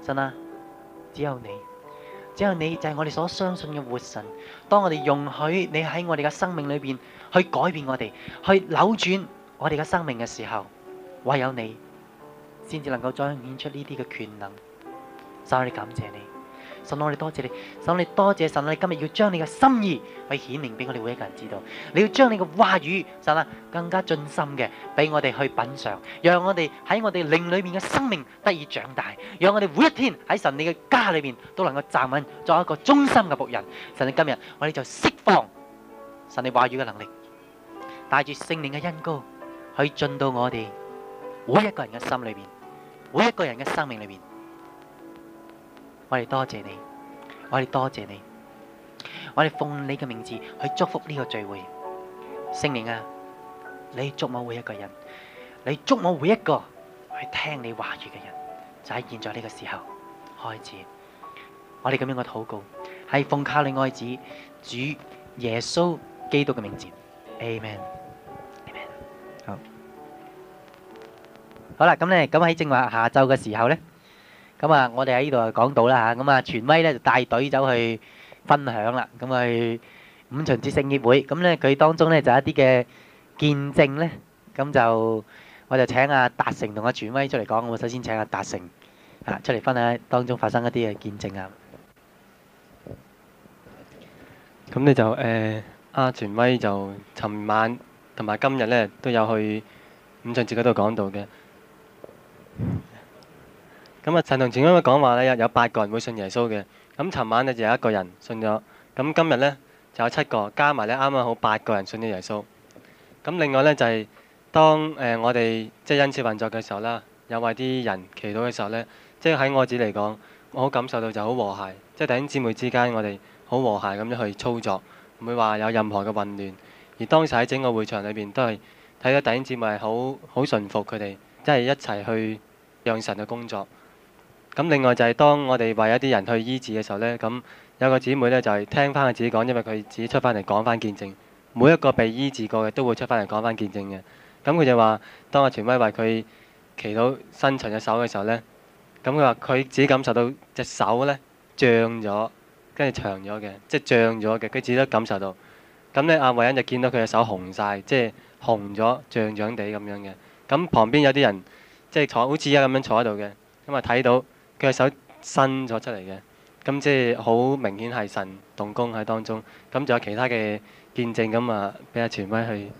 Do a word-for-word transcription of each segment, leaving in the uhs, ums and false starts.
神啊，只有你，只有你就係我哋所相信嘅活神。當我哋容許你喺我哋嘅生命裏邊去改變我哋，去扭轉我哋嘅生命嘅時候，唯有你先至能夠彰顯出呢啲嘅權能。神，我哋感謝你。神，我哋多謝你。神，我哋多謝神，我哋今日要將你嘅心意去顯明俾我哋每一個人知道。你要將你嘅話語，神啊，更加盡心嘅俾我哋去品嘗，讓我哋喺我哋靈裏面嘅生命得以長大，讓我哋每一天喺神你嘅家裏面都能夠站穩，作一個忠心嘅僕人。神啊，今日我哋就釋放神你話語嘅能力，帶住聖靈嘅恩膏去進到我哋每一個人嘅心裏邊，每一個人嘅生命裏邊。我哋多謝你，我哋多謝你，我哋奉你嘅名字去祝福呢個聚會。聖靈啊，你觸摸每一個人，你觸摸每一個去聽你話語嘅人，就喺現在呢個時候開始。我哋咁樣嘅禱告係奉靠你愛子主耶穌基督嘅名字。Amen。好，好啦，咁咧，咁喺正話下晝嘅時候咧。咁啊，我哋喺呢度就講到啦嚇，咁啊，傳威咧就帶隊走去分享啦，咁去五旬節聖潔會，咁咧佢當中咧就一啲嘅見證咧，咁就我就請阿達成同阿傳威出嚟講，我首先請阿達成啊出嚟分享當中發生一啲嘅見證啊。 咁你就誒阿傳威就尋晚同埋今日咧都有去五旬節嗰度講到嘅。咁啊，陳同前嗰個講話咧，有有八個人會信耶穌嘅。咁尋晚咧就有一個人信咗，咁今日咧就有七個，加埋咧啱啱好八個人信咗耶穌。咁另外咧就係當誒我哋即係恩賜運作嘅時候啦，有為啲人祈禱嘅時候咧，即係喺我自己嚟講，我好感受到就好和諧，即係弟兄姊妹之間我哋好和諧咁樣去操作，唔會話有任何嘅混亂。而當時喺整個會場裏邊都係睇到弟兄姊妹係好好順服佢哋，即係一齊去讓神嘅工作。咁另外就係當我哋為一啲人去醫治嘅時候呢，咁有個姊妹呢，就係聽翻佢自己講，因為佢自己出翻嚟講翻見證。每一個被醫治過嘅都會出翻嚟講翻見證嘅。咁佢就話，當阿傳威為佢祈禱伸長隻手嘅時候呢，咁佢話佢自己感受到隻手呢脹咗，跟住長咗嘅，即係脹咗嘅，佢自己都感受到。咁呢，阿慧欣就見到佢嘅手紅晒，即係紅咗、脹脹地咁樣嘅。咁旁邊有啲人即係坐好似而家咁樣坐喺度嘅，咁啊睇到。佢嘅手伸咗出嚟嘅，咁即係好明顯係神動工喺當中。咁仲有其他嘅見證，咁啊俾阿傳威去。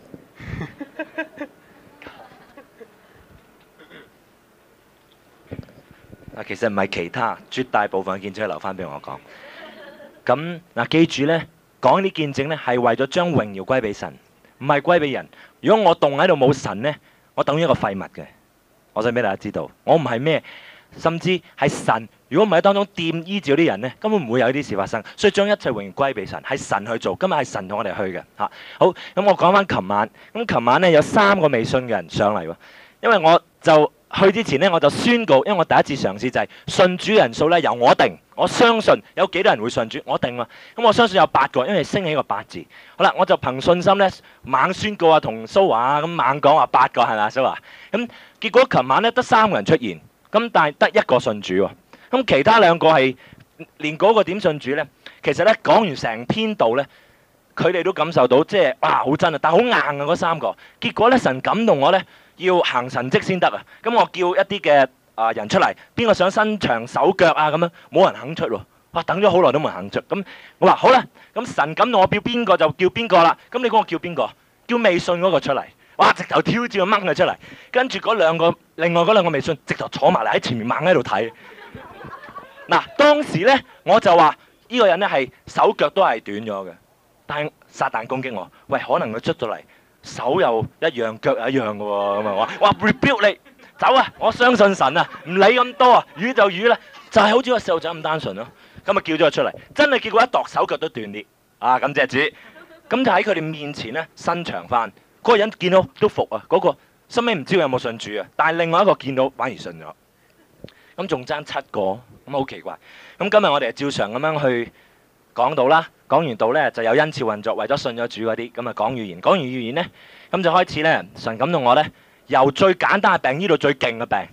嗱，其實唔係其他，絕大部分嘅見證留翻俾我講。咁嗱，記住呢，講啲見證呢係為咗將榮耀歸俾神，唔係歸俾人。如果我動喺度冇神呢，我等於一個廢物嘅。我想俾大家知道，我唔係咩。甚至係神，如果唔係喺當中掂醫治嗰啲人呢，根本唔會有呢啲事發生。所以將一切榮耀歸俾神，係神去做。今日係神同我哋去嘅嚇。好，咁我講翻琴晚。咁琴晚呢，有三個未信嘅人上嚟喎。因為我就去之前呢，我就宣告，因為我第一次嘗試就係信主人數呢由我定。我相信有幾多人會信主，我定喎。咁我相信有八個，因為升起個八字。好啦，我就憑信心呢，猛宣告啊，同蘇華啊咁猛講話八個係咪蘇華？咁結果琴晚呢，得三個人出現。咁但係得一個信主喎，咁其他兩個係連嗰個點信主呢？其實呢，講完成篇道呢，佢哋都感受到即係哇好真啊，但係好硬啊嗰三個。結果呢，神感動我呢，要行神蹟先得啊。咁我叫一啲嘅啊人出嚟，邊個想伸長手腳啊咁樣，冇人肯出喎。哇，等咗好耐都冇人肯出。咁我話好啦，咁神感動我叫邊個就叫邊個啦。咁你講我叫邊個？叫未信嗰個出嚟。哇！直頭挑戰掹佢出嚟，跟住嗰兩個，另外嗰兩個未信，直頭坐埋嚟喺前面猛喺度睇。嗱，當時呢，我就話呢、這個人呢係手腳都係短咗嘅，但係撒旦攻擊我，喂，可能佢出咗嚟手又一樣，腳又一樣嘅喎，咁啊話，哇 rebuke 你走啊！我相信神啊，唔理咁多啊，魚就魚啦，就係、是、好似個細路仔咁單純咯。咁啊叫咗佢出嚟，真係結果一度手腳都斷裂啊！感謝主，咁就喺佢哋面前呢，伸長翻。嗰個人見到都服啊！嗰、那個收尾唔知佢有冇信主啊，但係另外一個見到反而信咗。咁仲爭七個，咁好奇怪。咁今日我哋照常咁樣去講道啦，講完道呢就有恩賜運作，為咗信咗主嗰啲，咁啊講預言，講完預言呢，咁就開始呢，神感動我呢，由最簡單嘅病醫到最勁嘅病。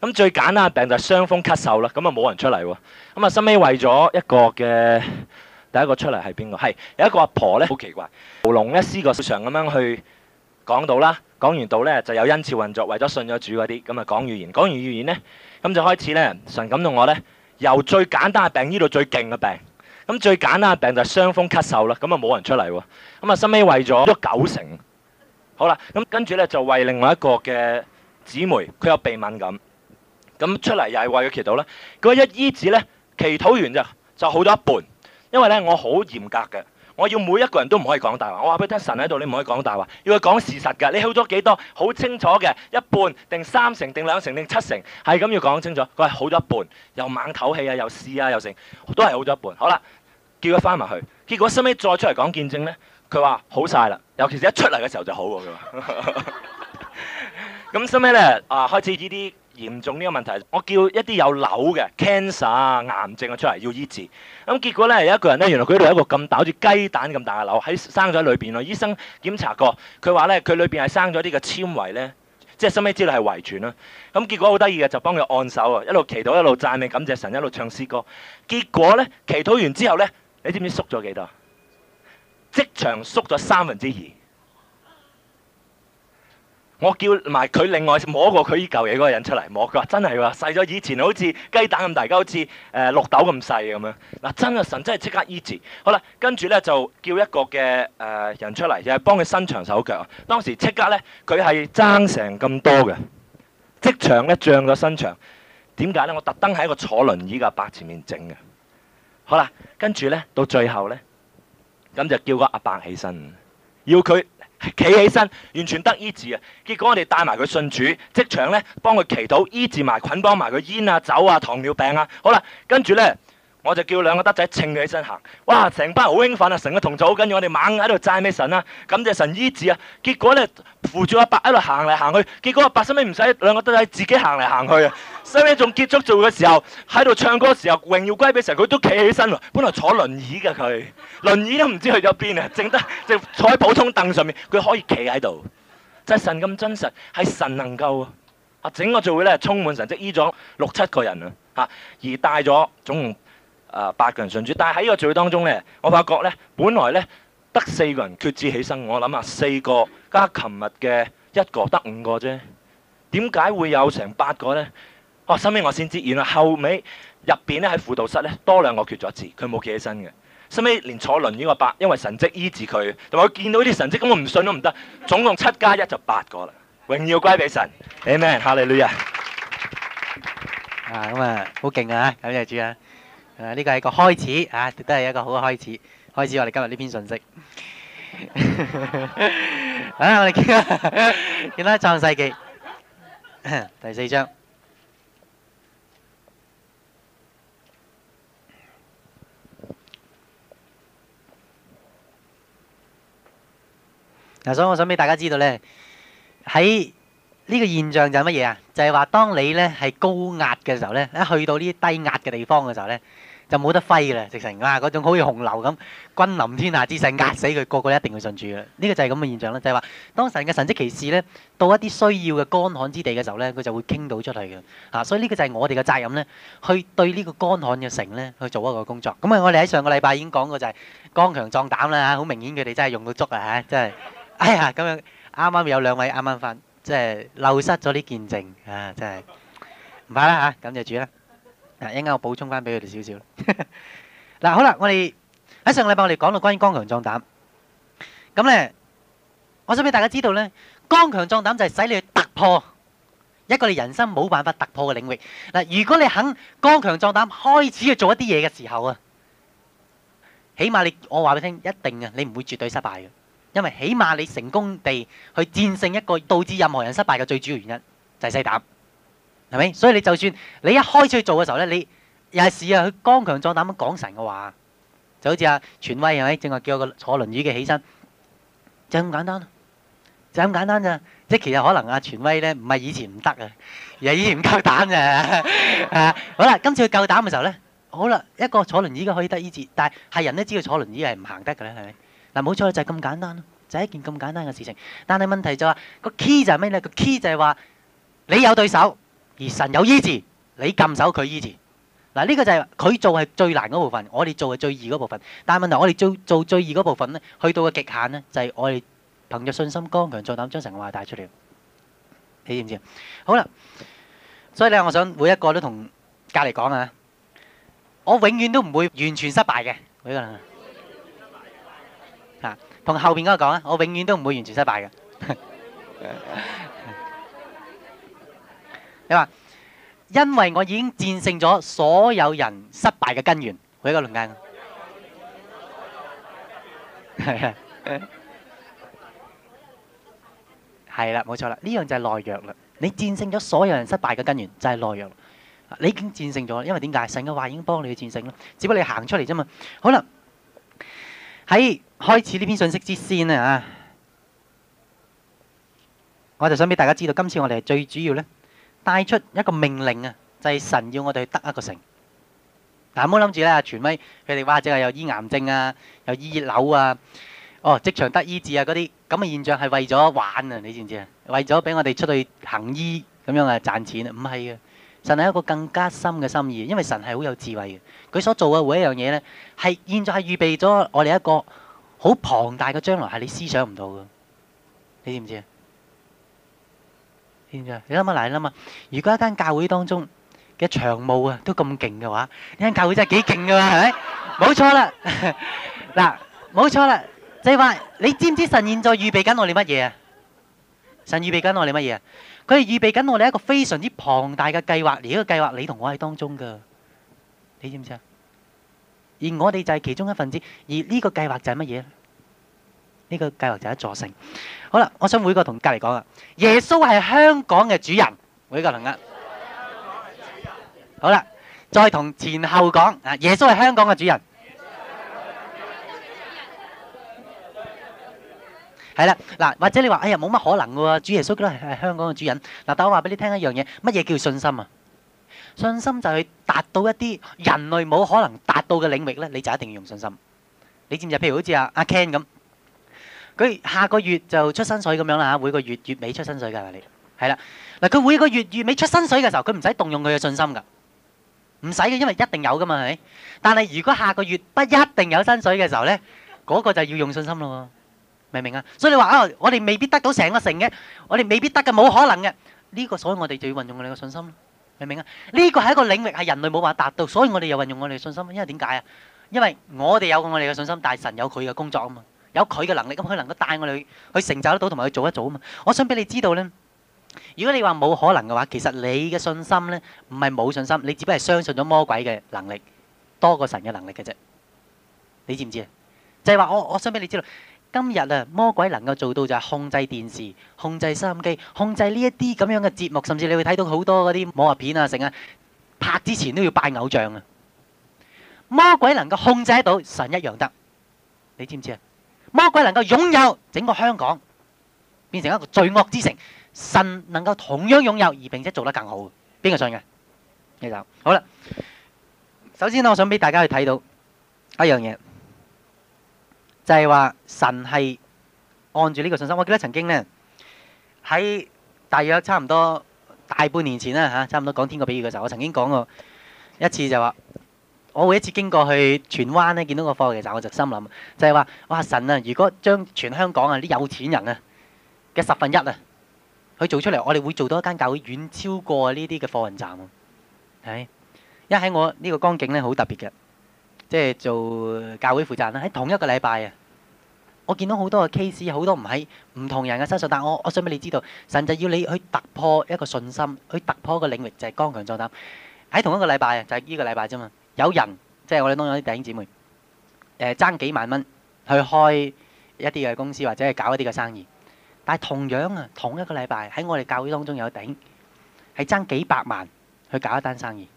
咁最簡單嘅病就係傷風咳嗽啦，咁啊冇人出嚟喎。咁啊，收尾為咗一個嘅第一個出嚟係邊個？係有一個阿婆咧，好奇怪，喉嚨咧試過常咁樣去講道啦，講完道咧就有恩賜運作，為咗信咗主嗰啲，咁啊講預言，講完預言咧，咁就開始咧神感動我咧，由最簡單嘅病醫到最勁嘅病。咁最簡單嘅病就係傷風咳嗽啦，咁啊冇人出嚟喎。咁啊收尾為咗咗九成，好啦，咁跟住咧就為另外一個嘅姊妹，佢有鼻敏感。咁出嚟又係為佢祈禱啦。佢一醫治咧，祈禱完就就好咗一半。因為咧我好嚴格嘅，我要每一個人都唔可以講大話。我話俾你聽，神喺度，你唔可以講大話，要佢講事實㗎。你好咗幾多？好清楚嘅，一半定三成定兩成定七成，係咁要講清楚。佢話好咗一半，又猛唞氣啊，又試啊，又成，都係好咗一半。好啦，叫佢翻埋去。結果收尾再出嚟講見證咧，佢話好晒啦。尤其是一出嚟嘅時候就好喎。佢話咁收尾咧啊，開始呢啲嚴重呢個問題，我叫一啲有瘤嘅 cancer 啊、癌症啊出嚟要醫治。咁結果咧有一個人咧，原來佢度有一個咁大好似雞蛋咁大嘅瘤喺生咗喺裏邊咯。醫生檢查過，佢話咧佢裏邊係生咗啲嘅纖維咧，即係收尾知道係遺傳啦。咁結果好得意嘅，就幫佢按手啊，一路祈禱一路讚美感謝神，一路唱詩歌。結果咧祈禱完之後咧，你知唔知縮咗幾多？即場縮咗三分之二。我叫埋佢另外摸過佢依嚿嘢嗰個人出嚟摸，佢話真係喎，細咗以前好似雞蛋咁大，而家好似誒綠豆咁細咁樣。嗱，真係神真係即刻醫治。好啦，跟住咧就叫一個嘅誒、呃、人出嚟，又係幫佢伸長手腳。當時即刻咧佢係爭成咁多嘅，即場咧漲咗身長。點解咧？我特登喺一個坐輪椅嘅阿伯前面整嘅。好啦，跟住咧到最後咧，咁就叫個阿伯起身，要佢企起身，完全得醫治啊！結果我哋帶埋佢信主，即場咧幫佢祈禱醫治埋捆綁埋佢煙啊、酒啊、糖尿病啊。好啦，跟住咧我就叫兩個德仔稱佢起身行。哇！成班人好興奮啊，成個同組好緊要，我哋猛喺度讚美神啊，感謝神醫治啊。結果咧扶住阿伯喺度行嚟行去，結果阿伯收尾唔使兩個德仔自己行嚟行去啊。收尾仲結束做嘅時候喺度唱歌嘅時候，榮耀歸俾神，佢都企起身喎。本來坐輪椅嘅佢，輪椅都唔知去咗邊啊，淨得淨坐喺普通凳上面，佢可以企喺度。就係神咁真實，係神能夠啊！整個聚會咧充滿神蹟，醫咗六七個人啊嚇，而帶咗總共啊八個人信主。但係喺呢個聚會當中咧，我發覺咧，本來咧得四個人決志起身，我諗下四個加琴日嘅一個得五個啫，點解會有成八個咧？哦，收尾我先知，原來後尾入邊咧喺輔導室咧多兩個決咗志，佢冇企起身嘅。收尾連坐輪椅個伯，因為神蹟醫治佢，同埋佢見到啲神蹟，咁我唔信都唔得。總共七加一就八個啦，榮耀歸俾神。Amen，哈利路亞。 啊，咁啊，好勁啊！感謝主啊！誒，呢個係一個開始啊，都係一個好嘅開始。開始我哋今日呢篇信息。啊，我哋見啦，見啦，創世記第四章。嗱，所以我想俾大家知道咧，喺呢個現象就係乜嘢啊？就係話當你咧係高壓嘅時候咧，一去到呢啲低壓嘅地方嘅時候咧，就冇得揮嘅啦，直情啊嗰種好似洪流咁，君臨天下之勢壓死佢，個個一定要信主嘅。呢個就係咁嘅現象啦，就係話當神嘅神蹟奇事咧，到一啲需要嘅乾旱之地嘅時候咧，佢就會傾到出嚟嘅。啊，所以呢個就係我哋嘅責任咧，去對呢個乾旱嘅城咧去做一個工作。咁啊，我哋喺上個禮拜已經講過就係剛強壯膽啦嚇，好明顯佢哋真係用到足啊嚇，真係。哎呀，咁樣啱啱有兩位啱啱翻，即係漏失咗啲見證啊！真係唔怕啦嚇，感謝主啦。啊，一陣間我補充翻俾佢哋少少。嗱，好啦，我哋喺上個禮拜我哋講到關於剛強壯膽，咁咧，我想俾大家知道咧，剛強壯膽就係使你去突破一個你人生冇辦法突破嘅領域。嗱，如果你肯剛強壯膽開始去做一啲嘢嘅時候啊，起碼你我話俾你聽，一定啊，你唔會絕對失敗嘅。因為起碼你成功地去戰勝一個導致任何人失敗嘅最主要原因就係細膽，係咪？所以你就算你一開始去做嘅時候咧，你又係試下去剛強壯膽咁講神嘅話，就好似阿傳威係咪？正話叫個坐輪椅嘅起身，就咁簡單，就咁簡單咋？即係其實可能阿傳威咧唔係以前唔得啊，而係以前唔夠膽咋。啊，好啦，今次佢夠膽嘅時候咧，好啦，一個坐輪椅嘅可以得醫治，但係係人都知道坐輪椅係唔行得嘅咧，係咪？嗱，冇錯，就係咁簡單咯，就係一件咁簡單嘅事情。但係問題就係個 key 就係咩咧？個 key 就係話你有對手， 而神有醫治，你禁手佢醫治。嗱，呢個就係佢做係最難嗰部分，我哋做係最易嗰部分。但係問題，我哋做做最易嗰部分咧，去到嘅極限咧，就係我哋憑着信心剛強壯膽將神嘅話帶出嚟。你知唔知啊？好啦，所以咧，我想每一個都同隔離講啊，我永遠都唔會完全失敗嘅。每一個人啊，同後邊嗰個講啊，我永遠都唔會完全失敗嘅。你話？因為我已經戰勝咗所有人失敗嘅根源，每一個論間。係啊，係啦，冇錯啦，呢樣就係懦弱啦。你戰勝咗所有人失敗嘅根源，就係懦弱。你已經戰勝咗，因為點解？神嘅話已經幫你去戰勝啦，只不過你行出嚟啫嘛。好啦，喺開始呢篇信息之先咧啊，我就想俾大家知道，今次我哋係最主要咧。帶出一個命令啊，就係神要我哋去得一個城。嗱，唔好諗住咧，傳威佢哋話淨係有醫癌症啊，有醫熱瘤啊，哦，職場得醫治啊嗰啲咁嘅現象係為咗玩啊，你知唔知啊？為咗俾我哋出去行醫咁樣啊賺錢啊？唔係嘅，神係一個更加深嘅心意，因為神係好有智慧嘅，佢所做嘅每一樣嘢咧，係現在係預備咗我哋一個好龐大嘅將來，係你思想唔到嘅，你知唔知啊？你諗下，你諗下，如果一間教會當中嘅長務啊都咁勁嘅話，呢間教會真係幾勁噶嘛，係咪？冇錯啦，嗱，冇錯啦，就係話你知唔知神現在預備緊我哋乜嘢啊？神預備緊我哋乜嘢啊？佢係預備緊我哋一個非常之龐大嘅計劃，而呢個計劃你同我喺當中噶，你知唔知啊？而我哋就係其中一份子，而呢個計劃就係乜嘢咧？呢個計劃就係一座城。好啦，我想每個同隔離講啊，耶穌係香港嘅主人，每個同啊。好啦，再同前後講啊，耶穌係香港嘅主人。係啦，嗱，或者你話哎呀冇乜可能嘅喎，主耶穌都係係香港嘅主人。嗱，但我話俾你聽一樣嘢，乜嘢叫信心啊？信心就係達到一啲人類冇可能達到嘅領域咧，你就一定要用信心。你知唔知？譬如好似阿阿 Ken 咁。佢下個月就出薪水咁樣啦嚇，每個月月尾出薪水㗎，係咪你？係啦，嗱，佢每個月月尾出薪水嘅時候，佢唔使動用佢嘅信心㗎，唔使嘅，因為一定有㗎嘛，係咪？但係如果下個月不一定有薪水嘅時候咧，嗰個就要用信心咯，明唔明啊？所以你話啊，我哋未必得到成個城嘅，我哋未必得嘅，冇可能嘅，呢個所以我哋就要運用我哋嘅信心咯，明唔明啊？呢個係一個領域係人類冇辦法達到，所以我哋又運用我哋嘅信心，因為點解啊？因為我哋有我哋嘅信心，但係神有佢嘅工作啊嘛。有佢嘅能力，咁佢能夠帶我哋去去成就得到，同埋去做一做啊嘛！我想俾你知道咧，如果你話冇可能嘅話，其實你嘅信心咧唔係冇信心，你只不過係相信咗魔鬼嘅能力多過神嘅能力嘅啫。你知唔知啊？就係話我我想俾你知道，今日啊魔鬼能夠做到就係控制電視、控制收音機、控制呢一啲咁樣嘅節目，甚至你會睇到好多嗰啲武俠片啊，成啊拍之前都要拜偶像啊！魔鬼能夠控制得到，神一樣得。你知唔知啊？魔鬼能夠擁有整個香港，變成一個罪惡之城，神能夠同樣擁有，而並且做得更好。邊個信嘅？呢就好啦。首先咧，我想俾大家去睇到一樣嘢，就係話神係按住呢個信心。我記得曾經呢，喺大約差唔多大半年前啦嚇，差唔多講天國比喻嘅時候，我曾經講過一次就話。我每一次經過去荃灣咧，見到個貨嘅時候，我就心諗，就係話：哇神啊！如果將全香港啊啲有錢人啊嘅十分一啊，去做出嚟，我哋會做到一間教會遠超過呢啲嘅貨運站喎。係，因為喺我呢個光景咧好特別嘅，即係做教會負責人啦。喺同一個禮拜啊，我見到好多嘅 case，好多唔喺唔同人嘅身上，但我我想俾你知道，神就要你去突破一個信心，去突破一個領域，就係剛強壯膽。喺同一個禮拜啊，就係呢個禮拜啫嘛。有人即係我哋當中啲弟兄姊妹，誒爭幾萬蚊去開一啲嘅公司或者係搞一啲嘅生意，但係同樣啊，同一個禮拜喺我哋教會當中有弟兄係爭幾百萬去搞一單生意，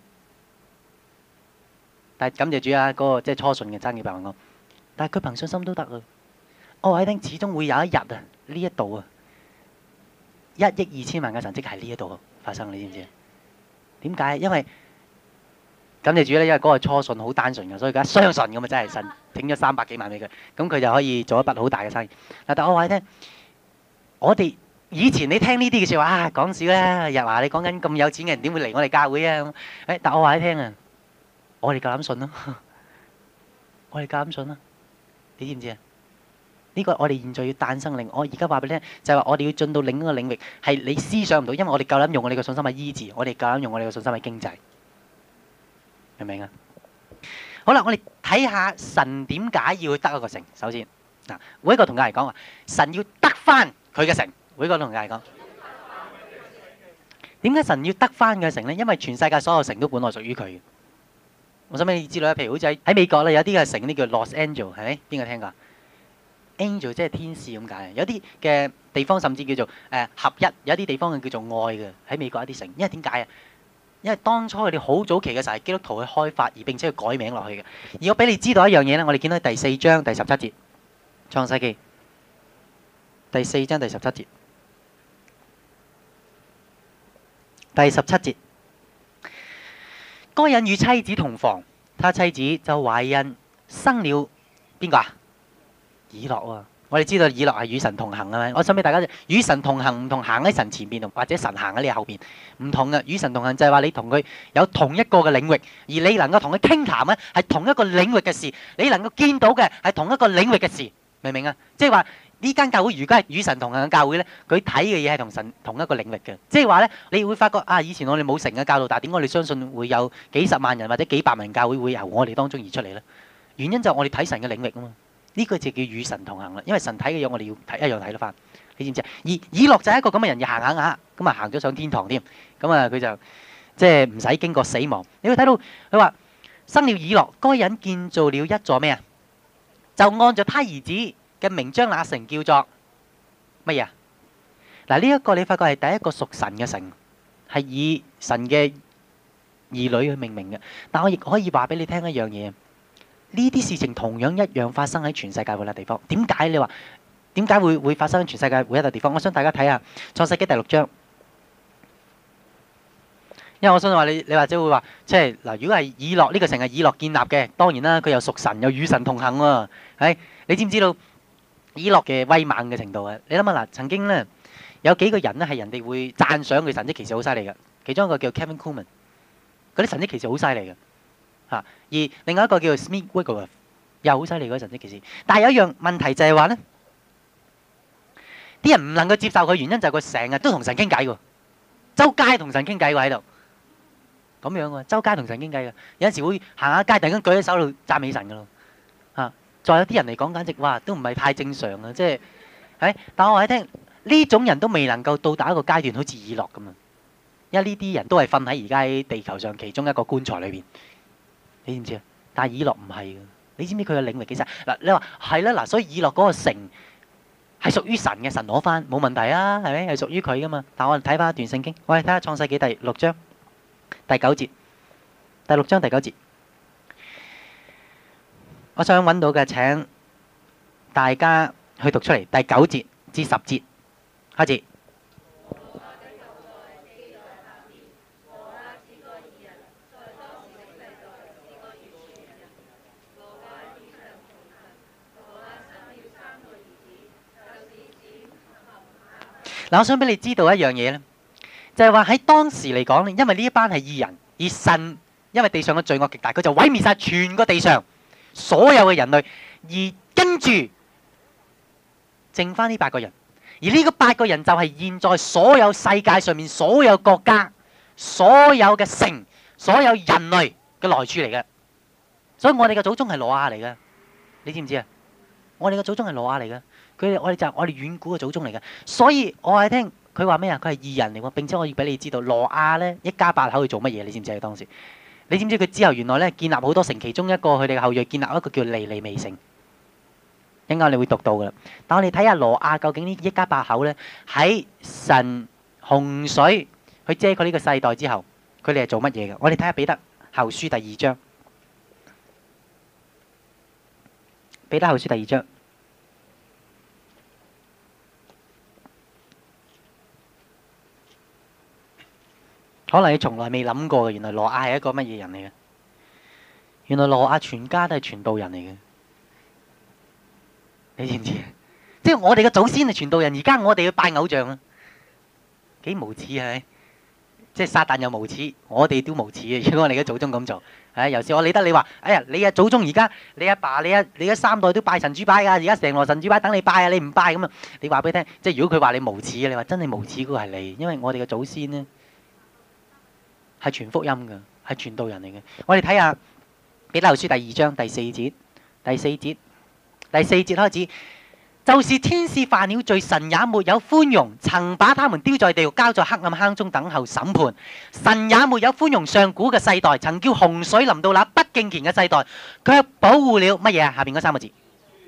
但係感謝主啊，嗰個即係初信嘅爭幾百萬個，但係佢憑信心都得啊！我話你聽，始終會有一日啊，呢一度啊，一億二千萬嘅神蹟喺呢一度發生，你知唔知啊？點解？因為感謝主咧，因為嗰個初信好單純嘅，所以佢一相信咁啊，真係神整咗三百幾萬俾佢，咁佢就可以做一筆好大嘅生意。嗱，但我話你聽，我哋以前你聽呢啲嘅説話啊，講笑啦，又話你講緊咁有錢嘅人點會嚟我哋教會啊？誒，但我話你聽啊，我哋夠膽信咯，我哋夠膽信啦，你知唔知啊？呢個我哋現在要誕生靈，我而家話俾你聽，就係話我哋要進到另一個領域，係你思想唔到，因為我哋夠膽用我哋嘅信心去醫治，我哋夠膽用我哋嘅信心去經濟，明唔明啊？好啦，我哋睇下神點解要去得一個城。首先嗱，每一個同家嚟講話，神要得翻佢嘅城。每一個同家嚟講，點解神要得翻嘅城呢？因為全世界所有城都本來屬於佢嘅。我想俾你知道，譬如好似喺喺美國咧，有啲嘅城呢叫 Los Angeles，係咪？邊個聽過？Angel 即係天使咁解，有啲嘅地方甚至叫做誒、呃、合一，有啲地方叫做愛嘅，喺美國一啲城。因為點解啊？因為當初佢哋好早期嘅時候係基督徒去開發，而並且去改名落去嘅。而我俾你知道一樣嘢咧，我哋見到第四章第十七節，創世記第四章第十七節，第十七節，該隱與妻子同房，他妻子就懷孕生了邊個啊？以諾喎，我哋知道以諾係與神同行啊嘛。我想俾大家，與神同行唔同行喺神前邊，或者神行喺你後邊，唔同嘅。與神同行就係話你同佢有同一個嘅領域，而你能夠同佢傾談咧，係同一個領域嘅事，你能夠見到嘅係同一個領域嘅事，明唔明啊？即係話呢間教會如果係與神同行嘅教會咧，佢睇嘅嘢係同神同一個領域嘅。即係話咧，你會發覺啊，以前我哋冇成嘅教導，但係點解我哋相信會有幾十萬人或者幾百萬人教會會由我哋當中而出嚟咧？原因就係我哋睇神嘅領域啊嘛。呢個就叫與神同行啦，因為神睇嘅嘢我哋要睇一樣睇得翻，你知唔知啊？而以諾就係一個咁嘅人，要行下下，咁啊行咗上天堂添，咁啊佢就即係唔使經過死亡。你會睇到佢話生了以諾，該隱建造了一座咩啊？就按照他兒子嘅名將那城叫做乜嘢啊？嗱，呢一個你發覺係第一個屬神嘅城，係以神嘅兒女去命名嘅。但我亦可以話俾你聽一樣嘢。呢啲事情同樣一樣發生喺全世界每一個地方。點解你話點解會會發生喺全世界每一個地方？我想大家睇下創世紀第六章，因為我相信話你你或者會話，即係嗱，如果係以諾呢個城係以諾建立嘅，當然啦，佢又屬神又與神同行喎。係你知唔知道以諾嘅威猛嘅程度啊？你諗下嗱，曾經咧有幾個人咧係人哋會讚賞佢神蹟奇事好犀利嘅，其中一個叫 Kevin Kuhlman，嗰啲神蹟奇事好犀利嘅。嚇！而另外一個叫做 Smith Wigglesworth，又好犀利嗰神蹟奇事。但係有一樣問題就係話咧，啲人唔能夠接受佢，原因就係佢成日都同神傾偈喎，周街同神傾偈喎喺度，咁樣喎，周街同神傾偈嘅。有陣時會行下街，突然間舉起手喺度讚美神噶咯。嚇！再有啲人嚟講，簡直哇都唔係太正常啊！即係係，但我話你聽，呢種人都未能夠到達一個階段，好似以諾咁啊，因為呢啲人都係瞓喺而家喺地球上其中一個棺材裏邊。你知唔知啊？但係以諾唔係嘅，你知唔知佢嘅領域幾細？嗱，你話係啦，嗱，所以以諾嗰個城係屬於神嘅，神攞翻冇問題啊，係咪？係屬於佢噶嘛？但係我哋睇翻一段聖經，我哋睇下創世紀第六章第九節，第六章第九節，我想揾到嘅請大家去讀出嚟，第九節至十節開始。嗱，我想俾你知道一樣嘢咧，就係話喺當時嚟講咧，因為呢一班係義人，而神因為地上嘅罪惡極大，佢就毀滅曬全個地上所有嘅人類，而跟住剩翻呢八個人，而呢個八個人就係現在所有世界上面所有國家、所有嘅城、所有人類嘅來處嚟嘅。所以我哋嘅祖宗係挪亞嚟嘅，你知唔知啊？我哋嘅祖宗係挪亞嚟嘅。佢哋我哋就係我哋遠古嘅祖宗嚟嘅，所以我係聽佢話咩啊？佢係義人嚟喎，並且我要俾你知道，挪亞咧一家八口去做乜嘢？你知唔知啊？當時你知唔知佢之後原來咧建立好多城，其中一個佢哋嘅後裔建立一個叫尼尼微城，一陣間你會讀到噶啦。但我哋睇下挪亞究竟呢一家八口咧喺神洪水去遮佢呢個世代之後，佢哋係做乜嘢嘅？我哋睇下彼得後書第二章，彼得後書第二章。可能你從來未諗過嘅，原來挪亞係一個乜嘢人嚟嘅？原來挪亞全家都係傳道人嚟嘅，你知唔知？即係我哋嘅祖先係傳道人，而家我哋要拜偶像啊！你知唔知？ 幾無恥係咪？即係撒旦又無恥，我哋都無恥嘅。如果我哋嘅祖宗咁做，係有時我理得你話，哎呀，你嘅祖宗而家你阿爸、你阿你嘅三代都拜神主牌㗎，而家成羅神主牌等你拜啊，你唔拜咁啊？你話俾佢聽，即係如果佢話你無恥，你話真係無恥嗰個係你，因為我哋嘅祖先呢係傳福音㗎，係傳道人嚟嘅。我哋睇下彼得後書第二章第四節，第四節，第四節開始。就是天使犯了罪，神也沒有寬容，曾把他們丟在地獄，交在黑暗坑中等候審判。神也沒有寬容上古嘅世代，曾叫洪水臨到那不敬虔嘅世代，卻保護了乜嘢啊？下邊嗰三個字，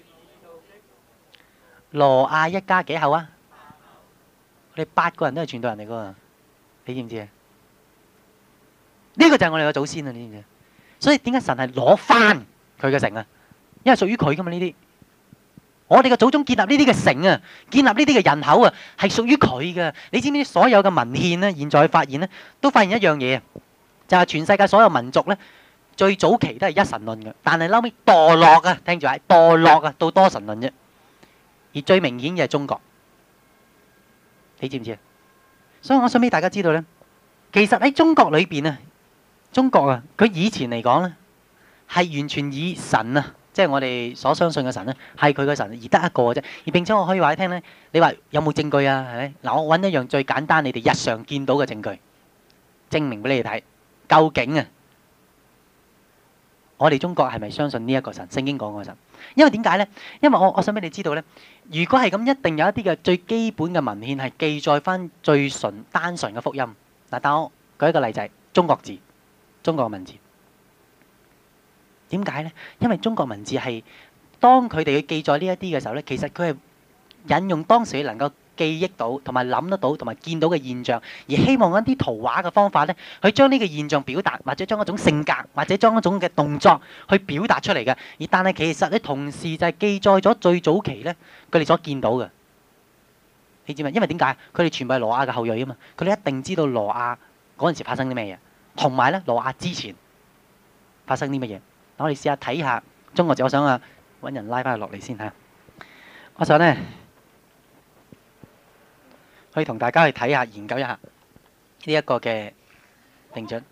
羅亞一家幾口啊？我哋八個人都係傳道人嚟噶，你知唔知啊？呢個就係我哋嘅祖先啊！你知唔知？所以點解神係攞翻佢嘅城啊？因為屬於佢噶嘛呢啲。我哋嘅祖宗建立呢啲嘅城啊，建立呢啲嘅人口啊，係屬於佢嘅。你知唔知所有嘅文獻呢？現在發現呢，都發現一樣嘢，就係全世界所有民族呢，最早期都係一神論嘅，但係後尾墮落啊，聽住啊，墮落啊，到多神論啫。而最明顯嘅係中國，你知唔知啊？所以我想俾大家知道呢，其實喺中國裏邊啊，中國啊，佢以前嚟講呢，係完全以神啊。即係我哋所相信嘅神咧，係佢嘅神而得一個嘅啫。而並且我可以話你聽咧，你話有冇證據啊？係咪？嗱，我揾一樣最簡單，你哋日常見到嘅證據，證明俾你哋睇，究竟啊，我哋中國係咪相信呢一個神？聖經講嘅神。因為點解咧？因為我我想俾你知道咧，如果係咁，一定有一啲嘅最基本嘅文獻係記載翻最純單純嘅福音。嗱，但我舉一個例子，中國字，中國嘅文字。點解呢？因為中國文字係當佢哋去記載呢一啲嘅時候呢，其實佢係引用當時能夠記憶到同埋諗得到同埋見到嘅現象，而希望一啲圖畫嘅方法呢，去將呢個現象表達，或者將一種性格，或者將一種嘅動作去表達出嚟嘅。而但係其實呢，同時就係記載咗最早期呢，佢哋所見到嘅。你知唔知？因為點解？佢哋全部係羅亞嘅後裔啊嘛，佢哋一定知道羅亞嗰陣時發生啲咩嘢，同埋呢羅亞之前發生啲乜嘢。我哋試下睇下中國字，我想啊揾人拉翻佢落嚟先嚇。我想咧可以同大家去睇下、研究一下呢一個嘅定準。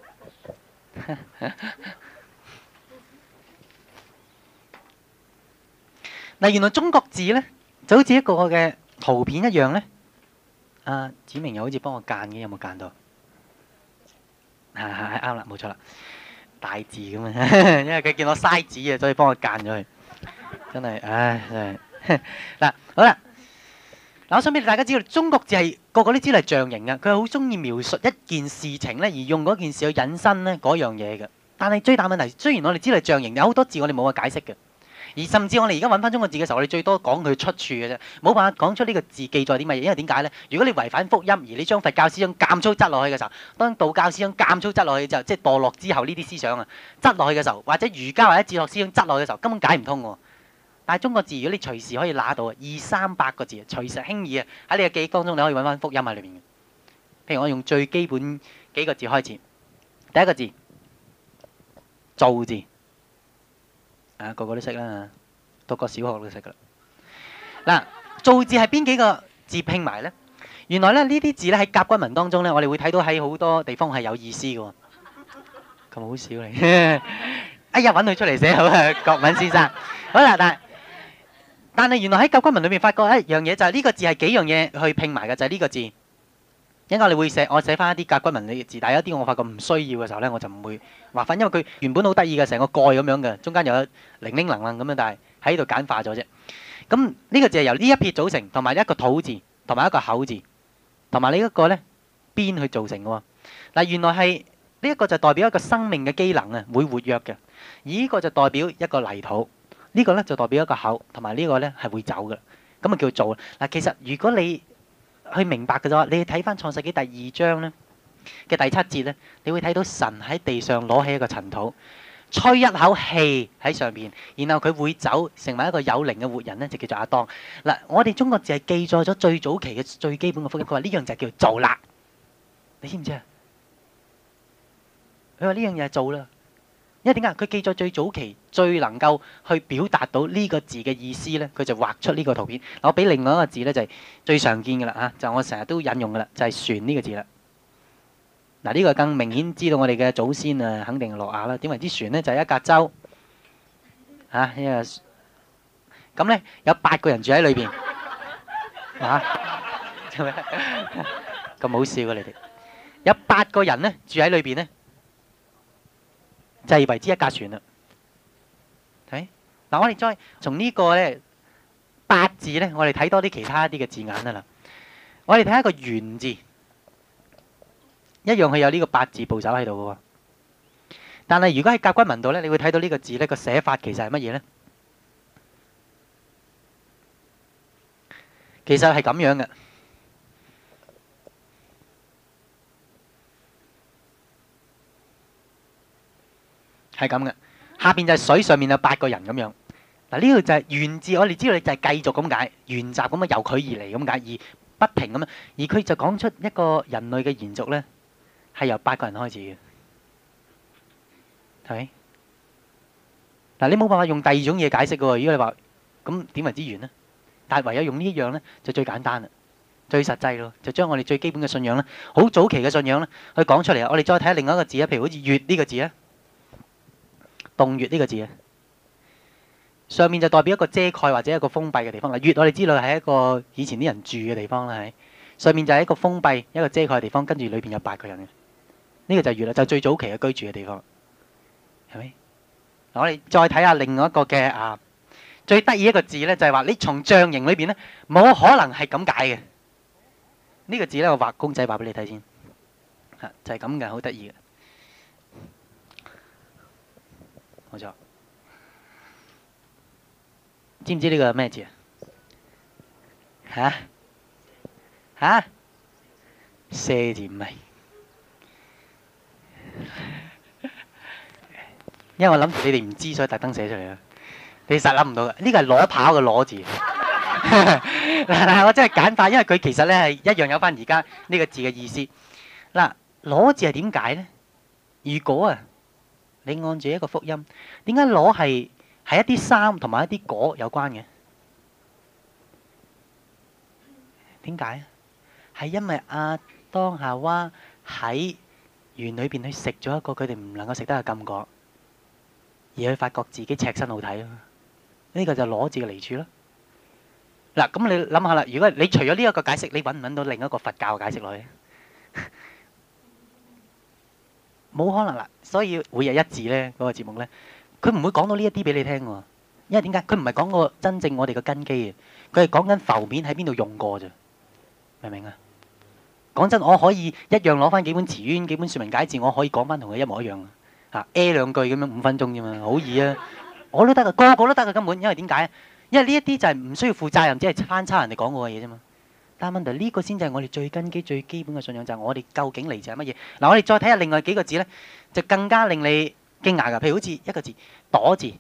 嗱，原來中國字咧就好似一個嘅圖片一樣咧。啊，子明又好似幫我間嘅，有冇間到？係係係啱啦，冇錯啦。大字咁啊，因為佢見我嘥紙啊，所以幫我間咗佢。真係，唉，真係。嗱，好啦，嗱，我想俾大家知道，中國字係個個都知道係象形嘅，佢係好中意描述一件事情咧，而用嗰件事去引申咧嗰樣嘢嘅。但係最大問題，雖然我哋知道係象形，有好多字我哋冇個解釋嘅，而甚至我哋而家揾翻中國字嘅時候，我哋最多講佢出處嘅啫，冇辦法講出呢個字記載啲乜嘢。因為點解咧？如果你違反福音，而你將佛教思想監粗執落去嘅時候，當道教思想監粗執落去就即係墮落之後呢啲思想啊，執落去嘅時候，或者儒家或者哲學思想執落去嘅時候，根本解唔通喎。但係中國字，如果你隨時可以拿到啊，二三百個字，隨時輕易啊喺你嘅記憶當中，你可以揾翻福音喺裏面嘅。譬如我用最基本幾個字開始，第一個字造字，啊個個都識啦，讀過小學都識噶啦。嗱，造字係邊幾個字拼埋咧？原來咧呢啲字咧喺甲骨文當中咧，我哋會睇到喺好多地方係有意思嘅喎。咁好笑嚟，哎呀揾佢出嚟寫好啊，郭敏先生。好啦，但係但係原來喺甲骨文裏面發覺一樣嘢，就係呢個字係幾樣嘢去拼埋嘅，就係呢個字。應該你會寫，我寫翻一啲甲骨文嘅字，但係有一啲我發覺唔需要嘅時候咧，我就唔會畫翻，因為佢原本好得意嘅，成個蓋咁樣嘅，中間有零零能能咁樣，但係喺度簡化咗啫。咁呢個字係由呢一撇組成，同埋一個土字，同埋一個口字，同埋呢一個咧邊去造成嘅喎。嗱，原來係呢一個就代表一個生命嘅機能啊，會活躍嘅；而呢個就代表一個泥土，呢個咧就代表一個口，同埋呢個咧係會走嘅。咁啊叫做嗱，其實如果你去明白嘅啫，你睇翻創世紀第二章咧嘅第七節咧，你會睇到神喺地上攞起一個塵土，吹一口氣喺上邊，然後佢會走，成為一個有靈嘅活人咧，就叫做亞當。嗱，我哋中國字係記載咗最早期嘅最基本嘅福音，佢話呢樣就叫做啦，你知唔知啊？佢話呢樣嘢係做啦， 因為點解？佢記載最早期最能夠去表達到呢個字嘅意思咧，佢就畫出呢個圖片。我俾另外一個字咧，就係最常見嘅啦嚇，就我成日都引用嘅啦，就係船呢個字啦。嗱，呢個更明顯知道我哋嘅祖先啊，肯定係諾亞啦。點為之船咧？就係一架舟嚇，一個咁咧有八個人住喺裏邊嚇，做咩咁好笑啊？你哋有八個人咧住喺裏邊咧，就係為之一架船啦。睇嗱，我哋再從呢個咧八字咧，我哋睇多啲其他啲嘅字眼啊啦。我哋睇一個原字，一樣係有呢個八字部首喺度嘅喎。但係如果喺甲骨文度咧，你會睇到呢個字咧個寫法其實係乜嘢咧？其實係咁樣嘅，係咁嘅。下邊就係水，上面有八個人咁樣。嗱，呢個就係源自，我哋知道你就係繼續咁解，沿襲咁啊，由佢而嚟咁解，而不停咁樣。而佢就講出一個人類嘅延續咧，係由八個人開始嘅，係咪？嗱，你冇辦法用第二種嘢解釋嘅喎。如果你話咁點為之完咧？但係唯有用呢一樣咧，就最簡單啦，最實際咯，就將我哋最基本嘅信仰咧，好早期嘅信仰咧，去講出嚟啊！我哋再睇下另外一個字啊，譬如好似月呢個字啊，洞穴呢個字啊，上面就代表一個遮蓋或者一個封閉嘅地方啦。月我哋知道係一個以前啲人住嘅地方啦，係上面就係一個封閉一個遮蓋嘅地方，跟住裏邊有八個人嘅，呢個就係月啦，就最早期嘅居住嘅地方，係咪？嗱，我哋再睇下另外一個嘅啊。最得意一個字咧，就係話你從象形裏邊咧，冇可能係咁解嘅。呢個字咧，我畫公仔畫俾你睇先，嚇就係咁嘅，好得意嘅，冇錯。知唔知呢個係咩字啊？嚇嚇，射字唔係，因為我諗住你哋唔知，所以特登寫出嚟啦。你實諗唔到嘅，呢個係攞跑嘅攞字。嗱，我真係簡化，因為佢其實咧係一樣有翻而家呢個字嘅意思。嗱，攞字係點解咧？如果啊，你按住一個福音，點解攞係係一啲衫同埋一啲果有關嘅？點解啊？係因為亞當夏娃喺園裏邊去食咗一個佢哋唔能夠食得嘅禁果，而佢發覺自己赤身好睇啊！呢個就係攞字嘅嚟處咯。嗱，咁你諗下啦，如果你除咗呢一個解釋，你揾唔揾到另一個佛教嘅解釋落去？冇可能啦。所以每日一字咧嗰個節目咧，佢唔會講到呢一啲俾你聽喎。因為點解？佢唔係講個真正我哋嘅根基嘅，佢係講緊浮面喺邊度用過啫。明唔明啊？講真，我可以一樣攞翻幾本詞源、幾本說文解字，我可以講翻同佢一模一樣啊，A 兩句咁樣五分鐘啫嘛，好易啊！我都得噶，個個都得噶，根本。因為點解？因為呢一啲就係唔需要負責任，只係翻抄人哋講過嘅嘢啫嘛。但係問題呢個先就係我哋最根基、最基本嘅信仰，就係我哋究竟嚟自係乜嘢？嗱，我哋再睇下另外幾個字咧，就更加令你驚訝噶。譬如好似一個字躲字，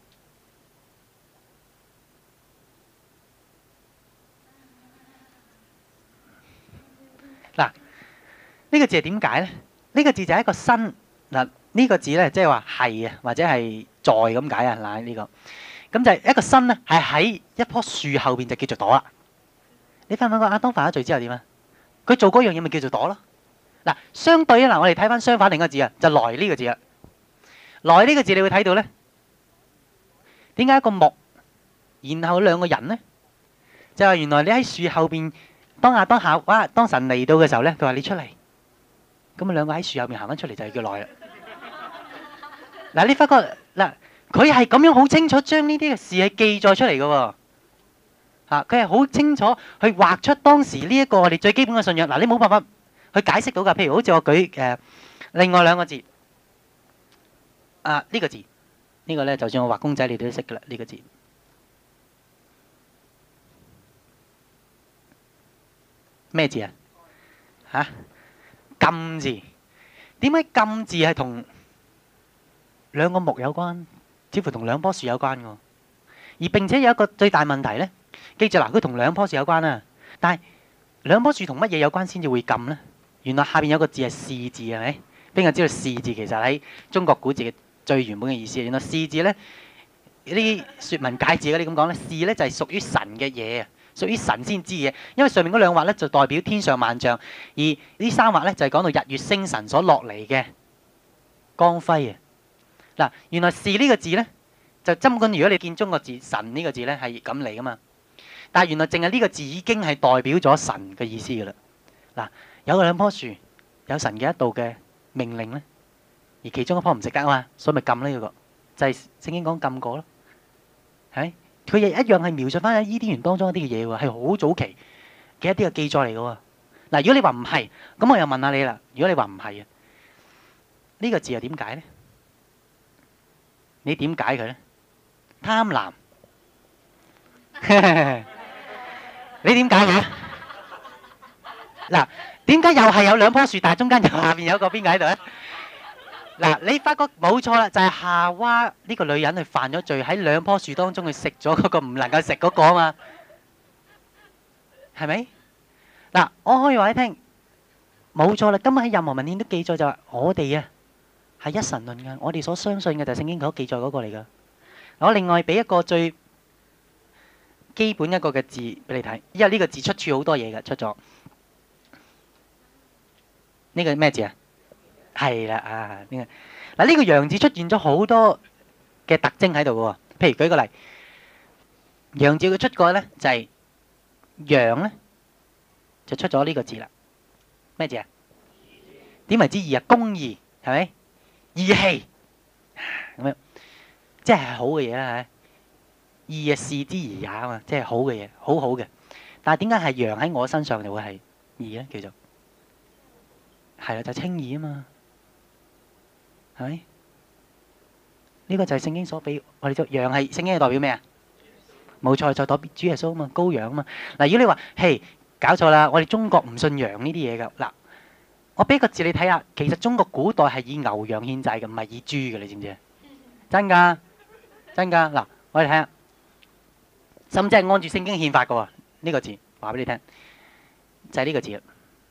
嗱，呢個字係點解咧？呢個字就係一個新嗱。呢個字咧，即係話係啊，或者係在咁解啊。嗱，呢個咁就係一個新咧，係喺一棵樹後邊就叫做朵啦。你發唔發覺亞當犯咗罪之後點啊？佢做嗰樣嘢咪叫做朵咯。嗱，相對啊，嗱，我哋睇翻相反另一個字啊，就來呢個字啊。來呢個字你會睇到咧，點解一個木，然後兩個人咧？就係原來你喺樹後邊，當亞當夏娃當神嚟到嘅時候咧，佢話你出嚟，咁啊兩個喺樹後邊行翻出嚟就係叫來啦。嗱，你發覺嗱，佢係咁樣好清楚將呢啲嘅事係記載出嚟嘅喎，嚇佢係好清楚去畫出當時呢一個我哋最基本嘅信仰。嗱，你冇辦法去解釋到㗎。譬如好似我舉誒另外兩個字，啊呢個字呢個咧，就算我畫公仔你都識㗎啦。呢個字咩字啊？嚇禁字，點解禁字係同兩個木有關，似乎同兩棵樹有關嘅，而並且有一個最大問題咧。記住嗱，佢同兩棵樹有關啊，但係兩棵樹同乜嘢有關先至會禁咧？原來下邊有個字係士字，係咪？邊個知道士字其實喺中國古字嘅最原本嘅意思。原來是字咧，呢啲説文解字嗰啲咁講咧，是咧就係屬於神嘅嘢啊，屬於神先知嘅。因為上面嗰兩畫咧就代表天上萬象，而呢三畫咧就係講到日月星辰所落嚟嘅光輝啊。嗱，原來是呢個字咧，就根本如果你見中國字神呢個字咧係咁嚟噶嘛，但係原來淨係呢個字已經係代表咗神嘅意思噶啦。嗱，有兩棵樹，有神嘅一道嘅命令咧，而其中一棵唔食得啊嘛，所以咪禁呢個，就係聖經講禁果咯，係佢亦一樣係描述翻喺伊甸園當中一啲嘅嘢喎，係好早期嘅一啲嘅記載嚟嘅喎。嗱，如果你話唔係，咁我又問下你啦。如果你話唔係啊，呢個字又點解咧？你點解佢咧？貪婪，你點解佢？嗱，點解又係有兩棵樹，但係中間又下邊有個邊個喺度咧？嗱，你發覺冇錯啦，就係夏娃呢個女人去犯咗罪，喺兩棵樹當中去食咗嗰個唔能夠食嗰個啊嘛，係咪？嗱，我可以話你聽，冇錯啦。今日喺任何文獻都記載就話，我哋啊係一神論嘅，我哋所相信嘅就係聖經所記載嗰個嚟噶。我另外俾一個最基本一個嘅字俾你睇，因為呢個字出處好多嘢嘅，出咗呢個咩字啊？係啦啊，呢個嗱呢個羊字出現咗好多嘅特徵喺度嘅喎。譬如舉個例，羊字佢出過咧就係羊咧就出咗呢個字啦。咩字啊？點為之義啊？公義係咪？義氣咁樣，即係好嘅嘢啦嚇。義啊，視之而也啊嘛，即係好嘅嘢，好好嘅。但係點解係羊喺我身上就會係義咧？叫做係啦，就係稱義啊嘛。係咪？呢個就係聖經所俾我哋做羊係聖經係代表咩啊？冇錯，就代表主耶穌啊嘛，羔羊啊嘛。嗱，如果你話嘿搞錯啦，我哋中國唔信羊呢啲嘢噶。嗱，我俾個字你睇下，其實中國古代係以牛羊獻祭嘅，唔係以豬嘅，你知唔知啊？真㗎，真㗎。嗱，我哋睇下，甚至係按住聖經憲法嘅喎。呢個字話俾你聽，就係呢個字啦。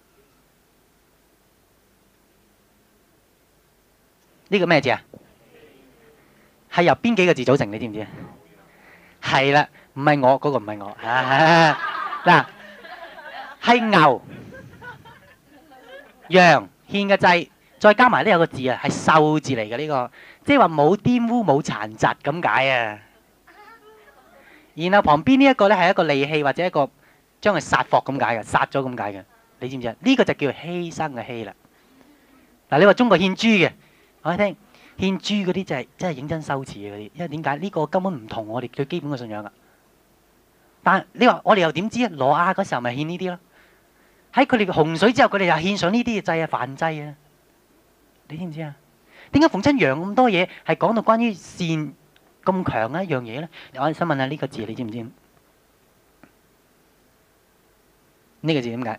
呢個咩字啊？係由邊幾個字組成？你知唔知啊？係啦，唔係我嗰個，唔係我。嗱，係牛、羊獻嘅祭，再加埋呢有個字啊，係獸字嚟嘅呢個，即係話冇玷污、冇殘疾咁解啊。然後旁邊呢一個咧係一個利器或者一個將佢殺霍咁解嘅，殺咗咁解嘅。你知唔知啊？呢個就叫犧牲嘅犧啦。嗱，你話中國獻豬嘅。我聽獻豬嗰啲就係真係認真羞恥嘅嗰啲，因為點解呢個根本唔同我哋最基本嘅信仰噶。但係你話我哋又點知啊？挪亞嗰時候咪獻呢啲咯，喺佢哋嘅洪水之後，佢哋又獻上呢啲嘅祭啊、燔祭啊。你知唔知啊？點解逢親羊咁多嘢係講到關於善咁強嘅一樣嘢咧？我想問下呢個字，你知唔知？呢個字點解？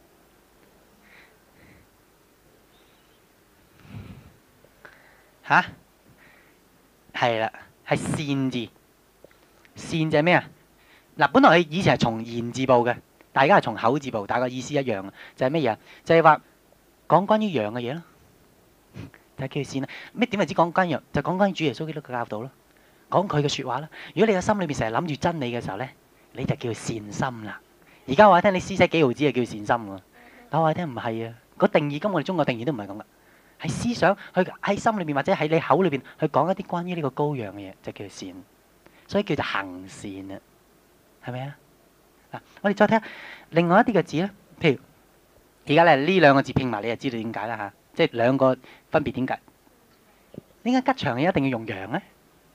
吓，係啦，係善字。善就係咩啊？嗱，本來佢以前係從言字部嘅，但係而家係從口字部，但係個意思一樣啊。就係咩嘢啊？就係話講關於羊嘅嘢咯，就係叫善啦。咩點為之講關於羊？就講關於主耶穌基督嘅教導咯，講佢嘅説話啦。如果你個心裏邊成日諗住真理嘅時候咧，你就叫善心啦。而家話聽你施捨幾毫子就叫善心喎，但我話聽唔係啊。個定義跟我哋中國定義都唔係咁噶。係思想去喺心裏邊或者喺你口裏邊去講一啲關於呢個羔羊嘅嘢，就叫做善，所以叫做行善啊，係咪啊？嗱，我哋再睇下另外一啲嘅字咧，譬如而家咧呢兩個字拼埋，你就知道點解啦嚇，即係兩個分別點解？點解吉祥嘅一定要用羊咧？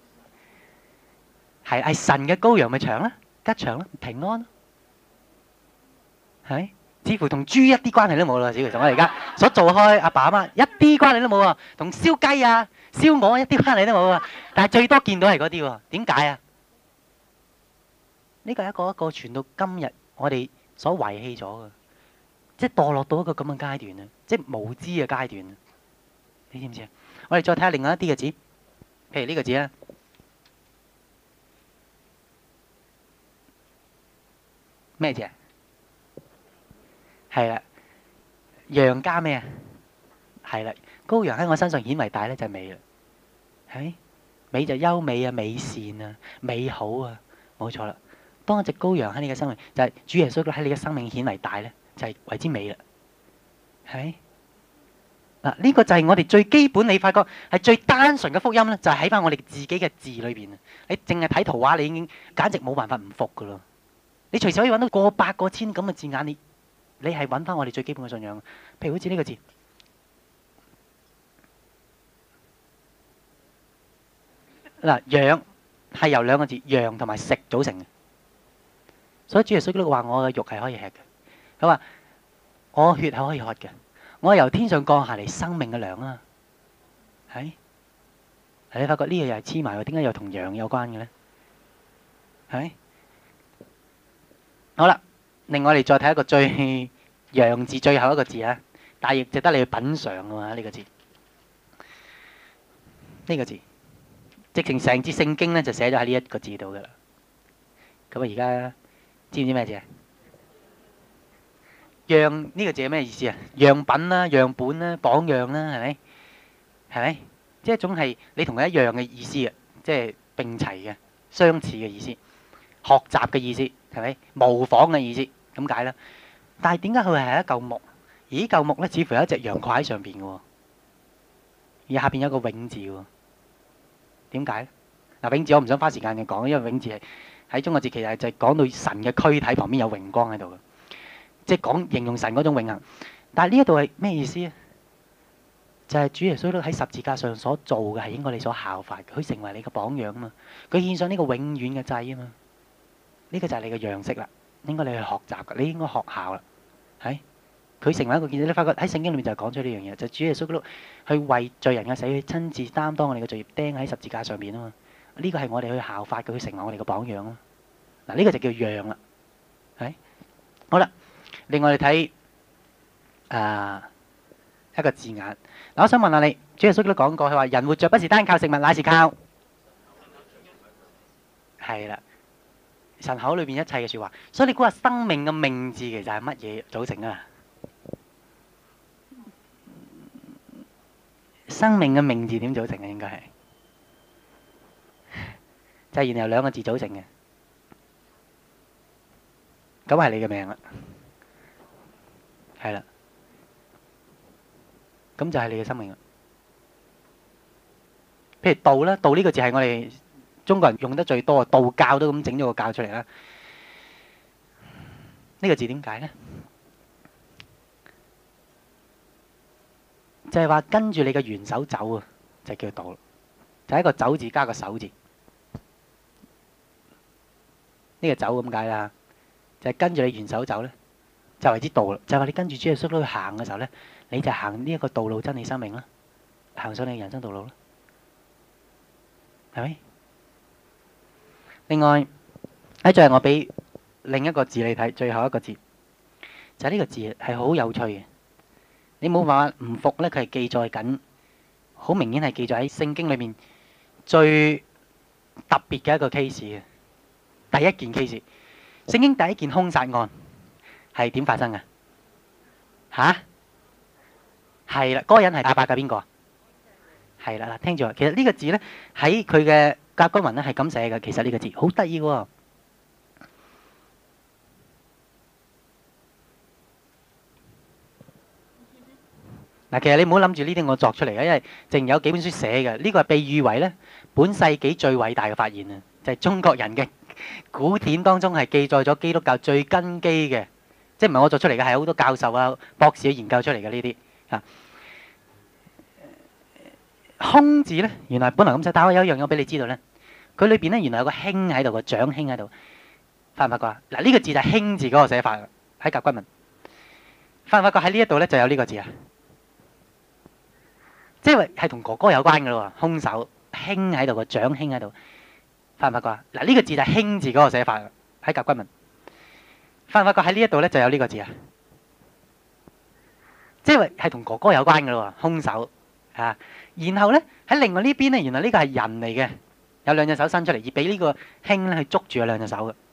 係係神嘅羔羊咪祥啦，吉祥啦，平安咯，係咪？似乎同豬一啲關係都冇啦，似乎同我哋而家所做開阿爸阿媽一啲關係都冇啊，同燒雞啊、燒鵝一啲關係都冇啊。但係最多見到係嗰啲喎，點解啊？呢個係一個一個傳到今日，我哋所遺棄咗嘅，即係墮落到一個咁嘅階段啊，即係無知嘅階段啊。你知唔知啊？我哋再睇下另外一啲嘅字，譬如呢個字啊，咩字啊？係啦，羊加咩啊？係啦，羔羊喺我身上顯為大咧就係美啦， 係咪？美就優美啊、美善啊、美好啊，冇錯啦。當一隻羔羊喺你嘅生命，就係、是、主耶穌喺你嘅生命顯為大咧，就係、是、為之美啦，係咪？嗱，呢個就係我哋最基本，你發覺係最單純嘅福音咧，就係喺翻我哋自己嘅字裏邊啊！你淨係睇圖畫，你已經簡直冇辦法唔服噶咯。你隨時可以揾到過百個千咁嘅字眼，你你係揾翻我哋最基本嘅信仰。譬如好似呢個字，嗱，羊係由兩個字羊同埋食組成嘅，所以主耶穌基督話我嘅肉係可以吃嘅，佢話我血係可以喝嘅。我係由天上降下嚟生命嘅糧啊，係，你發覺呢樣又係黐埋喎？點解又同羊有關嘅咧？係咪？好啦，另外我哋再睇一個最羊字最後一個字啊，但係亦值得你去品嚐嘅嘛呢個字，呢個字，直情成節聖經咧就寫咗喺呢一個字度噶啦。咁啊，而家知唔知咩字啊？樣呢個字係咩意思啊？樣品啦、樣本啦、榜樣啦，係咪？係咪？即係一種係你同佢一樣嘅意思啊，即係並齊嘅、相似嘅意思，學習嘅意思，係咪？模仿嘅意思，咁解啦。但係點解佢係一嚿木？而呢嚿木咧，似乎有一隻羊掛喺上邊嘅喎，而下邊有個永字喎。點解咧？嗱，永字我唔想花時間去講，因為永字係喺中國字其實就係講到神嘅軀體旁邊有榮光喺度嘅。即係講形容神嗰種永恆，但係呢一度係咩意思啊？就係主耶穌都喺十字架上所做嘅係應該你所效法嘅，佢成為你嘅榜樣啊嘛，佢獻上呢個永遠嘅祭啊嘛，呢個就係你嘅樣式啦，應該你去學習嘅，你應該學效啦，係佢成為一個見證，你發覺喺聖經裏面就係講出呢樣嘢，就係主耶穌都去為罪人嘅死去親自擔當我哋嘅罪孽，釘喺十字架上邊啊嘛，呢個係我哋去效法嘅，佢成為我哋嘅榜樣啊，嗱呢個就叫樣啦，係好啦。另外，你睇啊一個字眼。嗱，我想問下你，主耶穌都講過，佢話人活着不是單靠食物，乃是靠係啦神口裏邊一切嘅説話。所以你估下生命嘅命字其實係乜嘢組成啊？生命嘅命字點組成啊？應該係就係然後兩個字組成嘅，咁係你嘅命啦。係啦，咁就係你嘅生命啦。譬如道啦，道呢個字係我哋中國人用得最多，道教都咁整咗個教出嚟啦。呢個字點解咧？就係話跟住你嘅元首走啊，就叫道。就係一個走字加個手字，呢個走咁解啦。就係跟住你元首走咧。就為之道啦，就係話你跟住主耶穌去行嘅時候咧，你就行呢一個道路真理生命啦，行上你嘅人生道路啦，係咪？另外喺最後我俾另一個字你睇，最後一個字就係呢個字係好有趣嘅，你冇辦法唔服咧，佢係記載緊，好明顯係記載喺聖經裏面最特別嘅一個 case 嘅，第一件 case，聖經第一件兇殺案。係點發生嘅？吓？係啦，嗰個人係亞伯嘅邊個啊？係啦，嗱，聽住啊，其實呢個字咧喺佢嘅甲骨文咧係咁寫嘅，其實呢個字好得意喎。嗱，其實你唔好諗住呢啲我作出嚟嘅，因為淨有幾本書寫嘅。呢個係被譽為咧本世紀最偉大嘅發現啊！就係中國人嘅古典當中係記載咗基督教最根基嘅。即係唔係我做出嚟嘅，係好多教授啊、博士去研究出嚟嘅呢啲啊。空字咧，原來本來咁寫，但係我有一樣嘢俾你知道咧，佢裏邊咧原來有個興喺度，個長興喺度，發唔發覺啊？嗱，呢個字就係興字嗰個寫法喺甲骨文，發唔發覺喺呢一度咧就有呢個字啊？即係係同哥哥有關嘅咯喎，兇手興喺度，個長興喺度，發唔發覺啊？嗱，呢個字就係興字嗰個寫法喺甲骨文。發唔發覺喺呢一度咧就有呢個字啊？即係係同哥哥有關嘅咯喎，兇手啊！然後咧喺另外呢邊咧，原來呢個係人嚟嘅，有兩隻手伸出嚟，而俾呢個興咧去捉住佢兩隻手嘅。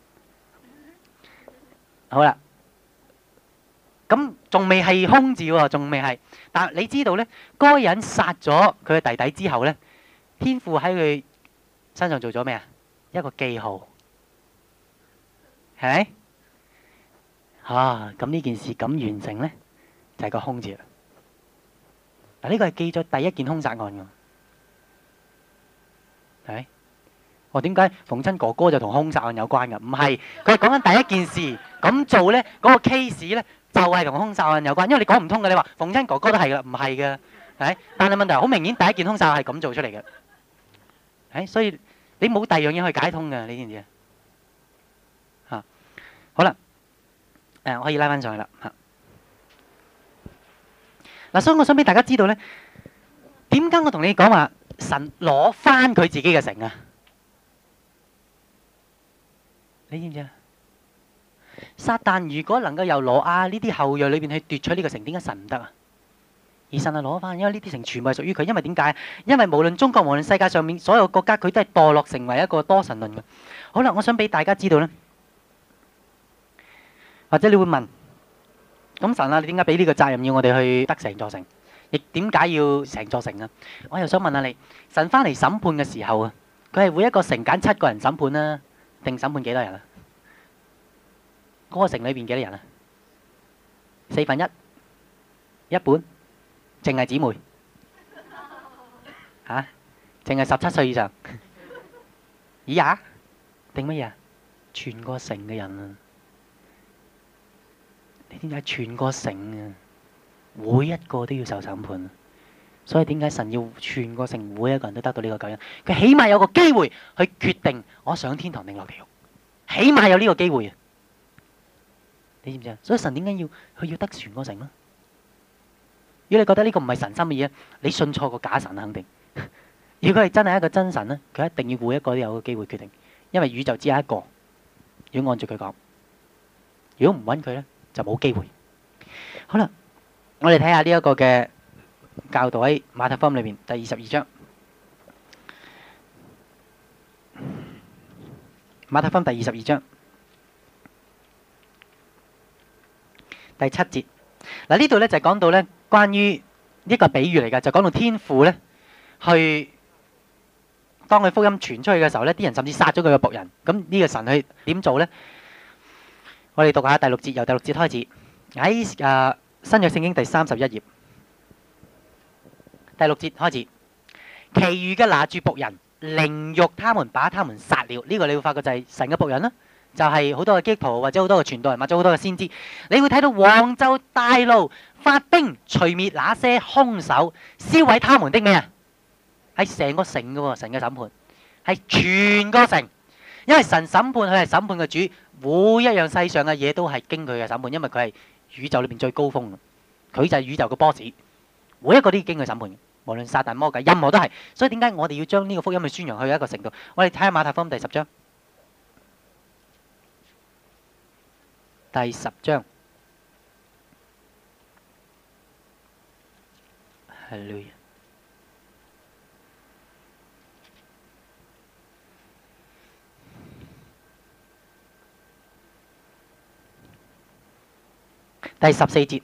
好啦，咁仲未係兇字喎，仲未係。但係你知道咧，嗰個人殺咗佢嘅弟弟之後咧， 天父喺佢身上做咗咩啊？一個記號，係咪？啊，咁呢件事咁完成咧，就係個兇字啦。嗱，呢個係記咗第一件兇殺案㗎，係咪？我點解逢親哥哥就同兇殺案有關㗎？唔係，佢係講緊第一件事咁做咧，嗰個 case 咧就係同兇殺案有關。因為你講唔通嘅，你話逢親哥哥都係㗎，唔係㗎，係咪？但係問題好明顯，第一件兇殺案係咁做出嚟嘅，係，所以你冇第二樣嘢去解通㗎，你知唔知啊？嚇，好啦，誒，我可以拉翻上去啦，嚇。嗱，所以我想俾大家知道咧，點解我同你講話神攞翻佢自己嘅城啊？你知唔知啊？撒旦如果能夠由羅亞呢啲後裔裏邊去奪取呢個城，點解神唔得啊？而神係攞翻，因為呢啲城全部係屬於佢。因為點解？因為無論中國，無論世界上面所有國家，佢都係墮落成為一個多神論嘅。好啦，我想俾大家知道咧，或者你會問，咁神啊，你點解俾呢個責任要我哋去得成座城？亦點解要成座城啊？我又想問下你，神翻嚟審判嘅時候啊，佢係每一個城揀七個人審判啦，定審判幾多人啊？嗰個城裏邊幾多人啊？四分一，一半，淨係姊妹嚇，淨係十七歲以上以下定乜嘢啊？全個城嘅人啊！你點解全個城啊？每一個都要受審判，所以點解神要全個城每一個人都得到呢個救恩？佢起碼有個機會去決定我上天堂定落地獄，起碼有呢個機會啊！你知唔知啊？所以神點解要佢要得全個城咧？如果你覺得呢個唔係神心嘅嘢，你信錯個假神肯定。如果係真係一個真神咧，佢一定要每一個都有個機會決定，因為宇宙只有一個。如果按照佢講，如果唔揾佢咧，就冇機會。好啦。我哋睇下呢一個嘅教導喺馬太福音裏邊第二十二章，馬太福音第二十二章第七節。嗱，呢度咧就講到咧關於一個比喻嚟㗎，就講到天父咧去當佢福音傳出去嘅時候咧，啲人甚至殺咗佢嘅僕人。咁呢個神去點做咧？我哋讀下第六節，由第六節開始喺誒。新約聖經第三十一頁，第六節開始，其餘嘅拿住僕人，凌辱他們，把他們殺了。呢、這個你會發覺就係神嘅僕人啦，就係、是、好多嘅基督徒或者好多嘅傳道人或者好多嘅先知。你會睇到王就大怒，發兵除滅那些兇手，燒毀他們的咩啊？係成個城嘅喎，神嘅審判係全個城，因為神審判佢係審判嘅主，每一樣世上嘅嘢都係經佢嘅審判，因為佢係宇宙裏邊最高峰，佢就係宇宙嘅 boss，每一個都要經佢審判，無論撒旦魔鬼，任何都係。所以點解我哋要將呢個福音去宣揚去一個程度？我哋睇下馬太福音第十章，第十章，哈利路亞。第十四節，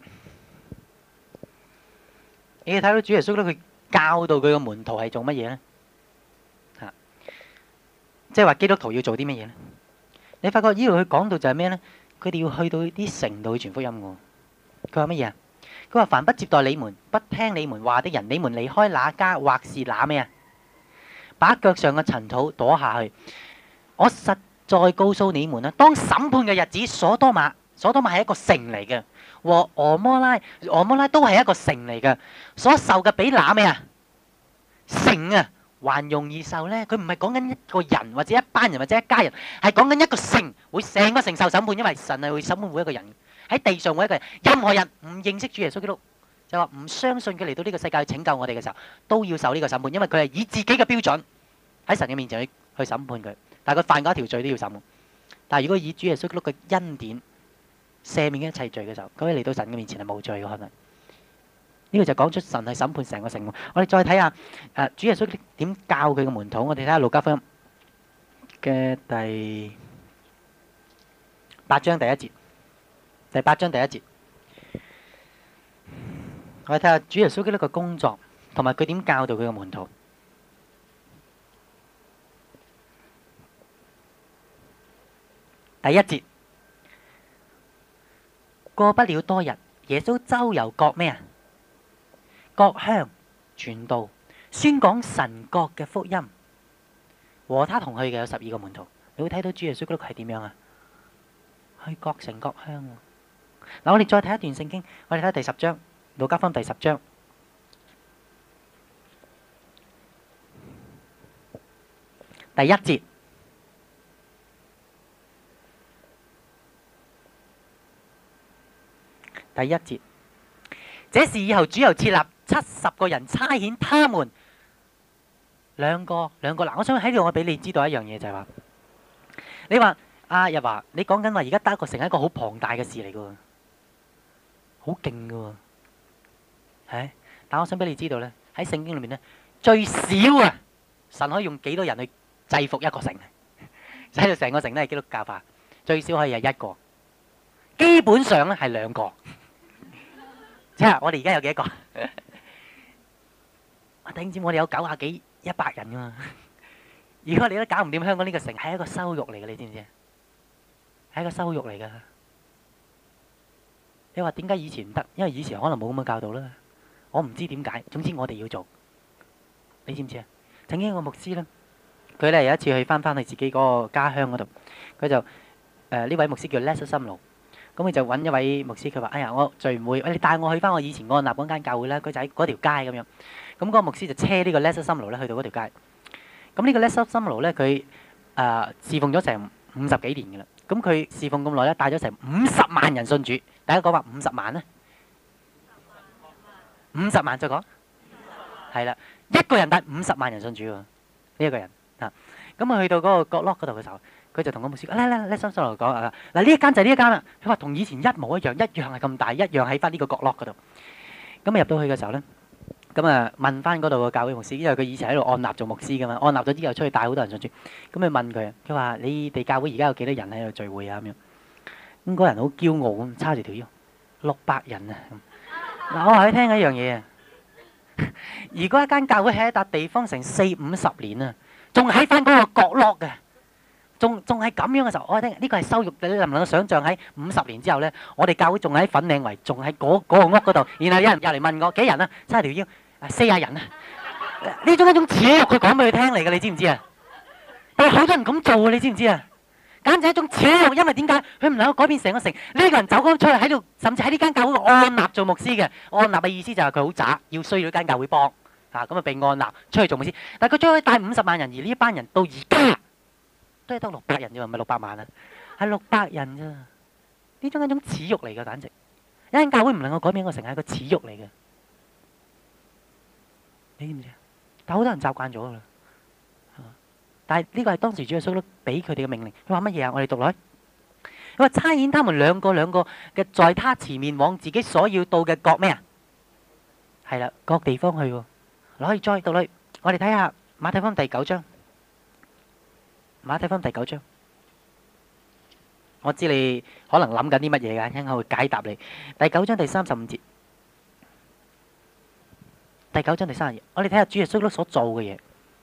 你睇到主耶穌咧，佢教導佢嘅門徒係做乜嘢咧？嚇，即係話基督徒要做啲乜嘢咧？你發覺呢度佢講到就係咩咧？佢哋要去到啲城度去傳福音喎。佢話乜嘢啊？佢話凡不接待你們、不聽你們話的人，你們離開那家或是那咩啊？把腳上嘅塵土躲下去。我實在告訴你們啦，當審判嘅日子，所多瑪，所多瑪係一個城嚟嘅。和俄摩拉，俄摩拉都係一個城嚟嘅，所受嘅比那咩啊？城啊，還容易受咧。佢唔係講緊一個人或者一班人或者一家人，係講緊一個城，會成個城受審判，因為神係會審判每一個人喺地上每一個人。任何人唔認識主耶穌基督，就話唔相信佢嚟到呢個世界去拯救我哋嘅時候，都要受呢個審判，因為佢係以自己嘅標準喺神嘅面前去去審判佢。但係佢犯過一條罪都要審判。但係如果以主耶穌基督嘅恩典赦免一切罪嘅時候，咁你嚟到神嘅面前係冇罪嘅可能。呢個就講出神係審判成個城。我哋再睇下誒主耶穌點教佢嘅門徒。我哋睇下路加福音嘅第八章第一節，第八章第一節。我哋睇下主耶穌基督嘅工作，同埋佢點教導佢嘅門徒。 第一節，過不了多日，耶穌周遊各咩啊？各鄉傳道，宣講神國嘅福音。和他同去嘅有十二個門徒。你會睇到主耶穌嗰度係點樣啊？去各城各鄉喎。嗱，我哋再睇一段聖經，我哋睇下第十章，路加福音第十章。第一節，第一節，這事以後主又設立七十個人差遣他們兩個兩個。嗱，我想喺度我俾你知道一樣嘢就係話，你話阿日華，你講緊話而家得一個城係一個好龐大嘅事嚟噶，好勁噶，係。但我想俾你知道咧，喺聖經裏面咧，最少啊，神可以用幾多人去制服一個城，使到成個城都係基督教化，最少可以係一個，基本上咧係兩個。即係我哋而家有幾多個？我頂尖，我哋有九廿幾、一百人噶嘛。如果你都搞唔掂香港呢個城，係一個羞辱嚟嘅，你知唔知啊？係一個羞辱嚟噶。你話點解以前唔得？因為以前可能冇咁嘅教導啦。我唔知點解，總之我哋要做。你知唔知啊？曾經有個牧師咧，佢咧有一次去翻翻去自己嗰個家鄉嗰度，佢就誒呢位牧師叫 Les 心路，咁佢就揾一位牧師，佢話：哎呀，我聚唔會，你帶我去翻我以前安立嗰間教會啦。佢就喺嗰條街咁樣。咁嗰個牧師就車呢個 Les 心路咧去到嗰條街。咁呢個 Les 心路咧，佢誒侍奉咗成五十幾年嘅啦。咁佢侍奉咁耐咧，帶咗成五十萬人信主。大家講話五十萬咧，五十萬再講，係啦，一個人帶五十萬人信主喎，呢一個人啊。咁佢去到嗰個角落嗰度嘅時候，佢就同個牧師講：嚟嚟嚟，心心嚟講啊，嗱呢一間就係呢一間啦。佢話同以前一模一樣，一樣係咁大，一樣喺翻呢個角落嗰度。咁入到去嘅時候咧，咁啊問翻嗰度個教會牧師，因為佢以前喺度按立做牧師噶嘛，按立咗之後出去帶好多人信主。咁佢問佢，佢話：你哋教會而家有幾多人喺度聚會啊？咁樣。咁嗰人好驕傲咁，叉住條腰，六百人啊！嗱，我話你聽一樣嘢啊，如果一間教會喺一笪地方成四五十年啊，仲喺翻嗰個角落嘅，仲仲係咁樣嘅時候，我話聽呢個係羞辱。你能唔能夠想像喺五十年之後咧，我哋教會仲喺粉嶺圍，仲喺嗰嗰個屋嗰度，然後有人入嚟問我幾人啊？叉條腰，啊四廿人啊！呢種一種恥辱，佢講俾佢聽嚟嘅，你知唔知啊？但係好多人咁做啊，你知唔知啊？簡直係一種恥辱，因為點解佢唔能夠改變成個城？呢個人走咗出嚟喺度，甚至喺呢間教會按立做牧師嘅。按立嘅意思就係佢好渣，要需要呢間教會幫啊，咁啊被按立出去做牧師。但係佢將可以帶五十萬人，而呢一班人到而家都係得六百人啫，唔係六百萬啊，係六百人咋？呢種係一種恥辱嚟嘅，簡直一間教會唔能夠改變個城係一個恥辱嚟嘅。你知唔知啊？但係好多人習慣咗噶啦。但係呢個係當時主耶穌都俾佢哋嘅命令。佢話乜嘢啊？我哋讀落去。佢話差遣他們兩個兩個嘅，在他前面往自己所要到嘅各咩啊？係啦，各地方去喎。攞去再讀落去。我哋睇下馬太福音第九章。馬太福音第九章。我知你可能諗緊啲乜嘢㗎，一陣間會解答你。第九章第三十五節。第九章第三十節，我哋睇下主耶穌都所做嘅嘢。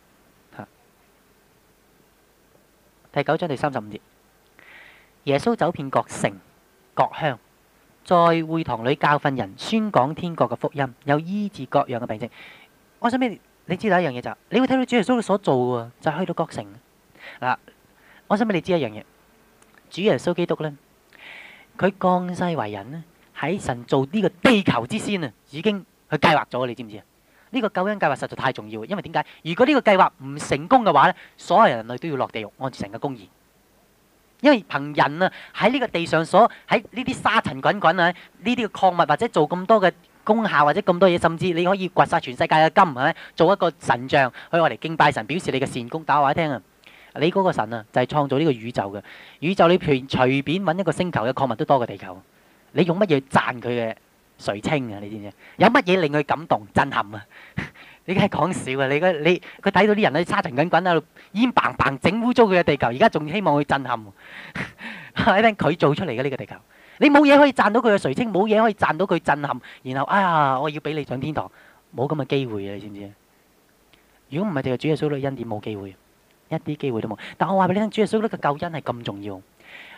第九章第三十五節，耶穌走遍各城各鄉，在會堂裏教訓人，宣講天國嘅福音，又醫治各樣嘅病症。我想俾你，你知道一樣嘢就係，你會睇到主耶穌所做嘅，就係去到各城。嗱，我想俾你知一樣嘢，主耶穌基督咧，佢降世為人咧，喺神做呢個地球之先啊，已經去計劃咗，你知唔知啊？呢個救恩計劃實在太重要，因為點解？如果呢個計劃唔成功嘅話咧，所有人類都要落地獄，按住神嘅公義。因為憑人啊喺呢個地上所喺呢啲沙塵滾滾啊，呢啲嘅礦物或者做咁多嘅功效或者咁多嘢，甚至你可以掘晒全世界嘅金，係咪？做一個神像去我嚟敬拜神，表示你嘅善功。打話你聽啊，你嗰個神啊就係創造呢個宇宙嘅宇宙，你隨隨便揾一個星球嘅礦物都多過地球。你用乜嘢讚佢嘅垂青啊？你知唔知？有乜嘢令佢感動震撼啊？你梗係講笑啊！你個你佢睇到啲人喺沙塵滾滾喺度煙棒棒整污糟佢嘅地球，而家仲希望佢震撼。你聽佢做出嚟嘅呢個地球，你冇嘢可以讚到佢嘅垂青，冇嘢可以讚到佢震撼。然後啊，我要俾你上天堂，冇咁嘅機會啊！你知唔知？如果唔係淨係主耶穌嘅恩典，冇機會，一啲機會都冇。但我話俾你聽，主耶穌呢個救恩係咁重要。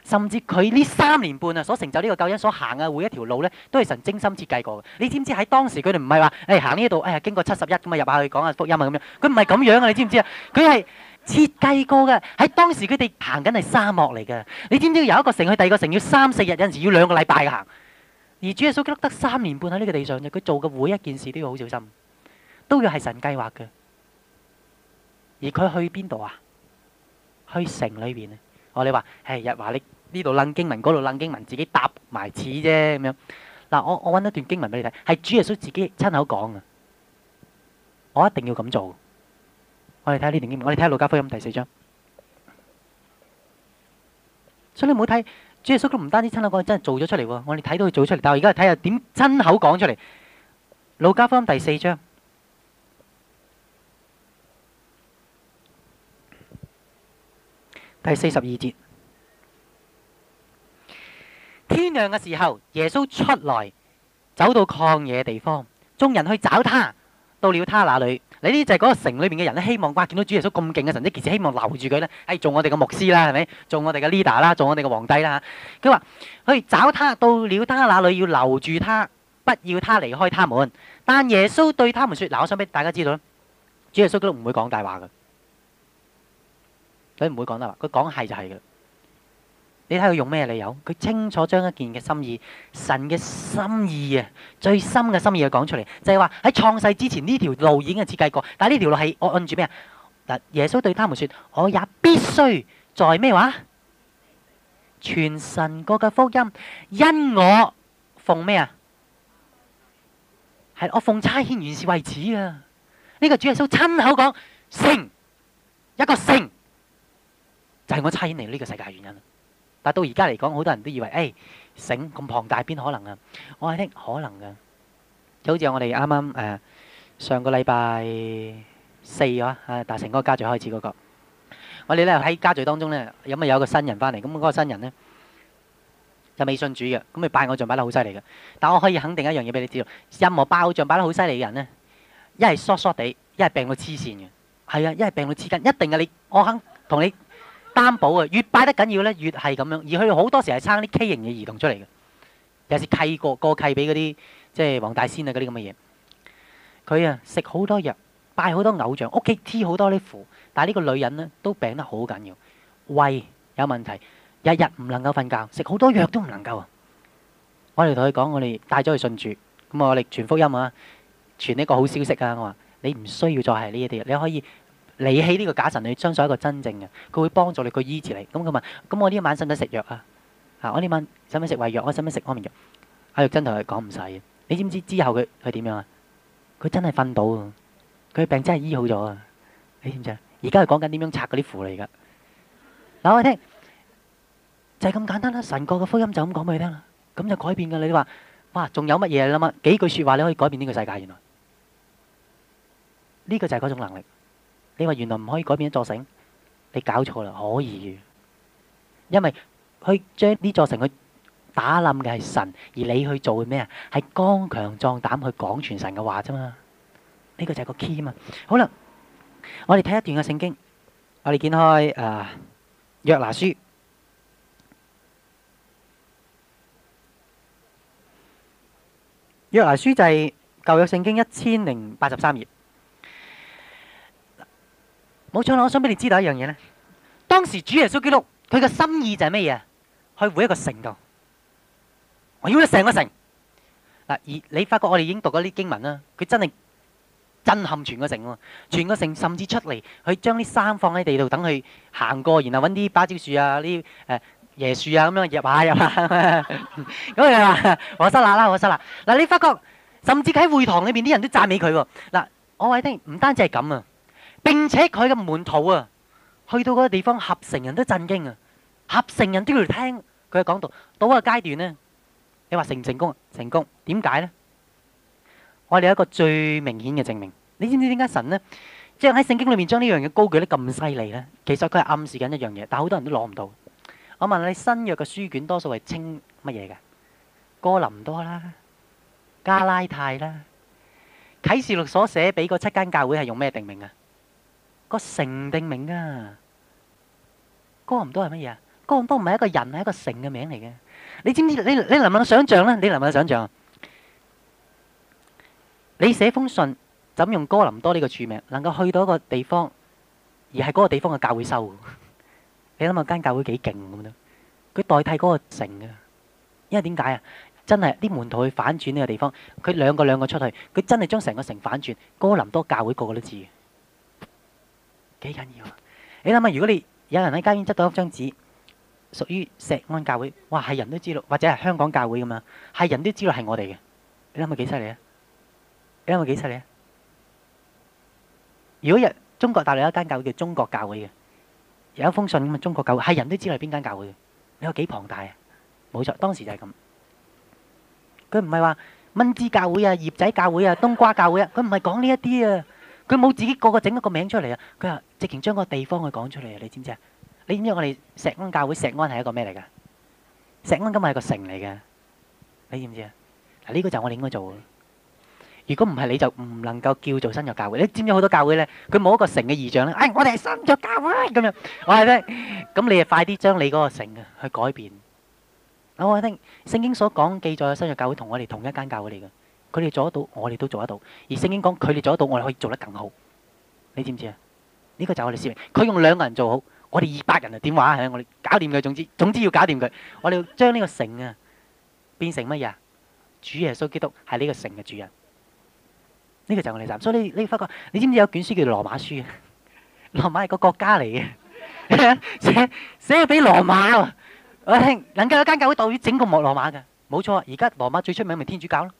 甚至佢呢三年半啊所成就呢個救恩所行嘅每一條路咧，都係神精心設計過嘅。你知唔知喺當時佢哋唔係話誒行呢度，哎呀經過七十一咁啊入下去講下福音啊咁樣，佢唔係咁樣啊！你知唔知啊？佢係設計過嘅。喺當時佢哋行緊係沙漠嚟嘅。你知唔知由一個城去第二個城要三四日，有陣時要兩個禮拜行。而主耶穌基督得三年半喺呢個地上啫，佢做嘅每一件事都要好小心，都要係神計劃嘅。而佢去邊度啊？去城裏邊啊！我哋話係日話你呢度楞經文，嗰度楞經文，自己搭埋似啫咁樣。嗱，我我揾一段經文俾你睇，係主耶穌自己親口講嘅。我一定要咁做。我哋睇下呢段經文，我哋睇下路加福音第四章。所以你唔好睇主耶穌都唔單止親口講，真係做咗出嚟喎。我哋睇到佢做出嚟，但係我而家睇下點親口講出嚟。路加福音第四章。第四十二節，天亮嘅時候，耶穌出來，走到曠野地方，眾人去找他，到了他那裏。你呢就係嗰個城裏面嘅人咧，希望哇見到主耶穌咁勁嘅神蹟，其實希望留住佢咧，係做我哋嘅牧師啦，係咪？做我哋嘅 leader 啦，做我哋嘅皇帝啦嚇。佢話去找他，到了他那裏，要留住他，不要他離開他們。但耶穌對他們説：嗱，我想俾大家知道咧，主耶穌都唔會講大話嘅。佢唔會講大話，佢講係就係嘅。你睇佢用咩理由？佢清楚將一件嘅心意、神嘅心意啊，最深嘅心意去講出嚟，就係話喺創世之前呢條路已經係設計過，但係呢條路係我按住咩啊？嗱，耶穌對他們説：我也必須在咩話？傳神國嘅福音，因我奉咩啊？係我奉差遣原是為此啊！呢個主耶穌親口講，城一個城。就係我差遣嚟呢個世界嘅原因。但係到而家嚟講，好多人都以為，誒城咁龐大，邊可能啊？我係聽可能㗎。就好似我哋啱啱誒上個禮拜四啊，啊達成嗰個家聚開始嗰個，我哋咧喺家聚當中咧，有咪有個新人翻嚟？咁嗰個新人咧就未信主嘅，咁佢拜偶像擺得好犀利嘅。但我可以肯定一樣嘢俾你知道，任何拜偶像擺得好犀利嘅人咧，一係疏疏地，一係病到黐線嘅。係啊，一係病到黐筋，一定嘅。你我肯同你擔保啊，越拜得緊要咧，越係咁樣。而佢哋好多時係撐啲畸形嘅兒童出嚟嘅，有時契過過契俾嗰啲即係黃大仙啊嗰啲咁嘅嘢。佢啊食好多藥，拜好多偶像，屋企貼好多啲符，但係呢個女人咧都病得好緊要，胃有問題，日日唔能夠瞓覺，食好多藥都唔能夠啊。我哋同佢講，我哋帶咗佢信主，咁我哋傳福音啊，傳呢個好消息啊。我話你唔需要再係呢一啲，你可以離棄呢個假神，你相信一個真正嘅，佢會幫助你，佢醫治你。咁佢問：咁我呢晚使唔使食藥啊？啊，我呢晚使唔使食胃藥？我使唔使食安眠藥？阿玉珍同佢講唔使嘅。你知唔知之後佢佢點樣啊？佢真係瞓到啊！佢病真係醫好咗啊！你知唔知啊？而家係講緊點樣拆嗰啲符嚟㗎。嗱，我聽就係咁簡單啦。神國嘅福音就咁講俾你聽啦，咁就改變㗎。你話哇，仲有乜嘢啦嘛？幾句説話你可以改變呢個世界，原來呢個就係嗰種能力。你話原來唔可以改變一座城，你搞錯啦，可以。因為去將呢座城去打冧嘅係神，而你去做嘅咩啊？係剛強壯膽去講傳神嘅話啫嘛。呢個就係個 key 嘛。好啦，我哋睇一段嘅聖經，我哋見開誒約拿書，約拿書就係舊約聖經一千零八十三頁。冇錯啦，我想俾你知道一樣嘢咧。當時主耶穌基督佢嘅心意就係咩嘢？去每一個城度，我要你成個城嗱。而你發覺我哋已經讀咗啲經文啦，佢真係震撼全個城喎，全個城甚至出嚟去將啲衫放喺地度，等佢行過，然後揾啲芭蕉樹啊、啲誒椰樹啊咁樣入下入下。咁佢話：我失啦啦，我失啦嗱。你發覺甚至喺會堂裏邊啲人都讚美佢喎嗱。我話你聽，唔單止係咁啊！並且佢嘅門徒啊，去到嗰個地方，合成人都震驚啊！合成人都要嚟聽佢嘅講道。到個階段呢，你話成唔成功啊？成功。點解呢？我哋有一個最明顯嘅證明。你知唔知點解神呢，即係喺聖經裏面將呢樣嘢高舉得咁犀利呢？其實佢係暗示緊一樣嘢，但係好多人都攞唔到。我問你，新約嘅書卷多數係稱乜嘢嘅？哥林多啦，加拉太啦，啟示錄所寫俾嗰七間教會係用咩定名啊？個城定名啊，哥林多係乜嘢啊？ 哥林多唔係一個人，係一個城嘅名嚟嘅。你知唔知？你你能唔能想象咧？你能唔能想象？你寫封信，怎用哥林多呢個署名，能夠去到一個地方，而係嗰個地方嘅教會收？你諗下間教會幾勁咁樣？佢代替嗰個城嘅，因為點解啊？真係啲門徒去反轉呢個地方，佢兩個兩個出去，佢真係將成個城反轉。哥林多教會個個都知嘅，幾緊要啊！你諗下，如果你有人喺街邊執到一張紙，屬於石安教會，哇，係人都知道，或者係香港教會咁樣，係人都知道係我哋嘅。你諗下幾犀利啊？你諗下幾犀利啊？如果日中國大陸有一間教會叫中國教會嘅，有一封信咁啊，中國教會係人都知道係邊間教會嘅。你話幾龐大啊？冇錯，當時就係咁。佢唔係話蚊枝教會啊、葉仔教會啊、冬瓜教會啊，佢唔係講呢一啲啊。佢冇自己個個整一個名出嚟啊。佢話直情將個地方去講出嚟啊。你知唔知啊？你知唔知我哋石安教會？石安係一個咩嚟㗎？石安今日係個城嚟嘅。你知唔知啊？嗱，呢個就係我哋應該做嘅。如果唔係，你就唔能夠叫做新約教會。你知唔知好多教會咧？佢冇一個城嘅異象咧。哎，我哋係新約教會咁樣。我係咧，咁你就快啲將你嗰個城啊去改變。我話聽聖經所講記載嘅新約教會同我哋同一間教會嚟嘅，佢哋做得到，我哋都做得到。而聖經講佢哋做得到，我哋可以做得更好。你知唔知啊？呢個就係我哋使命。佢用兩個人做好，我哋二百人啊點話？係我哋搞掂佢。總之總之要搞掂佢。我哋要將呢個城啊變成乜嘢啊？主耶穌基督係呢個城嘅主人。呢個就係我哋站。所以你你發覺，你知唔知有卷書叫做羅馬書啊？羅馬係個國家嚟嘅，寫寫俾羅馬喎。我聽能夠有間教會代表整個莫羅馬嘅，冇錯啊！而家羅馬最出名咪天主教咯。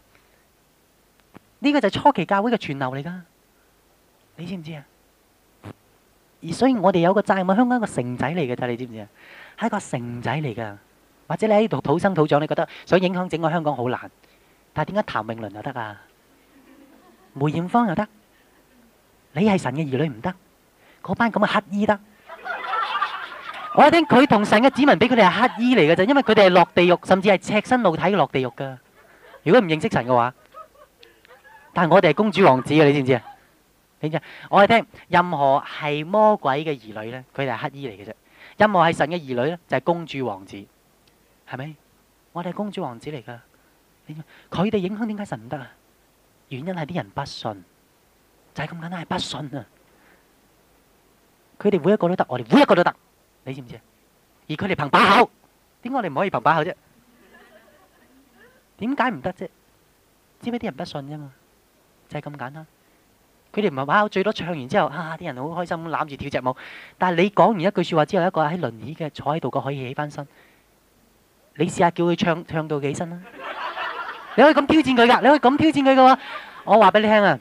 呢個就係初期教會嘅傳流嚟噶，你知唔知啊？而所以我哋有個責任，香港一個城仔嚟嘅咋，你知唔知啊？係一個城仔嚟噶。或者你喺度土生土長，你覺得想影響整個香港好難，但係點解譚詠麟又得啊？梅艷芳又得？你係神嘅兒女唔得？嗰班咁嘅乞衣得？我聽佢同神嘅子民比佢哋係乞衣嚟嘅啫，因為佢哋係落地獄，甚至係赤身露體嘅落地獄噶。如果唔認識神嘅話，但係我哋係公主王子嘅，你知唔知啊？你知？我哋聽任何係魔鬼嘅兒女咧，佢哋係乞衣嚟嘅啫；任何係神嘅兒女咧，就係公主王子，係咪？我哋係公主王子嚟噶。佢哋影響點解神唔得啊？原因係啲人不信，就係咁簡單，係不信啊！佢哋每一個都得，我哋每一個都得。你知唔知啊？而佢哋憑把口，點解我哋唔可以憑把口啫？點解唔得啫？知唔知啲人不信啫嘛？就係咁簡單。佢哋唔係把口，最多唱完之後，啊啲人好開心咁攬住跳隻舞。但係你講完一句説話之後，一個喺輪椅嘅坐喺度個可以起翻身。你試下叫佢唱唱到幾身啦？你可以咁挑戰佢㗎，你可以咁挑戰佢嘅話，我話俾你聽啊！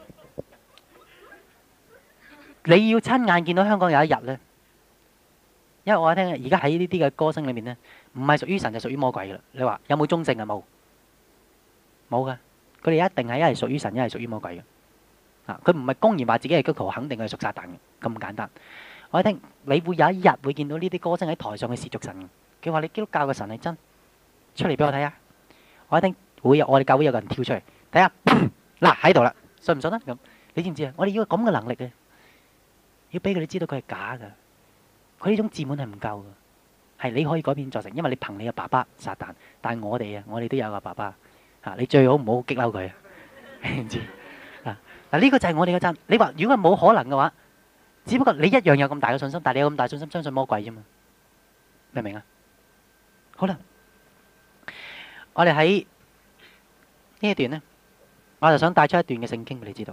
你要親眼見到香港有一日咧。因為我聽而家喺呢啲嘅歌聲裏面咧，唔係屬於神就屬於魔鬼噶啦。你話有冇中性啊？冇，冇噶。佢哋一定係一係屬於神，一係屬於魔鬼嘅。啊，佢唔係公然話自己係基督徒，肯定係屬撒旦嘅，咁簡單。我聽你會有一日會見到呢啲歌聲喺台上去褻瀆神嘅。佢話你基督教嘅神係真，出嚟俾我睇下。我聽會有我哋教會有個人跳出嚟睇下，嗱喺度啦，信唔信啊？咁你知唔知啊？我哋要咁嘅能力嘅，要俾佢哋知道佢係假噶。佢呢種自滿係唔夠嘅，係你可以改變作成，因為你憑你嘅爸爸撒旦，但係我哋啊，我哋都有個爸爸嚇，你最好唔好激嬲佢，你唔知啊？嗱，呢個就係我哋嘅真。你話如果係冇可能嘅話，只不過你一樣有咁大嘅信心，但係你有咁大信心相信魔鬼啫嘛？明唔明啊？好啦，我哋喺呢一段咧，我就想帶出一段嘅聖經俾你知道。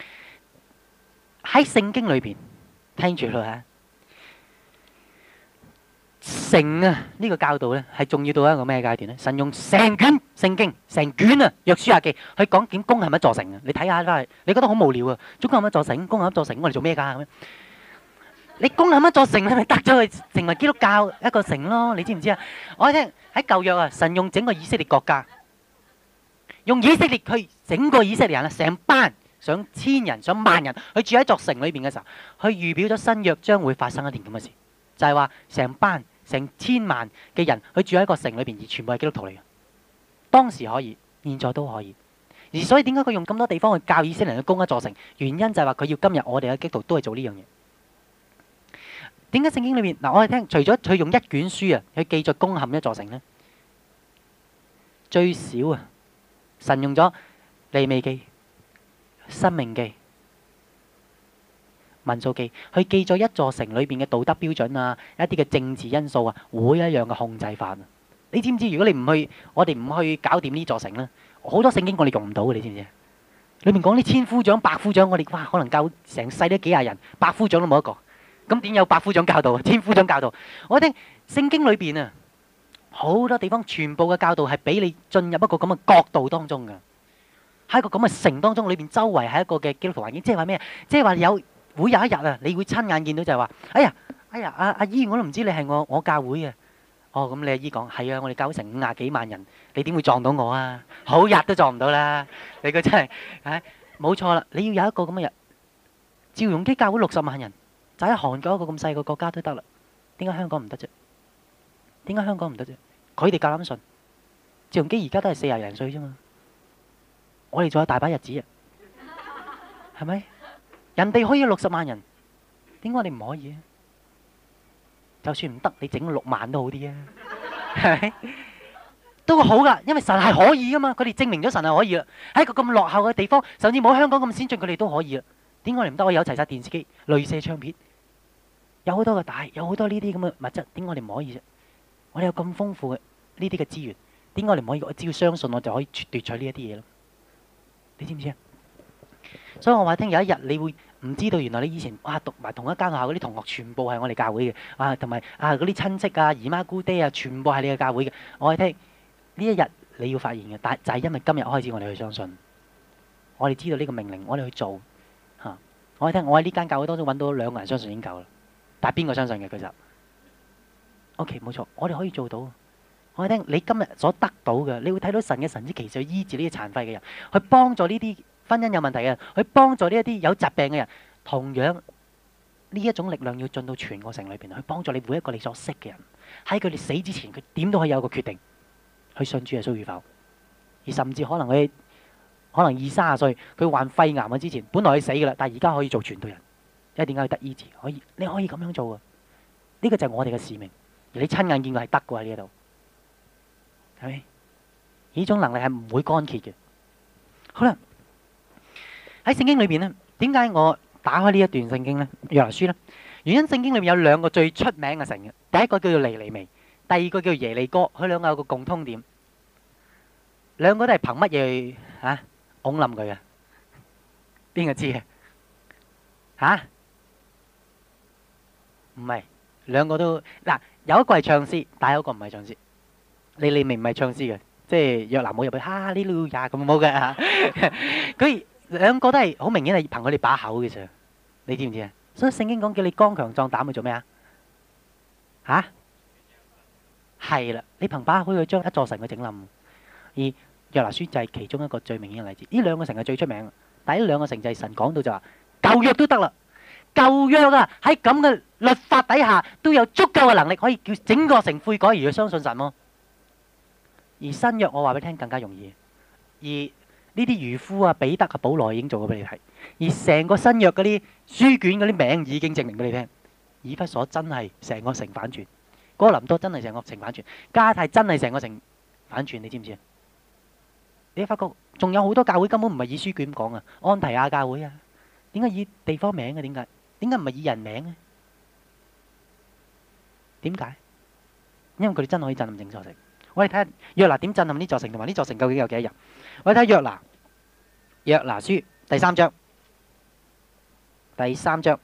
喺聖經裏邊，聽住啦嚇。城啊，呢個教導咧係重要到一個咩階段咧？神用成卷聖經、成卷啊約書亞記去講點攻陷一座城啊！你睇下都係，你覺得好無聊啊？攻陷一座城，攻陷一座城，我哋做咩噶咁樣？你攻陷一座城，你咪得咗去成為基督教一個城咯？你知唔知啊？我哋聽喺舊約啊，神用整個以色列國家，用以色列去整個以色列人啊，成班上千人、上萬人去住喺座城裏邊嘅時候，去預表咗新約將會發生一件咁嘅事，就係話成班。成千萬嘅人去住喺一個城裏邊，而全部係基督徒嚟嘅。當時可以，現在都可以。而所以點解佢用咁多地方去教以色列人去攻一座城？原因就係話佢要今日我哋嘅基督徒都係做呢樣嘢。 點解聖經裏面嗱，我哋聽除咗佢用一卷書啊去記載攻陷一座城咧，最少啊，神用咗利未記、申命記、民數記去記載一座城裏邊嘅道德標準啊，一啲嘅政治因素啊，每一樣嘅控制法啊。你知唔知？如果你唔去，我哋唔去搞掂呢座城咧，好多聖經我哋用唔到嘅，你知唔知？裏面講啲千夫長、百夫長，我哋哇可能教成世都幾廿人，百夫長都冇一個。咁點有百夫長教導啊？千夫長教導？我聽聖經裏邊啊，好多地方全部嘅教導係俾你進入一個咁嘅國度當中嘅，喺一個咁嘅城當中，裏邊周圍係一個嘅基督徒環境，即係話咩？即係話有會有一日啊，你會親眼見到就係話，哎呀，哎呀，阿阿姨，我都唔知你係我我教會嘅。哦，咁你阿姨講係啊，我哋教會成五廿幾萬人，你點會撞到我啊？好日都撞唔到啦！你個真係，唉，冇錯啦，你要有一個咁嘅日，趙容基教會六十萬人。就喺韓國一個咁細個國家都得啦，點解香港唔得啫？點解香港唔得啫？佢哋夠膽信，趙容基而家都係四廿零歲啫嘛，我哋仲有大把日子啊，係咪？人哋可以有六十萬人，點解我哋唔可以啊？就算唔得，你整六萬都好啲啊，係咪？都好噶，因為神係可以噶嘛，佢哋證明咗神係可以啦。喺一個咁落後嘅地方，甚至冇香港咁先進，佢哋都可以啦。點解我哋唔得？我有齊晒電視機、鐳射唱片。有好多嘅帶，有好多呢啲咁嘅物質，點解我哋唔可以啫？我哋有咁豐富嘅呢啲嘅資源，點解我哋唔可以？我只要相信，我就可以奪取呢一啲嘢咯。你知唔知啊？所以我話聽有一日你會唔知道，原來你以前哇讀埋同一間學校嗰啲同學全部係我哋教會嘅，啊同埋啊嗰啲親戚啊姨媽姑爹啊，全部係你嘅教會嘅。我話聽呢一日你要發現嘅，但就係因為今日開始我哋去相信，我哋知道呢個命令，我哋去做嚇。我話聽我喺呢間教會當中揾到兩個人相信已經夠啦。但係邊個相信嘅？佢就 OK， 冇錯，我哋可以做到。我聽你今日所得到嘅，你會睇到神嘅神蹟奇事去醫治呢啲殘廢嘅人，去幫助呢啲婚姻有問題嘅人，去幫助呢一啲有疾病嘅人。同樣呢一種力量要進到全個城裏邊，去幫助你每一個你所識嘅人。喺佢哋死之前，佢點都可以有個決定去信主耶穌與否。而甚至可能佢可能二三十歲，佢患肺癌嘅之前，本來佢死㗎啦，但係而家可以做傳道人。因為點解佢得醫治？可以，你可以咁樣做啊！呢個就係我哋嘅使命，而你親眼見過係得嘅喺呢度，係咪？呢種能力係唔會乾竭嘅。好啦，喺聖經裏邊咧，點解我打開呢一段聖經咧？約拿書咧，原因聖經裏面有兩個最出名嘅城嘅，第一個叫做尼尼微，第二個叫做耶利哥。佢兩個有個共通點，兩個都係憑乜嘢嚇拱冧佢嘅？邊個知嘅？嚇？唔係，兩個都嗱，有一個係唱詩，但係有一個唔係唱詩。你你明唔係唱詩嘅，即係約拿冇入去哈利路亞咁冇嘅嚇。佢兩個都係好明顯係憑佢哋把口嘅啫。你知唔知啊？所以聖經講叫你剛強壯膽去做咩啊？嚇？係啦，你憑把口去將一座城去整冧。而約拿書就係其中一個最明顯嘅例子。呢兩個城係最出名，但係呢兩個城就係神講到就話舊約都得啦。舊約啊，喺咁嘅律法底下都有足夠嘅能力，可以叫整個城悔改而去相信神咯。而新約我話俾你聽更加容易。而呢啲漁夫啊、彼得啊、保羅已經做過俾你睇。而成個新約嗰啲書卷嗰啲名已經證明俾你聽。以弗所真係成個城反轉，哥林多真係成個城反轉，加太真係成個城反轉，你知唔知啊？你發覺仲有好多教會根本唔係以書卷講啊，安提亞教會啊，點解以地方名嘅？點解？點解唔係以人名呢？點解？因為佢哋真係可以震撼整座城。我哋睇下約拿點震撼呢座城，同埋呢座城究竟有幾多人？我哋睇下約拿，約拿書第三章，第三章，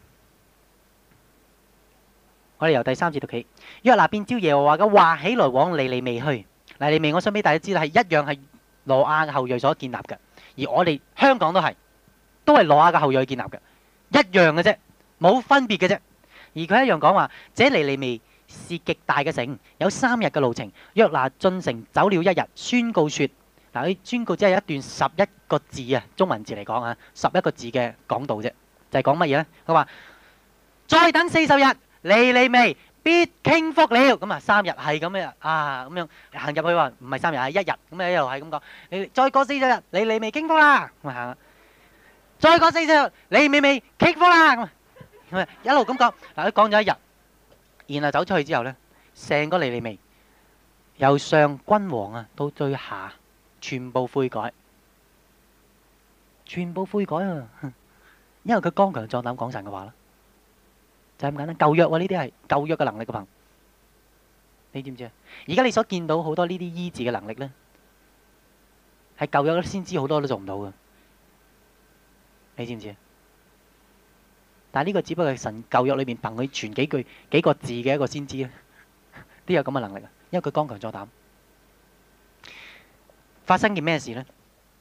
我哋由第三節讀起。約拿便照耶和華嘅話起來往尼尼微去。尼尼微我想俾大家知道係一樣係挪亞嘅後裔所建立嘅，而我哋香港都係，都係挪亞嘅後裔建立嘅。一樣嘅啫，冇分別嘅啫。而佢一樣講話，這尼尼微是極大嘅城，有三日嘅路程。約拿進城走了一日，宣告說：嗱，佢宣告只係一段十一個字啊，中文字嚟講啊，十一個字嘅講道啫，就係講乜嘢咧？佢話：再等四十日，尼尼微必傾覆了。咁啊，三日係咁樣啊，咁樣行入去話唔係三日係一日，咁啊一路係咁講。你再過四十日，尼尼微傾覆啦，咁啊行。再過四十日，尼尼微傾覆啦，咁係咪一路咁講？嗱，佢講咗一日，然後走出去之後咧，成個尼尼微由上君王啊到最下，全部悔改，全部悔改啊！因為佢剛強壯膽講神嘅話啦，就係咁簡單。舊約喎，呢啲係舊約嘅能力嘅憑，你知唔知啊？而家你所見到好多呢啲醫治嘅能力咧，係舊約先知好多都做唔到嘅，你知唔知啊？但係呢個只不過係神舊約裏面憑佢傳幾句幾個字嘅一個先知咧，都有咁嘅能力啊！因為佢剛強壯膽。發生件咩事呢？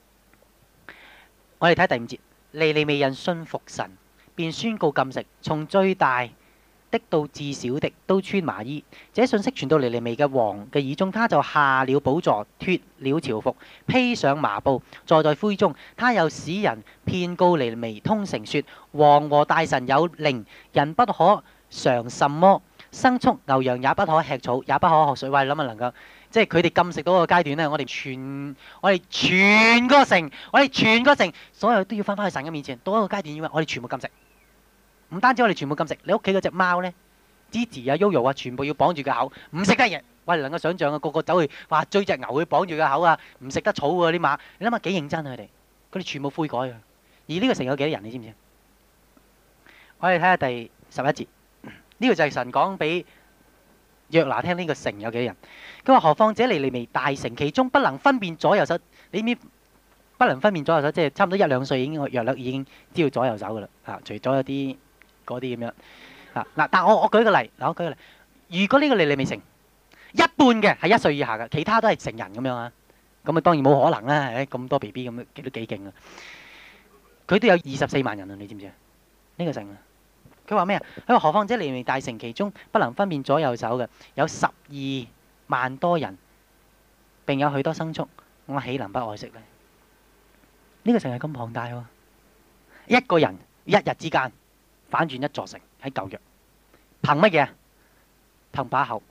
我哋睇第五節，尼尼微人信服神，便宣告禁食，從最大的到至小的都穿麻衣。這信息傳到尼尼微嘅王嘅耳中，他就下了寶座，脱了朝服，披上麻布，坐在灰中。他又使人遍告尼尼微通城，說：王和大臣有令，人不可嘗什麼牲畜，牛羊也不可吃草，也不可喝水。喂，諗下能夠即係佢哋禁食到個階段咧，我哋全我哋全個城，我哋全個城，所有都要翻返去神嘅面前。到一個階段，要我哋全部禁食。唔單止我哋全部禁食，你屋企嗰隻貓咧，芝芝啊、Yoyo 啊，全部要綁住個口，唔食得嘢。喂，能夠想象啊，個個走去哇追隻牛去綁住個口啊，唔食得草喎啲馬。你諗下幾認真啊佢哋，佢哋全部悔改啊。而呢個城有幾多人？你知唔知？我哋睇下第十一節，呢個就係神講俾約拿聽呢個城有幾多人。佢話：何況這尼尼微大城，其中不能分辨左右手。你知唔知不能分辨左右手？即係差唔多一兩歲已經約略已經知道左右手噶啦。啊，除咗有啲嗰啲咁樣啊嗱，但我我舉個例，嗱我舉個例，如果呢個尼尼微城一半嘅係一歲以下嘅，其他都係成人咁樣啊，咁啊當然冇可能啦，誒咁多 B B 咁都幾勁啊！佢都有二十四萬人啊，你知唔知啊？呢個城啊，佢話咩啊？佢話何況這尼尼微大城，其中不能分辨左右手嘅有十二萬多人，並有許多牲畜，我豈能不愛惜呢？呢個城係咁龐大喎，一個人一日之間反轉一座城喺舊約，憑乜嘢？憑把口，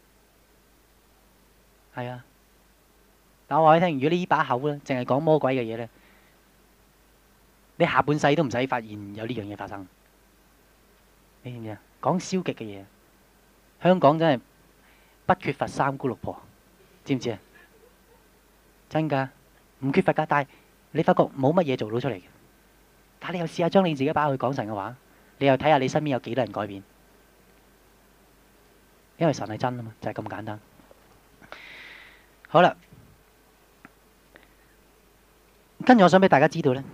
係啊！但我話你聽，如果呢把口咧，淨係講魔鬼嘅嘢咧，你下半世都唔使發現有呢樣嘢發生。你知唔知啊？講消極嘅嘢，香港真係不缺乏三姑六婆，知唔知啊？真㗎，唔缺乏㗎，但係你發覺冇乜嘢做到出嚟嘅。但係你又試下將你自己把口去講神嘅話，你又睇下你身邊有幾多人改變，因為神係真啊嘛，就係咁簡單。好啦，跟住我想俾大家知道咧，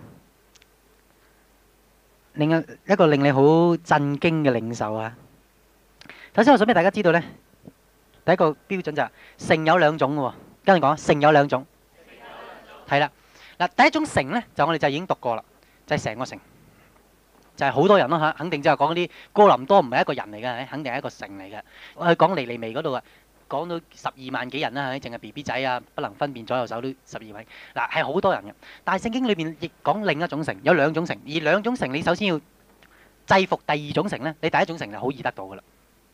另一一個令你好震驚嘅領受啊！首先我想俾大家知道咧，第一個標準就係城有兩種嘅喎，跟住講城有兩種，係啦。嗱，第一種城咧，就我哋就已經讀過啦，就係成個城，就係好多人咯嚇，肯定即係講嗰啲哥林多唔係一個人嚟嘅，肯定係一個城嚟嘅。我去講尼尼微嗰度啊，講到十二萬幾人啦，淨係 B B 仔啊，不能分辨左右手都十二萬，嗱係好多人嘅。但係聖經裏邊亦講另一種城，有兩種城，而兩種城你首先要制服第二種城咧，你第一種城就好易得到噶啦。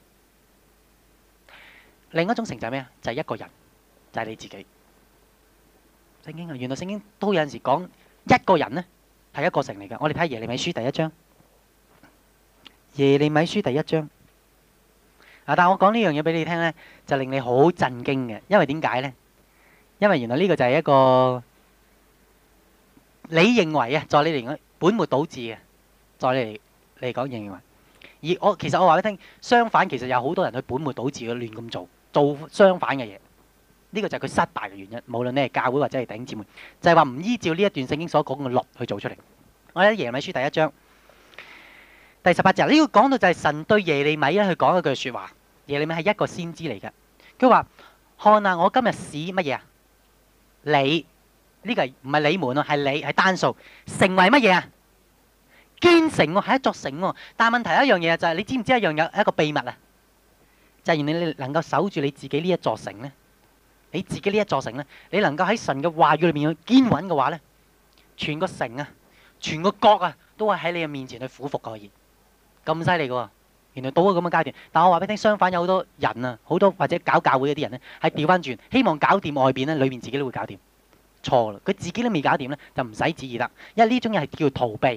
另一種城就係咩啊？就係一個人，就係你自己。聖經啊，原來聖經都有陣時講一個人咧係一個城嚟嘅。我哋睇耶利米書第一章，耶利米書第一章啊，但係我講呢樣嘢俾你聽咧，就令你好震驚嘅，因為點解咧？因為原來呢個就係一個你認為啊，在你嚟講本末倒置嘅，在你嚟嚟講認為，而我其實我話俾你聽，相反其實有好多人去本末倒置嘅亂咁做，做相反嘅嘢。呢個就係佢失敗嘅原因，無論你係教會或者係弟兄姊妹，就係話唔依照呢一段聖經所講嘅律去做出嚟。我喺耶利米書第一章第十八節，呢個講到就係神對耶利米咧去講一句説話。耶利米係一個先知嚟嘅，佢話：看啊，我今日使乜嘢啊？你呢個唔係你們啊，係你係單數，成為乜嘢啊？堅城喎，係一座城喎。但係問題一樣嘢就係你知唔知一樣有一個秘密啊？就係原來你能夠守住你自己呢一座城咧。你自己呢一座城咧，你能夠喺神嘅話語裏面去堅穩嘅話咧，全個城啊，全個國啊，都係喺你嘅面前去俯伏可以，咁犀利嘅喎。原來到咗咁嘅階段，但我話俾你聽，相反有好多人啊，好多或者搞教會嗰啲人咧，係調翻轉，希望搞掂外邊咧，裏面自己都會搞掂，錯啦。佢自己都未搞掂咧，就唔使旨意得，因為呢種嘢係叫逃避，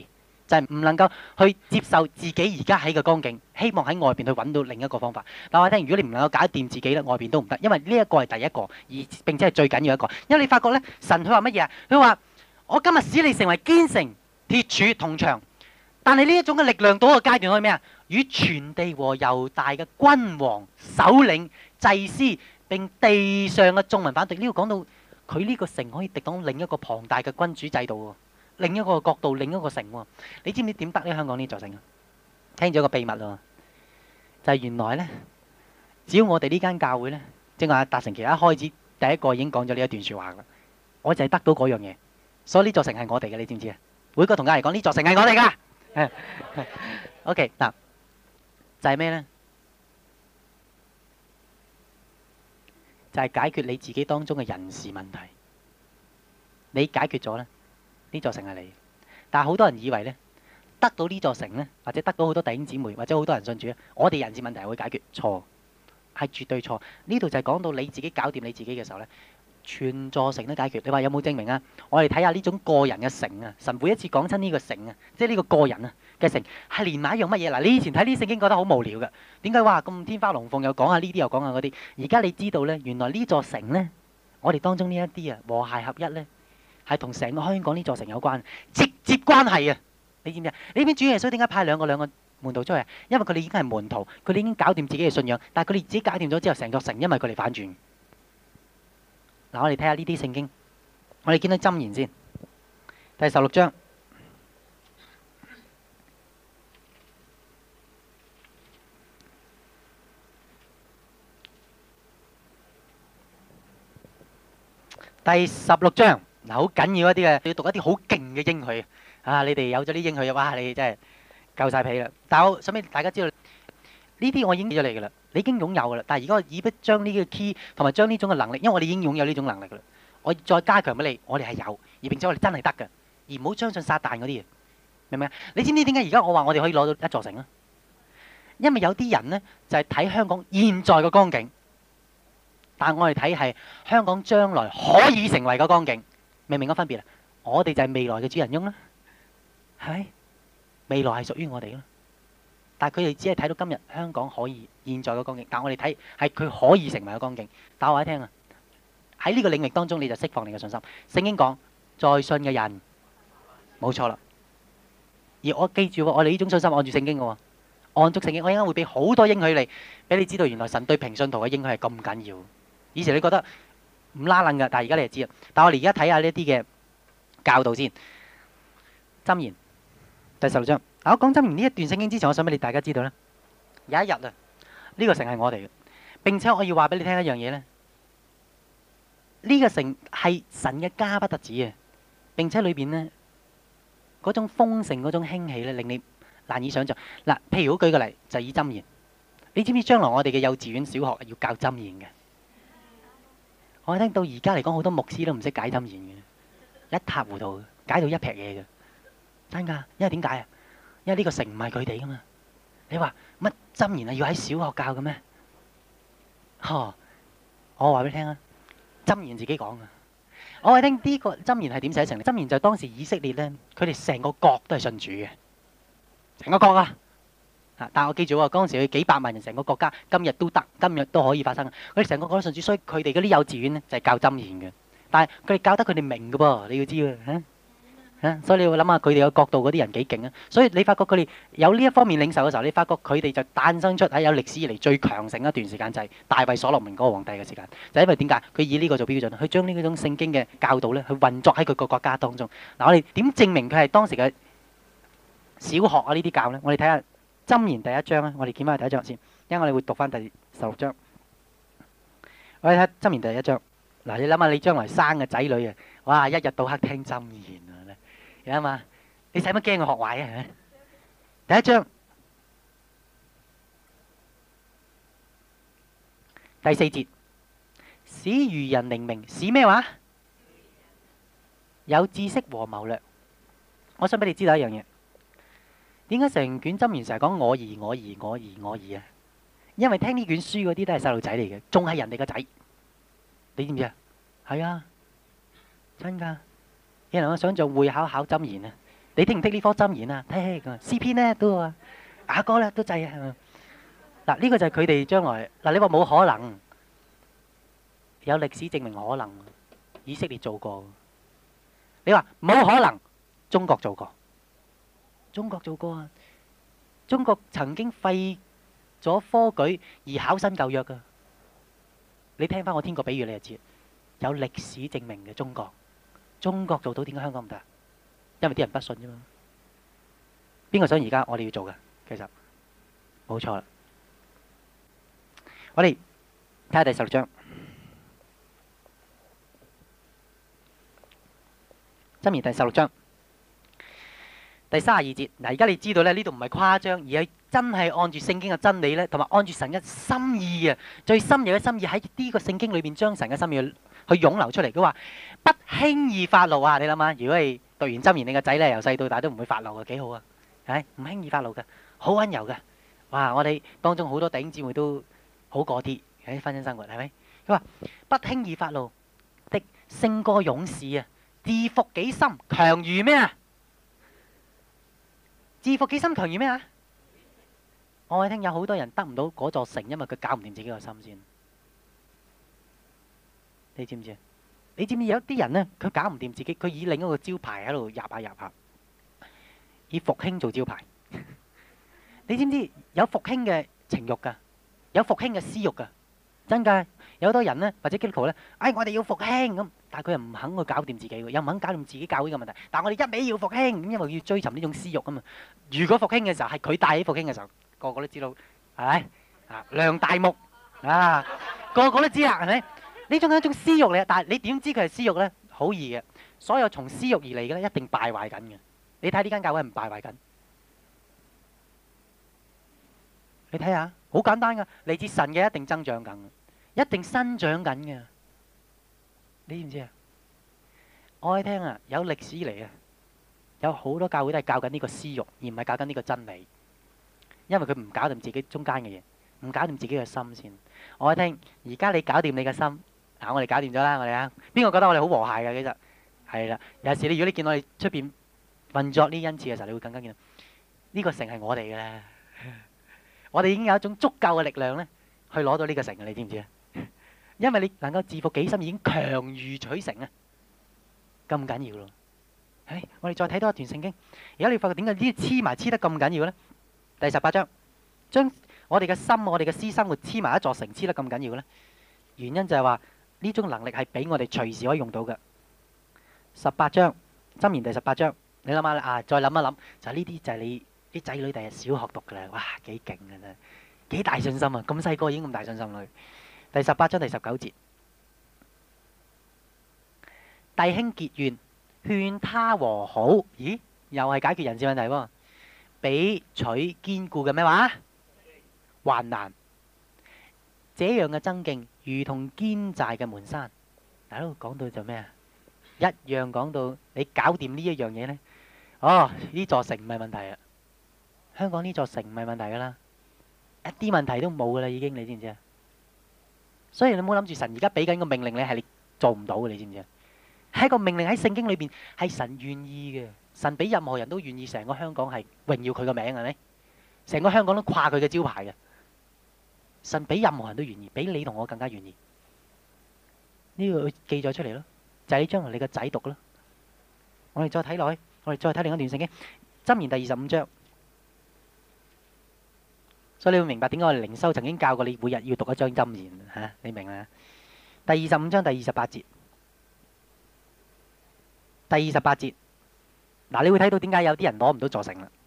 就係唔能夠去接受自己而家喺嘅光景，希望喺外邊去揾到另一個方法。但我聽，如果你唔能夠搞掂自己咧，外邊都唔得，因為呢一個係第一個，而並且係最緊要一個。因為你發覺咧，神佢話乜嘢啊？佢話我今日使你成為堅城、鐵柱、銅牆。但係呢一種嘅力量到一個階段可以咩啊？與全地和猶大嘅君王、首領、祭司並地上嘅眾民反對。呢個講到佢呢個城可以敵擋另一個龐大嘅君主制度喎。另一個角度，另一個城喎，你知唔知點得呢？香港呢座城啊，聽咗個秘密喎，就係原來呢，只要我哋呢間教會呢，正話達成其一開始第一個已經講咗呢一段説話啦，我就係得到嗰樣嘢，所以呢座城係我哋嘅，你知唔知啊？每個同家嚟講，呢座城係我哋噶。OK 嗱，就係咩呢？就係解決你自己當中嘅人事問題，你解決咗呢。呢座城係你，但係好多人以為咧，得到呢座城咧，或者得到好多弟兄姊妹，或者好多人信主咧，我哋人事問題係會解決，錯，係絕對錯。呢度就係講到你自己搞掂你自己嘅時候咧，全座城都解決。你話有冇證明啊？我哋睇下呢種個人嘅城啊，神每一次講親呢個城啊，即係呢個個人啊嘅城，係連埋一樣乜嘢？嗱，你以前睇呢啲聖經覺得好無聊嘅，點解話咁天花龍鳳又講下呢啲又講下嗰啲？而家你知道咧，原來呢座城咧，我哋當中呢一啲啊和諧合一咧。係同成個香港呢座城有關，直接關係啊！你知唔知啊？呢邊主耶穌點解派兩個兩個門徒出去？因為佢哋已經係門徒，佢哋已經搞掂自己嘅信仰，但係佢哋自己搞掂咗之後，成座城因為佢哋反轉。嗱，我哋睇下呢啲聖經，我哋見到箴言先，第十六章，第十六章。嗱，好緊要一啲嘅，要讀一啲好勁嘅應許啊！你哋有咗啲應許，哇！你真係夠晒皮啦。但係我想俾大家知道，呢啲我已經俾咗你㗎啦，你已經擁有㗎啦。但係而家我已不將呢個 key 同埋將呢種嘅能力，因為我哋已經擁有呢種能力㗎啦。我再加強俾你，我哋係有，而並且我哋真係得嘅，而唔好相信撒旦嗰啲嘢，明唔明啊？你知唔知點解而家我話我哋可以攞到一座城啊？因為有啲人呢，就係睇香港現在嘅光景，但係我哋睇係香港將來可以成為嘅光景。明唔明個分別啊？我哋就係未來嘅主人翁啦，係咪？未來係屬於我哋咯。但係佢哋只係睇到今日香港可以現在嘅光景，但係我哋睇係佢可以成為嘅光景。打我一聽啊！喺呢個領域當中，你就釋放你嘅信心。聖經講，在信嘅人，冇錯啦。而我記住，我哋呢種信心按住聖經嘅喎，按足聖經，我應該會俾好多應許你，俾你知道原來神對平信徒嘅應許係咁緊要。以前你覺得唔拉楞噶，但係而家你就知啦。但係我哋而家睇下呢一啲嘅教導先。箴言第十六章。嗱，我講箴言呢一段聖經之前，我想俾你大家知道咧，有一日啊，呢個城係我哋嘅，並且我要話俾你聽一樣嘢咧，呢個城係神嘅家不特止啊，並且裏邊咧嗰種豐盛、嗰種興起咧，令你難以想象。嗱，譬如我舉個例，就以箴言，你知唔知將來我哋嘅幼稚園、小學要教箴言嘅？我聽到而家嚟講，好多牧師都唔識解箴言嘅，一塌糊塗，解到一撇嘢嘅，真㗎。因為點解啊？因為呢個城唔係佢哋噶嘛。你話乜箴言啊？要喺小學教嘅咩？呵，我話俾你聽啊，箴言自己講啊。我話聽呢個箴言係點寫成？箴言就係當時以色列咧，佢哋成個國都係信主嘅，成個國啊。啊！但係我記住喎，嗰陣時佢幾百萬人成個國家，今日都得，今日都可以發生。佢哋成個國都信主，所以佢哋嗰啲幼稚園咧就係教箴言嘅。但係佢哋教得佢哋明嘅噃，你要知喎嚇嚇。所以你要諗下佢哋嘅角度嗰啲人幾勁啊！所以你發覺佢哋有呢一方面領受嘅時候，你發覺佢哋就誕生出喺有歷史以嚟最強盛一段時間，就係大衛所羅門嗰個皇帝嘅時間。就因為點解佢以呢個做標準，佢將呢嗰種聖經嘅教導咧，去運作喺佢個國家當中。嗱，我哋點證明佢係當時嘅小學啊呢啲教咧？我哋睇下。箴言第一章咧，我哋見翻第一章先，因為我哋會讀翻第十六章。我哋睇箴言第一章。嗱，你諗下，你將來生嘅仔女啊，哇，一日到黑聽箴言啊，你諗下，你使乜驚佢學壞啊？係咪？第一章第四節，使愚人靈明，使咩話？有知識和謀略。我想俾你知道一樣嘢。點解成卷箴言成日講我兒我兒我兒我兒啊？因為聽呢卷書嗰啲都係細路仔嚟嘅，仲係人哋個仔，你知唔知啊？係啊，真噶！有人我想做會考考箴言啊， 你聽唔聽呢科箴言啊？聽咁啊，詩篇咧都啊，雅歌咧都制啊。嗱，呢個就係佢哋將來嗱。你話冇可能，有歷史證明可能。以色列做過，你話冇可能，中國做過，中國做過啊！中國曾經廢咗科舉而考新舊約噶。你聽翻我天國比喻，你就知有歷史證明嘅中國，中國做到，點解香港唔得？因為啲人不信啫嘛。邊個想而家我哋要做嘅？其實冇錯啦。我哋睇下第十六章。箴言第十六章第三十二節。嗱，而家你知道咧，呢度唔係誇張，而係真係按住聖經嘅真理咧，同埋按住神嘅心意啊，最深入嘅心意喺呢個聖經裏邊將神嘅心意去湧流出嚟。佢話不輕易發怒啊！你諗下，如果係讀完箴言，你個仔咧由細到大都唔會發怒嘅，幾好啊！係唔輕易發怒嘅，好溫柔嘅。哇！我哋當中好多弟兄姊妹都好過啲喺婚姻生活，係咪？佢話不輕易發怒的勝過勇士啊！自服己心，強如咩啊？自服己心，強如咩啊？我哋聽有好多人得唔到嗰座城，因為佢搞唔掂自己個心先。你知唔知啊？你知唔知有啲人呢？佢搞唔掂自己，佢以另一個招牌喺度入下入下，以復興做招牌。你知唔知有復興嘅情慾噶？有復興嘅私慾噶？真噶，有好多人呢，或者基督徒呢，哎，我哋要復興咁。但係佢又唔肯去搞掂自己喎，又唔肯搞掂自己教會嘅問題。但係我哋一味要復興，因為要追尋呢種私慾啊嘛。如果復興嘅時候係佢帶起復興嘅時候，個個都知道係咪啊？梁大木啊，個個都知啦，係咪？呢種係一種私慾嚟，但係你點知佢係私慾咧？好易嘅，所有從私慾而嚟嘅咧，一定敗壞緊嘅。你睇呢間教會係唔敗壞緊？你睇下，好簡單噶，嚟自神嘅一定增長緊，一定生長緊嘅。你知唔知啊？我哋聽啊，有歷史嚟啊，有好多教會都係教緊呢個私慾，而唔係教緊呢個真理。因為佢唔搞掂自己中間嘅嘢，唔搞掂自己嘅心先。我哋聽，而家你搞掂你嘅心，嗱，我哋搞掂咗啦，我哋啊，邊個覺得我哋好和諧嘅？其實係啦，有時你如果你見我哋出邊運作呢恩賜嘅時候，你會更加見到呢個城係我哋嘅啦。我哋已經有一種足夠嘅力量咧，去攞到呢個城嘅，你知唔知啊？因為你能夠自服己心，已經強如取成啊，咁緊要咯。唉，我哋再睇多一段聖經，而家你發覺點解呢啲黐埋黐得咁緊要咧？第十八章，將我哋嘅心、我哋嘅私生活黐埋一座城，黐得咁緊要咧？原因就係話呢種能力係俾我哋隨時可以用到嘅。十八章，箴言第十八章，你諗下啊，再諗一諗，就係呢啲就係你啲仔女第日小學讀噶啦，哇，幾勁嘅真，幾大信心啊！咁細個已經咁大信心啦。第十八章第十九節，弟兄結怨，勸他和好，咦，又係解決人事問題喎。比取堅固嘅咩話還難，這樣嘅爭競如同堅寨嘅門山。大佬講到就咩啊？一樣講到你搞掂呢一樣嘢呢，哦，呢座城唔係問題啊！香港呢座城唔係問題噶啦，一啲問題都冇噶啦，已經，你知唔知啊？所以你唔好諗住神而家俾緊個命令你係你做唔到嘅，你知唔知啊？係一個命令喺聖經裏邊，係神願意嘅。神俾任何人都願意，成個香港係榮耀佢個名，係咪？成個香港都掛佢嘅招牌嘅。神俾任何人都願意，比你同我更加願意。呢個記載出嚟咯，就係你將來你個仔讀咯。我哋再睇落去，我哋再睇另一段聖經，箴言第二十五章。所以你會明白點解我哋靈修曾經教過你每日要讀一章箴言吓，你明啦？第二十五章第二十八節，第二十八節。嗱，你會睇到點解有啲人攞唔到座城啦？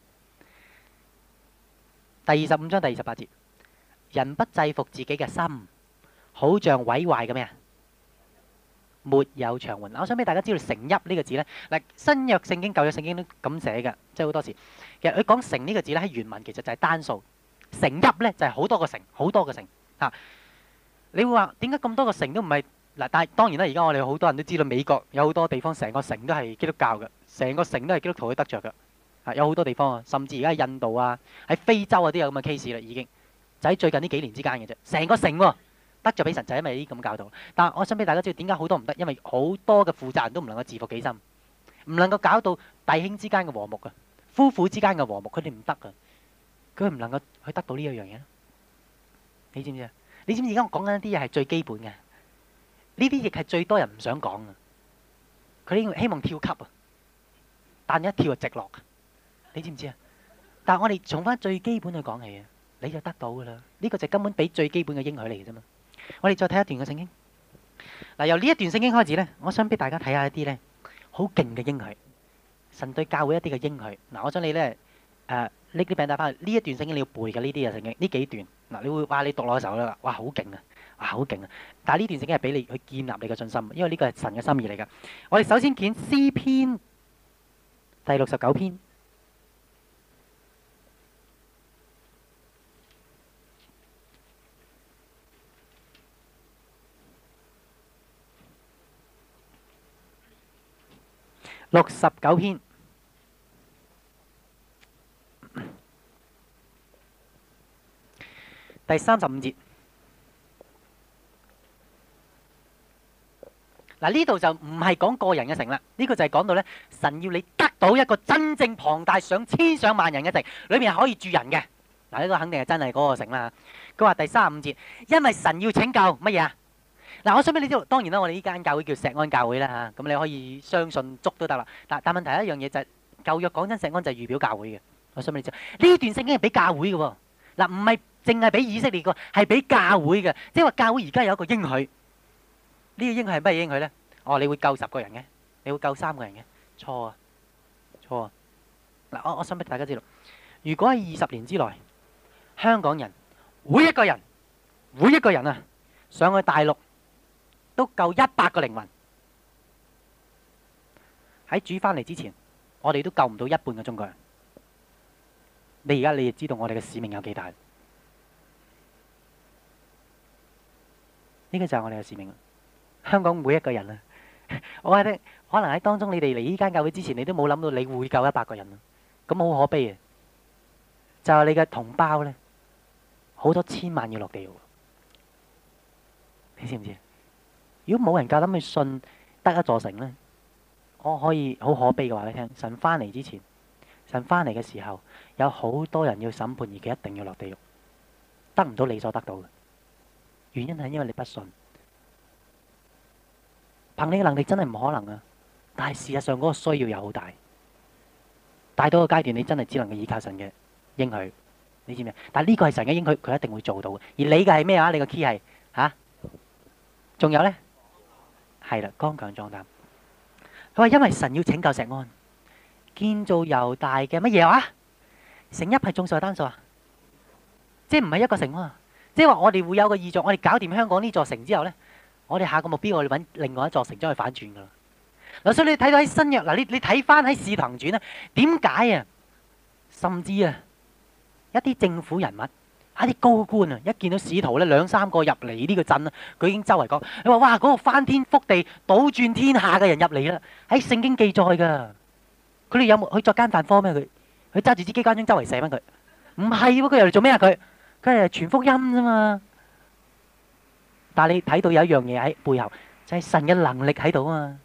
第二十五章第二十八節，人不制服自己嘅心，好像毀壞嘅咩啊？沒有牆垣。我想俾大家知道城邑呢個字咧，嗱，新約聖經、舊約聖經都咁寫嘅，即係好多時。其實佢講城呢個字咧，喺原文其實就係單數，城邑咧就係好多個城，好多個城嚇。你會話點解咁多個城都唔係？嗱，但係當然啦，而家我哋好多人都知道美國有好多地方成個城都係基督教嘅，成個城都係基督徒去得着嘅，啊，有好多地方啊，甚至而家喺印度啊、喺非洲啊都有咁嘅 case 啦，已經就喺最近呢幾年之間嘅啫，成個城喎得着俾神，就係因為呢啲咁教導。但係我想俾大家知道點解好多唔得，因為好多嘅負責人都唔能夠自服己心， 唔能夠搞到弟兄之間嘅和睦啊，夫婦之間嘅和睦，佢哋唔得噶，佢唔能夠去得到呢一樣嘢。你知唔知啊？你知唔知而家我講緊一啲嘢係最基本嘅？呢啲亦係最多人唔想講嘅。佢哋希望跳級啊，但一跳就直落。你知唔知啊？但係我哋從翻最基本去講起啊，你就得到噶啦。呢個就根本俾最基本嘅應許嚟嘅啫嘛。我哋再睇一段嘅聖經。嗱，由呢一段聖經開始咧，我想俾大家睇下一啲咧好勁嘅應許，神對教會一啲嘅應許。嗱，我想你咧誒拎啲餅帶翻去，呢一段聖經你要背嘅呢啲嘅聖經，呢幾段嗱，你會話你讀落嘅時候咧，哇好勁啊，哇好勁啊！但係呢段聖經係俾你去建立你嘅信心，因為呢個係神嘅心意嚟㗎。我哋首先見詩篇第六十九篇。六十九篇第三十五節，嗱呢度就唔係講個人嘅城啦，呢個就係講到咧，神要你得到一個真正龐大上千上萬人嘅城，裏面係可以住人嘅。嗱呢個肯定係真係嗰個城啦。佢話第三十五節，因為神要拯救乜嘢啊？嗱，我想俾你知道，當然啦，我哋呢間教會叫錫安教會啦嚇，咁你可以相信足都得啦。但但問題一樣嘢就係舊約講真，錫安就係預表教會嘅。我想俾你知，呢段聖經係俾教會嘅喎。嗱，唔係淨係俾以色列個，係俾教會嘅。即係話教會而家有一個應許，呢個應許係乜嘢應許咧？哦，你會救十個人嘅，你會救三個人嘅，錯啊，錯啊！嗱，我我想俾大家知道，如果喺二十年之內，香港人每一個人，每一個人啊，上去大陸。都夠一百個靈魂喺主翻嚟之前，我哋都救唔到一半嘅中國人。你而家你就知道我哋嘅使命有幾大？呢個就係我哋嘅使命。香港每一個人啊，我話你可能喺當中，你哋嚟呢間教會之前，你都冇諗到你會救一百個人啊！咁好可悲啊！就係你嘅同胞咧，好多千萬要落地獄，你知唔知？如果冇人夠膽去信得一座城呢，我可以好可悲嘅話你聽，神翻嚟之前，神翻嚟嘅時候，有好多人要審判，而佢一定要落地獄，得唔到你所得到嘅。原因係因為你不信，憑你嘅能力真係唔可能啊！但係事實上嗰個需要又好大，大到個階段你真係只能夠依靠神嘅應許，你知唔知？但係呢個係神嘅應許，佢一定會做到嘅。而你嘅係咩啊？你個 key 係吓？仲有呢？係啦，剛強壯膽。佢話因為神要拯救錫安，建造猶大嘅乜嘢話？城邑係眾數係單數啊？即係唔係一個城啊？即係話我哋會有個意象，我哋搞掂香港呢座城之後呢，我哋下個目標我哋揾另外一座城將佢反轉噶啦。嗱，所以你睇到喺新約嗱，你你睇翻喺使徒行傳咧，點解啊？甚至啊，一啲政府人物。一啲高官啊，一見到使徒咧兩三個入嚟呢個鎮啦，佢已經周圍講，你話哇嗰個翻天覆地、倒轉天下嘅人入嚟啦，喺聖經記載噶。佢哋有冇去作奸犯科咩？佢佢揸住支機關槍周圍射翻佢？唔係喎，佢又嚟做咩啊？佢佢係傳福音啫嘛。但係你睇到有一樣嘢喺背後，就係神嘅能力喺度啊嘛。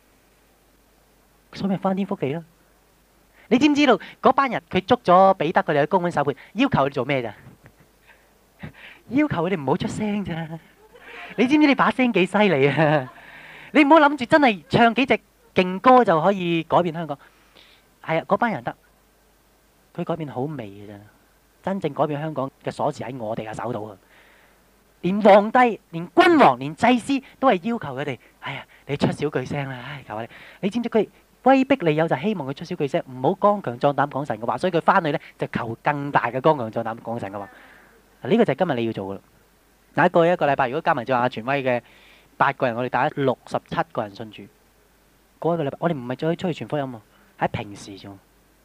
所以咪翻天覆地咯。你知唔知道嗰班人佢捉咗彼得佢哋去公會審判，要求佢哋做咩咋？要求佢哋唔好出聲咋？你知唔知你把聲幾犀利啊？你唔好諗住真係唱幾隻勁歌就可以改變香港。係啊，嗰班人得，佢改變好微嘅咋。真正改變香港嘅鎖匙喺我哋嘅手度啊！連皇帝、連君王、連祭司都係要求佢哋，哎呀，你出少句聲啦！唉，求下你。你知唔知佢威逼利誘就希望佢出少句聲，唔好剛強壯膽講神嘅話，所以佢翻去咧就求更大嘅剛強壯膽講神嘅話。呢個就係今日你要做嘅啦。嗱，過去一個禮拜，如果加埋咗阿傳威嘅八個人，我哋帶咗六十七個人信主。過一個禮拜，我哋唔係再出去傳福音喎，喺平時啫。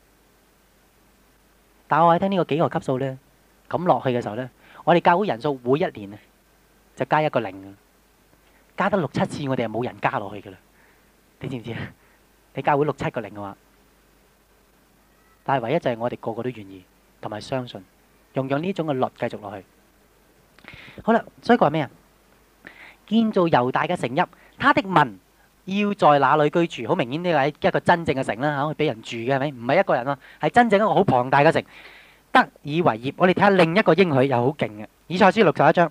但我喺聽呢個幾個級數咧，咁落去嘅時候咧，我哋教會人數每一年啊就加一個零啊，加得六七次，我哋係冇人加落去嘅啦。你知唔知啊？你教會六七個零嘅話，但係唯一就係我哋個個都願意同埋相信。用用呢種嘅律繼續落去，好啦，所以佢話咩啊？建造猶大嘅城邑，他的民要在那裏居住。好明顯呢個係一個真正嘅城啦，嚇，俾人住嘅係咪？唔係一個人啊，係真正一個好龐大嘅城，得以為業。我哋睇下另一個應許又好勁嘅，以賽亞書六十一章。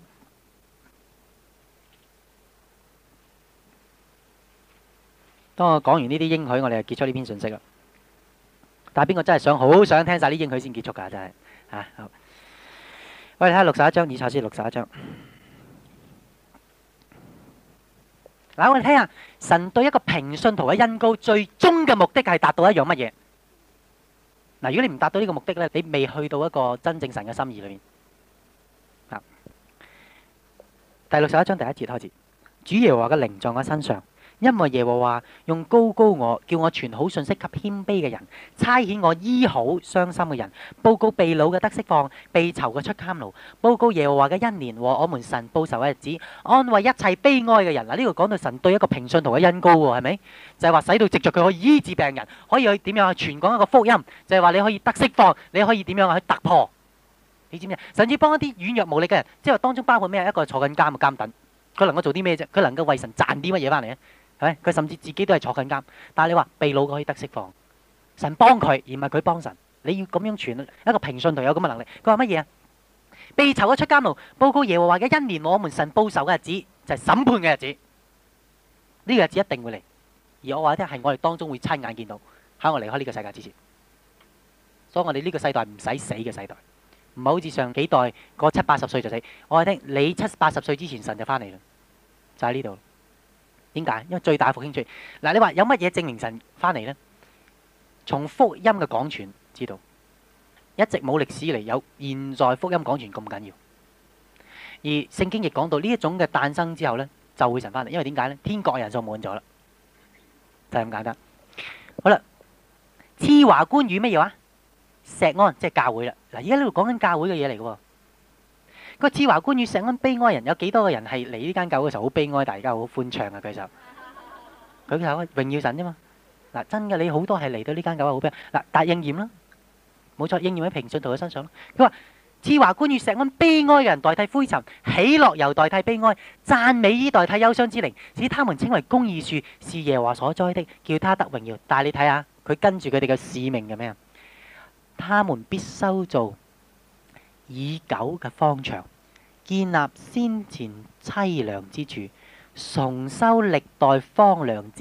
當我講完呢啲應許，我哋就結束呢篇信息啦。但係邊個真係想好想聽晒啲應許先結束㗎？真係嚇、啊、好。我哋睇下六十一章，以賽亞書六十一章。嗱，我哋睇下神對一個平信徒嘅恩膏，最終嘅目的係達到一樣乜嘢？嗱，如果你唔達到呢個目的咧，你未去到一個真正神嘅心意裏面。啊，第六十一章第一節開始，主耶和華嘅靈在我身上。因為耶和華用膏膏我，叫我傳好信息給謙卑嘅人，差遣我醫好傷心嘅人，報告被擄嘅得釋放，被囚嘅出監牢，報告耶和華嘅恩年和我們神報仇嘅日子，安慰一切悲哀嘅人。嗱，呢個講到神對一個平信徒嘅恩膏喎，係咪？就係話使到藉著佢可以醫治病人，可以去點樣去傳講一個福音，就係話你可以得釋放，你可以點樣去突破。你知唔知啊？甚至幫一啲軟弱無力嘅人，即係話當中包括咩？一個坐緊監嘅監躉，佢能夠做啲咩啫？佢能夠為神賺啲乜嘢翻嚟啊？係咪？佢甚至自己都係坐緊監，但係你話被擄可以得釋放，神幫佢，而唔係佢幫神。你要咁樣傳，一個平信徒有咁嘅能力。佢話乜嘢啊？被囚嘅出監牢，報告耶和華嘅恩年，我們神報仇嘅日子就係審判嘅日子。呢個日子一定會嚟，而我話咧係我哋當中會親眼見到，喺我離開呢個世界之前。所以我哋呢個世代唔使死嘅世代，唔係好似上幾代過七八十歲就死。我話聽你七八十歲之前神就翻嚟啦，就喺呢度。點解？因為最大復興出現。嗱，你話有乜嘢證明神翻嚟呢？從福音嘅廣傳知道，一直冇歷史以嚟有現在福音廣傳咁緊要。而聖經亦講到呢一種嘅誕生之後呢，就會神翻嚟。因為點解呢？天國人數滿咗啦，就係咁簡單。好啦，賜華冠與乜嘢話？錫安即係教會啦。嗱，而家呢度講緊教會嘅嘢嚟嘅喎。個賜華冠與錫安悲哀人，有幾多個人係嚟呢間教會嘅時候好悲哀，但係而家好歡暢啊？舉手，舉手，榮耀神啫嘛。嗱，真嘅，你好多係嚟到呢間教會好悲哀。嗱，但係應驗啦，冇錯，應驗喺平信徒嘅身上咯。佢話賜華冠與錫安悲哀嘅人代替灰塵，喜樂又代替悲哀，讚美衣代替憂傷之靈，使他們稱為公義樹，是耶和華所栽的，叫他得榮耀。但係你睇下，佢跟住佢哋嘅使命嘅咩啊？他們必修造已久嘅荒場，建立先前淒涼之處，重修歷代荒涼之，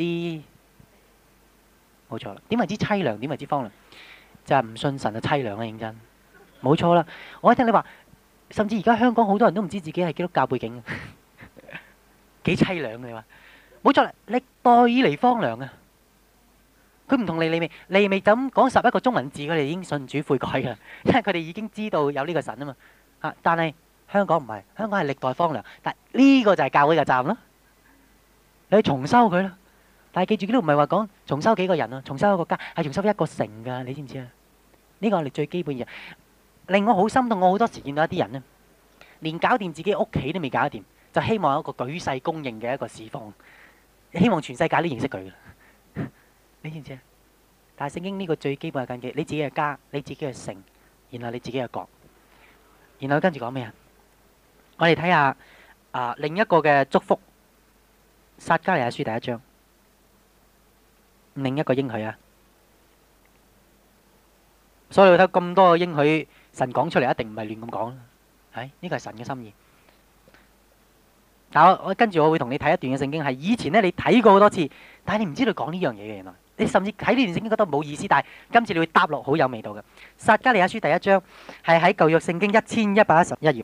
冇錯啦。點為之淒涼？點為之荒涼？就係唔信神嘅淒涼啦！認真，冇錯啦。我一聽你話，甚至而家香港好多人都唔知自己係基督教背景，幾淒涼嘅你話，冇錯啦。歷代以嚟荒涼啊！佢唔同利未，利未就咁講十一個中文字，佢哋已經信主悔改㗎啦，因為佢哋已經知道有呢個神啊嘛。啊，但係香港唔係，香港係歷代荒涼，但係呢個就係教會嘅站咯。你去重修佢啦，但係記住，呢度唔係話講重修幾個人啊，重修一個家，係重修一個城㗎，你知唔知啊？呢個係我哋最基本嘅嘢。令我好心痛，我好多時見到一啲人咧，連搞掂自己屋企都未搞掂，就希望有一個舉世公認嘅一個侍奉，希望全世界都認識佢㗎。你知唔知啊？但係聖經呢個最基本嘅根基，你自己嘅家，你自己嘅城，然後你自己嘅國，然後跟住講咩啊？我哋睇下啊另一個嘅祝福，撒迦利亞書第一章，另一個應許啊。所以你睇咁多嘅應許，神講出嚟一定唔係亂咁講啦，係呢個係神嘅心意。但我我跟住我會同你睇一段嘅聖經，係以前咧你睇過好多次，但係你唔知道講呢樣嘢嘅原來。你甚至睇呢段聖經覺得冇意思，但係今次你會答落好有味道嘅。撒迦利亞書第一章係喺舊約聖經一千一百一十一頁。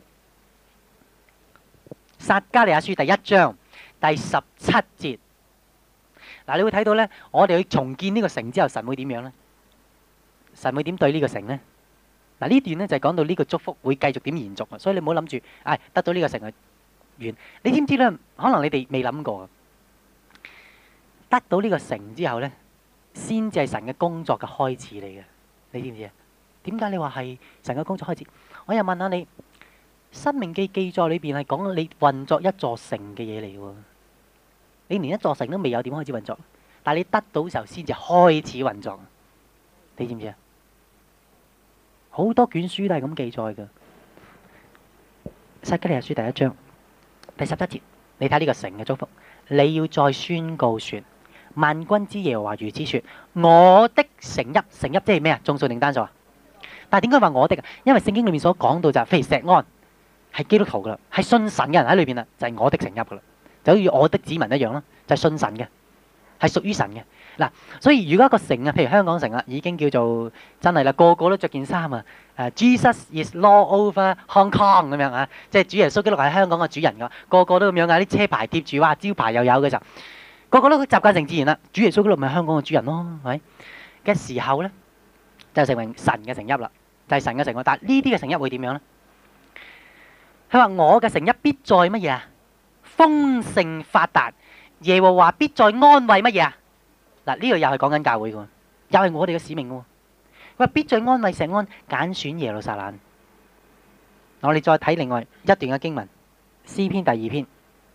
撒迦利亞書第一章第十七節。嗱，你會睇到呢，我哋去重建呢個城之後，神會點樣呢？神會點對呢個城呢？嗱，呢段呢就係講到呢個祝福會繼續點延續啊！所以你唔好諗住，唉，得到呢個城係完。你知唔知呢？可能你哋未諗過，得到呢個城之後呢，先至係神嘅工作嘅開始嚟嘅，你知唔知啊？點解你話係神嘅工作開始？我又問下你，《申命記》記載裏邊係講你運作一座城嘅嘢嚟喎，你連一座城都未有，點開始運作？但係你得到時候先至開始運作，你知唔知啊？好多卷書都係咁記載嘅，《撒迦利亞書》第一章第十七節，你睇呢個城嘅祝福，你要再宣告說。 萬軍之耶和華如此說：我的城邑，城邑即係咩啊？眾數定單數啊？但係點解話我的啊？因為聖經裏面所講到就係，譬如錫安係基督徒噶啦，係信神嘅人喺裏邊啦，就係我的城邑噶啦，就好似我的子民一樣啦，就係信神嘅，係屬於神嘅。嗱，所以如果一個城啊，譬如香港城啊，已經叫做真係啦，個個都着件衫啊，誒 Jesus is Lord over Hong Kong 咁樣啊，即係主耶穌基督係香港嘅主人噶，個個都咁樣啊，啲車牌貼住，哇，招牌又有嘅時候，個個都習慣成自然啦。主耶穌基督咪香港嘅主人咯，係咪嘅時候咧，就成為神嘅城邑啦，就係神嘅城邑。但係呢啲嘅城邑會點樣咧？佢話我嘅城邑必在乜嘢啊？豐盛發達，耶和華必在安慰乜嘢啊？嗱，呢個又係講緊教會嘅，又係我哋嘅使命嘅。佢話必在安慰錫安，揀選耶路撒冷。我哋再睇另外一段嘅經文，詩篇第二篇，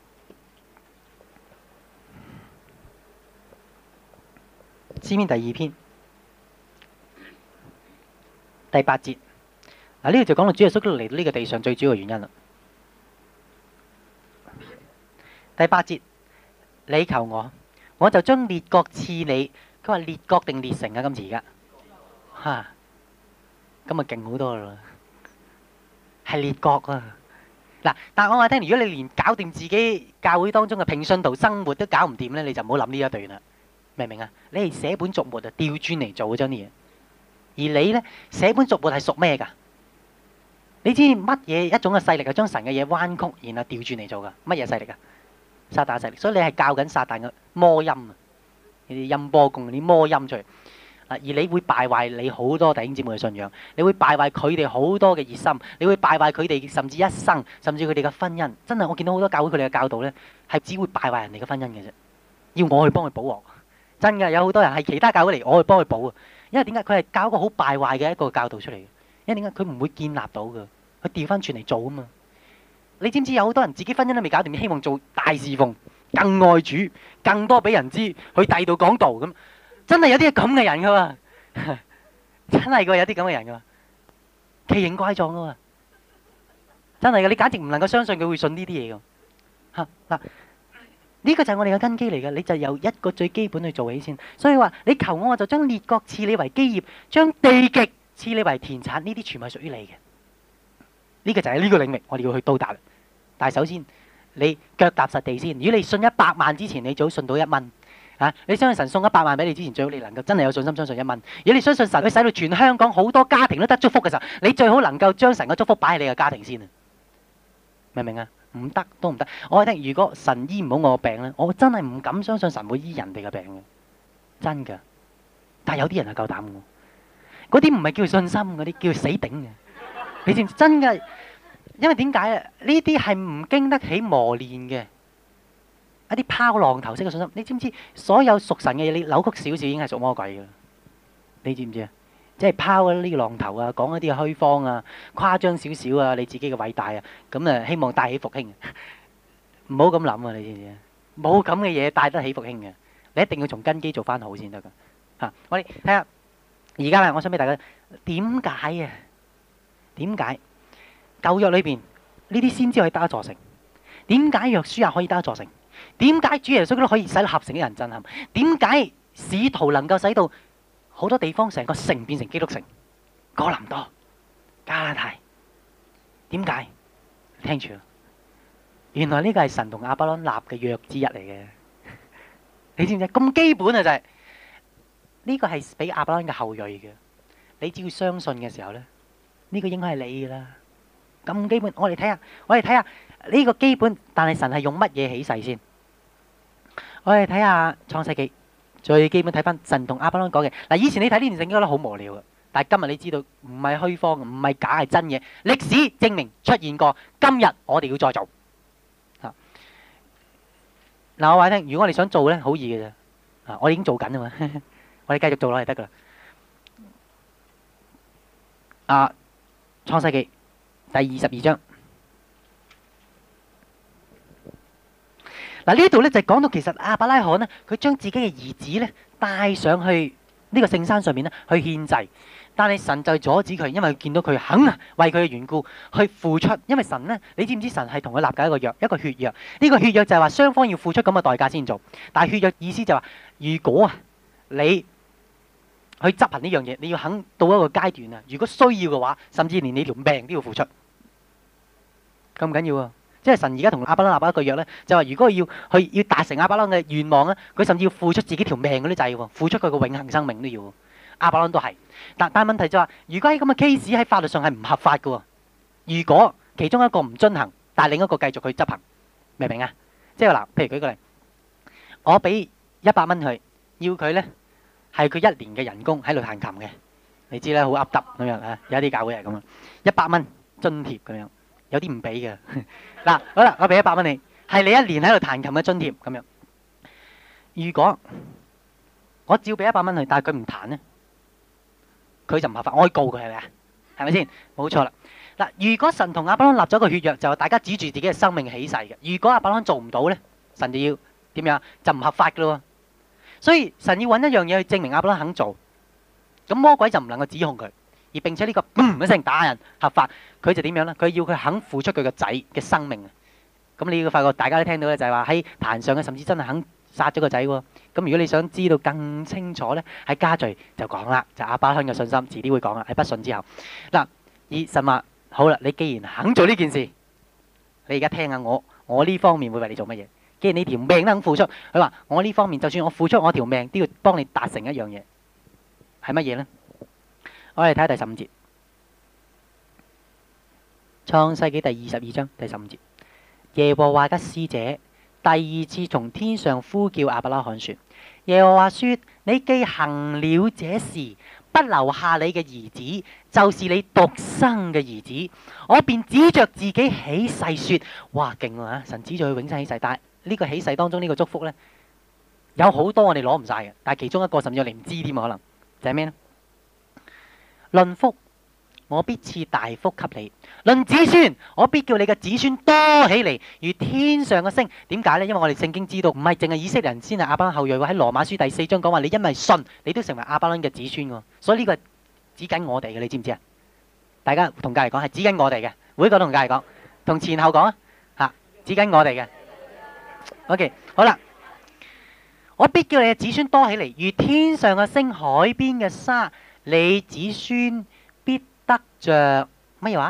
詩篇第二篇第八節。嗱，呢度就講到主耶穌基督嚟到呢個地上最主要嘅原因啦。第八節，你求我，我就將列國賜你。佢話列國定列城啊？今次而家嚇，咁啊勁好多啦，係列國啊！嗱，但係我話聽，如果你連搞掂自己教會當中嘅平信徒生活都搞唔掂咧，你就唔好諗呢一段啦，明唔明啊？你係寫本逐末啊，調轉嚟做嗰張啲嘢，而你咧寫本逐末係屬咩㗎？你知乜嘢一種嘅勢力係將神嘅嘢彎曲，然後調轉嚟做㗎？乜嘢勢力啊？撒旦勢力，所以你係教緊撒旦嘅魔音啊！呢啲音波共啲魔音出嚟啊！而你會敗壞你好多弟兄姊妹嘅信仰，你會敗壞佢哋好多嘅熱心，你會敗壞佢哋甚至一生，甚至佢哋嘅婚姻。真係我見到好多教會佢哋嘅教導咧，係只會敗壞人哋嘅婚姻嘅啫。要我去幫佢補鑊，真嘅有好多人係其他教會嚟，我去幫佢補啊！因為點解佢係教一個好敗壞嘅一個教導出嚟嘅？因為點解佢唔會建立到嘅？佢調翻轉嚟做啊嘛！你知唔知有好多人自己婚姻都未搞掂，希望做大侍奉，更愛主，更多俾人知，去第二度講道咁，真係有啲咁嘅人噶嘛，真係噶有啲咁嘅人噶，奇形怪狀噶嘛，真係噶，你簡直唔能夠相信佢會信呢啲嘢噶嚇嗱，呢個就係我哋嘅根基嚟嘅，你就由一個最基本去做起先。所以話你求我，我就將列國賜你為基業，將地極賜你為田產，呢啲全部係屬於你嘅。呢個就係呢個領域，我哋要去到達。但係首先，你腳踏實地先。如果你信一百萬之前，你最好信到一蚊啊！你相信神送一百萬俾你之前，最好你能夠真係有信心相信一蚊。如果你相信神，佢使到全香港好多家庭都得祝福嘅時候，你最好能夠將神嘅祝福擺喺你嘅家庭先啊！明唔明啊？唔得都唔得。我話你聽，如果神醫唔好我嘅病咧，我真係唔敢相信神會醫人哋嘅病嘅，真㗎。但係有啲人係夠膽嘅，嗰啲唔係叫信心，嗰啲叫死頂嘅。你知唔知真嘅？因為點解啊？呢啲係唔經得起磨練嘅一啲拋浪頭式嘅信心。你知唔知所有屬神嘅嘢，你扭曲少少已經係屬魔鬼嘅？你知唔知啊？即係拋呢個浪頭啊，講一啲嘅虛謊啊，誇張少少啊，你自己嘅偉大啊，咁啊希望帶起復興。唔好咁諗啊！你知唔知啊？冇咁嘅嘢帶得起復興嘅，你一定要從根基做翻好先得噶。嚇！我哋睇下而家啦，我想俾大家點解啊？點解舊約裏邊呢啲先知可以得一座城？點解約書亞可以得一座城？點解主耶穌都可以使到合城嘅人震撼？點解使徒能夠使到好多地方成個城變成基督城？哥林多、加拉太，點解？聽住，原來呢個係神同亞伯蘭立嘅約之一嚟嘅。你知唔知？咁基本啊，就係呢個係俾亞伯蘭嘅後裔嘅。你只要相信嘅時候咧。呢個應該係你噶啦，咁基本。我哋睇下，我哋睇下呢個基本，但係神係用乜嘢起誓先？我哋睇下創世記，最基本睇翻神同亞伯蘭講嘅。嗱，以前你睇呢段聖經覺得好無聊嘅，但係今日你知道唔係虛謊，唔係假，係真嘢。歷史證明出現過，今日我哋要再做。嚇！嗱，我話你聽，如果我哋想做咧，好易嘅啫。啊，我哋已經做緊啊嘛，我哋繼續做落嚟得噶啦。啊！創世記第二十二章，嗱，呢度咧就講到其實亞伯拉罕咧，佢將自己嘅兒子咧帶上去呢個聖山上面咧去獻祭。但係神就阻止佢，因為見到佢肯啊為佢嘅緣故去付出。因為神呢，你知唔知神係同佢立緊一個約，一個血約。呢個血約就係話雙方要付出咁嘅代價先做。但係血約意思就係話，如果啊你去執行呢樣嘢，你要肯到一個階段啊，如果需要嘅話，甚至連你條命都要付出，咁唔緊要啊！即係神而家同亞伯拉罕立一個約咧，就話如果要去要達成亞伯拉罕嘅願望咧，佢甚至要付出自己條命嗰啲制喎，付出佢個永恆生命都要。亞伯拉罕都係，但但問題就話，如果喺咁嘅 case 喺法律上係唔合法嘅喎。如果其中一個唔遵行，但係另一個繼續去執行，明唔明啊？即係話嗱，譬如舉個例，我俾一百蚊佢，要佢咧係佢一年嘅人工喺度彈琴嘅，你知啦，好噏耷咁樣啊，有啲教會係咁啊，一百蚊津貼咁樣，有啲唔俾嘅。嗱，好啦，我俾一百蚊你，係你一年喺度彈琴嘅津貼咁樣。如果我照俾一百蚊佢，但係佢唔彈咧？佢就唔合法，我可以告佢係咪啊？係咪先？冇錯啦。嗱，如果神同亞伯拉罕立咗個血約，就係大家指住自己嘅生命起誓嘅。如果亞伯拉罕做唔到咧，神就要點樣？就唔合法噶咯。所以神要揾一樣嘢去證明亞伯拉罕肯做，咁魔鬼就唔能夠指控佢，而並且呢個嘣一聲打人合法，佢就點樣咧？佢要佢肯付出佢個仔嘅生命啊！咁你要發覺大家都聽到咧，就係話喺壇上嘅，甚至真係肯殺咗個仔喎。咁如果你想知道更清楚咧，喺家序就講啦，就亞伯拉罕嘅信心，遲啲會講啦。喺不信之後，嗱，而神話好啦，你既然肯做呢件事，你而家聽下我，我呢方面會為你做乜嘢？既然你條命都肯付出，佢話我呢方面就算我付出我條命，都要幫你達成一樣嘢，係乜嘢咧？我哋睇下第十五節，創世紀第二十二章第十五節，耶和華嘅使者第二次從天上呼叫亞伯拉罕說：耶和華說，你既行了這事，不留下你嘅兒子，就是你獨生嘅兒子，我便指着自己起誓說：哇，勁啊！神指住佢永生起誓，但係呢個起誓當中呢個祝福呢，有好多我哋攞唔晒嘅，但係其中一個甚至我哋唔知添，可能就係咩呢？論福，我必賜大福給你；論子孫，我必叫你嘅子孫多起嚟，如天上嘅星。點解呢？因為我哋聖經知道，唔係淨係以色列人先係亞伯拉罕後裔喎。喺羅馬書第四章講話，你因為信，你都成為亞伯拉罕嘅子孫喎。所以呢個係指緊我哋嘅，你知唔知啊？大家同隔籬講係指緊我哋嘅，每一個都同隔籬講，同前後講啊，吓指緊我哋嘅。OK， 好啦，我必叫你嘅子孫多起嚟，如天上嘅星、海邊嘅沙。你子孫必得着乜嘢話？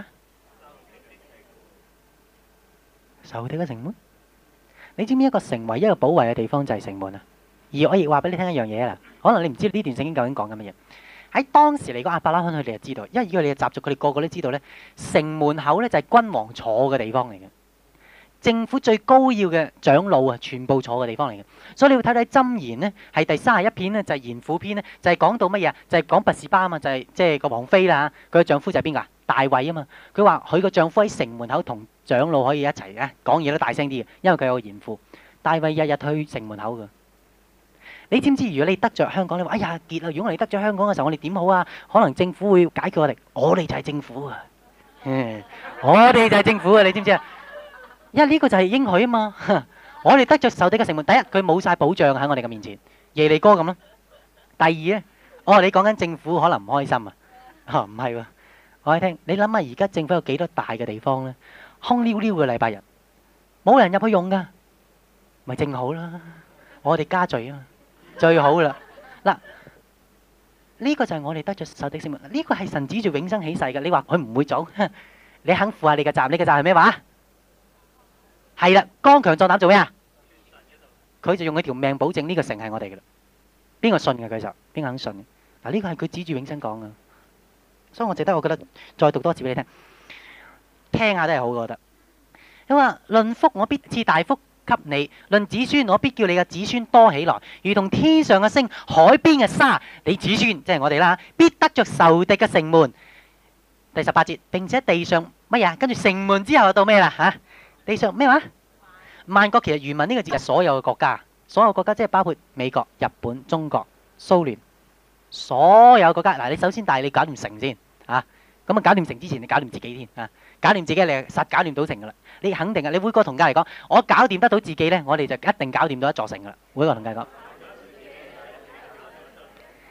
仇敵嘅城門。你知唔知一個城唯一一個保衛嘅地方就係城門啊？而我亦話俾你聽一樣嘢啦，可能你唔知呢段聖經究竟講緊乜嘢。喺當時嚟講，亞伯拉罕佢哋就知道，因為以佢哋嘅習俗，佢哋個個都知道咧，城門口咧就係君王坐嘅地方嚟嘅。政府最高要嘅長老啊，全部坐嘅地方嚟嘅，所以你要睇睇箴言呢，係第三十一篇呢，就係賢婦篇呢，就係講到乜嘢啊？就係講拔士巴啊嘛，就係即係個王妃啦，佢嘅丈夫就係邊個啊？大衛啊嘛，佢話佢個丈夫喺城門口同長老可以一齊嘅，講嘢都大聲啲嘅，因為佢有個賢婦。大衛日日去城門口嘅。你知唔知如果你得着香港，你話哎呀結啦！如果我哋得着香港嘅時候，我哋點好啊？可能政府會解決我哋，我哋就係政府啊！嗯，我哋就係政府啊！你知唔知啊？因為呢個就係應許啊嘛，我哋得着仇敵嘅城門。第一，佢冇晒保障喺我哋嘅面前，耶利哥咁咯。第二咧，哦，你講緊政府可能唔開心啊？嚇唔係喎，我哋聽你諗下，而家政府有幾多大嘅地方咧？空溜溜嘅禮拜日，冇人入去用噶，咪正好啦。我哋加罪啊，最好啦。嗱，呢個就係我哋得着仇敵城門。呢個係神指住永生起誓嘅。你話佢唔會做，你肯負下你嘅責任？你嘅責任係咩話？係啦，剛強壯膽做咩啊？佢就用佢條命保證呢個城係我哋嘅啦。邊個信嘅佢就邊個肯信嘅？嗱，呢個係佢指住永生講嘅，所以我值得我覺得再讀多次俾你聽，聽下都係好，我覺得。佢話論福，我必賜大福給你；論子孫，我必叫你嘅子孫多起來，如同天上嘅星、海邊嘅沙。你子孫即係我哋啦，必得着仇敵嘅城門。第十八節，並且地上乜嘢？跟住城門之後就到咩啦？吓？地上咩話？萬國，其實原文呢個字係所有嘅國家，所有國家即係包括美國、日本、中國、蘇聯，所有國家。嗱，你首先但係你搞掂城先啊，咁啊搞掂城之前你搞掂自己先啊，搞掂自己你實搞掂到城噶啦，你肯定啊！你每個同家嚟講，我搞掂得到自己咧，我哋就一定搞掂到一座城噶啦。每個同家講，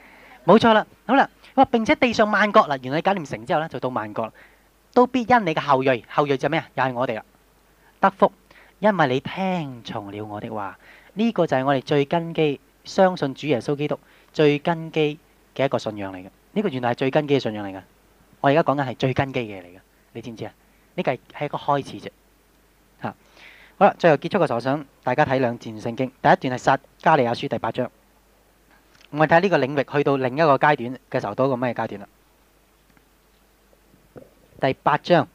冇錯啦，好啦，哇！並且地上萬國啦，原來你搞掂城之後咧，就到萬國啦，都必因你嘅後裔，後裔就咩啊？又係我哋啦，得福，因為你聽從了我的話。呢個就係我哋最根基，相信主耶穌基督最根基嘅一個信仰嚟嘅。呢個原來係最根基嘅信仰嚟嘅。我而家講緊係最根基嘅嘢嚟嘅，你知唔知啊？呢個係係一個開始啫。嚇，好啦，最後結束嘅時候，我想大家睇兩段聖經。第一段係撒迦利亞書第八章。我哋睇下呢個領域去到另一個階段嘅時候，到一個咩階段啦？第八章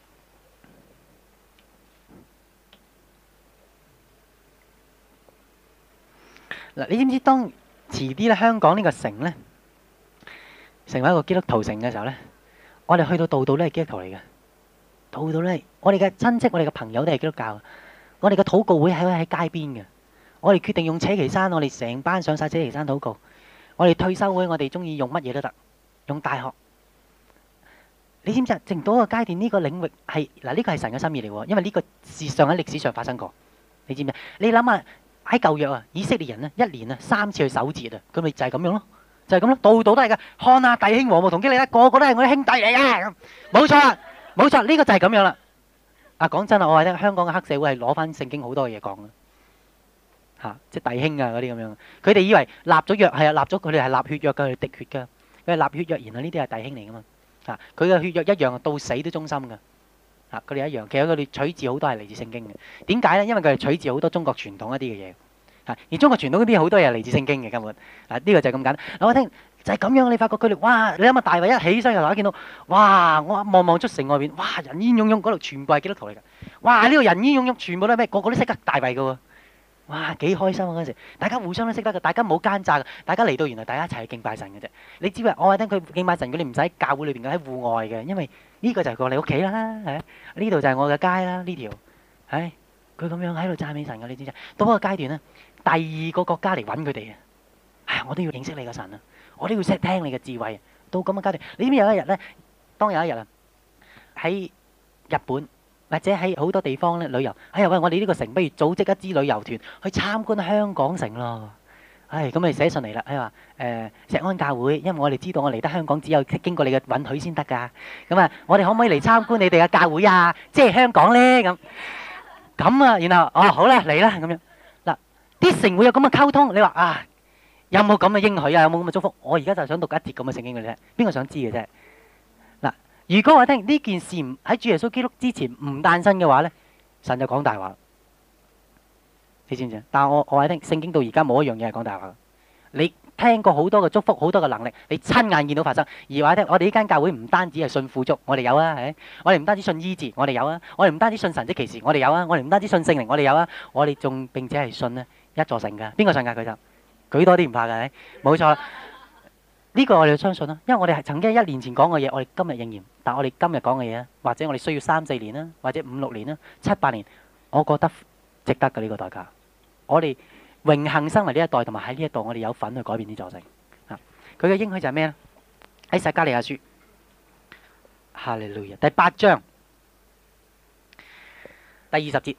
嗱，你知唔知當遲啲咧香港呢個城咧成為一個基督徒城嘅時候咧，我哋去到度度都係基督徒嚟嘅，度度都係我哋嘅親戚、我哋嘅朋友都係基督教，我哋嘅禱告會喺喺街邊嘅，我哋決定用扯旗山，我哋成班上晒扯旗山禱告。我哋退休會，我哋中意用乜嘢都得，用大學。你知唔知啊？正到一個階段，呢個領域係嗱，呢個係神嘅心意嚟喎，因為呢個事上喺歷史上發生過。你知唔知啊？你諗下喺舊約啊，以色列人咧一年啊三次去守節啊，佢咪就係咁樣咯，就係咁咯，度度都係噶。看啊，弟兄和睦同基利啦，個個都係我啲兄弟嚟噶。冇錯啦，冇錯，呢個就係咁樣啦。啊，講真啦，我話咧，香港嘅黑社會係攞翻聖經好多嘢講嘅。嚇，即係弟兄啊嗰啲咁樣，佢哋以為立咗約係啊，立咗佢哋係立血約㗎，佢哋滴血㗎，佢係立血約，然後呢啲係弟兄嚟㗎嘛。嚇，佢嘅血約一樣，到死都忠心㗎。嚇，佢哋一樣，其實佢哋取自好多係嚟自聖經嘅。點解咧？因為佢哋取自好多中國傳統一啲嘅嘢。嚇，而中國傳統嗰啲好多嘢係嚟自聖經嘅根本。嗱，呢個就係咁簡單。嗱，我聽就係咁樣，你發覺佢哋哇，你諗下大衛一起身嘅時候，見到哇，我望望出城外邊，哇，人煙湧湧，嗰度全部係基督徒嚟㗎。哇，呢個人煙湧湧，全部都係咩？個個都識得大衛㗎喎。哇，幾開心啊！嗰陣時，大家互相都識得嘅，大家冇奸詐嘅，大家嚟到原來大家一齊去敬拜神嘅啫。你知唔知？我話聽佢敬拜神，佢哋唔使喺教會裏邊嘅，喺戶外嘅，因為呢個就係過你屋企啦，係呢度就係我嘅街啦，呢條，唉，佢咁樣喺度讚美神嘅，你知唔知？到嗰個階段咧，第二個國家嚟揾佢哋啊，唉，我都要認識你嘅神啊，我都要識聽你嘅智慧。到咁嘅階段，你知唔知有一日咧？當有一日啊，喺日本。或者喺好多地方咧旅遊，哎呀喂！我哋呢個城不如組織一支旅遊團去參觀香港城咯。唉，咁咪寫信嚟啦，佢話誒石安教會，因為我哋知道我嚟得香港只有經過你嘅允許先得㗎。咁啊，我哋可唔可以嚟參觀你哋嘅教會啊？即係香港咧咁。咁啊，然後哦好啦，嚟啦咁樣。嗱，啲城會有咁嘅溝通，你話啊有冇咁嘅應許啊？有冇咁嘅祝福？我而家就想讀一節咁嘅聖經嘅啫，邊個想知嘅啫？如果我聽呢件事唔喺主耶穌基督之前唔誕生嘅話咧，神就講大話。你知唔知啊？但係我我話聽聖經到而家冇一樣嘢係講大話。你聽過好多嘅祝福，好多嘅能力，你親眼見到發生。而話聽我哋呢間教會唔單止係信富足，我哋有啊，係我哋唔單止信醫治，我哋有啊，我哋唔單止信神蹟奇事，我哋有啊，我哋唔單止信聖靈，我哋有啊，我哋仲並且係信咧一座城㗎。邊個信㗎？佢就舉多啲唔怕㗎，係冇錯。呢個我哋要相信啦，因為我哋係曾經一年前講嘅嘢，我哋今日應驗。但係我哋今日講嘅嘢咧，或者我哋需要三四年啦，或者五六年啦、七八年，我覺得值得嘅呢個代價。我哋榮幸生為呢一代，同埋喺呢一度，我哋有份去改變呢座城。啊，佢嘅應許就係咩咧？喺撒迦利亞書，哈利路亞，第八章第二十節，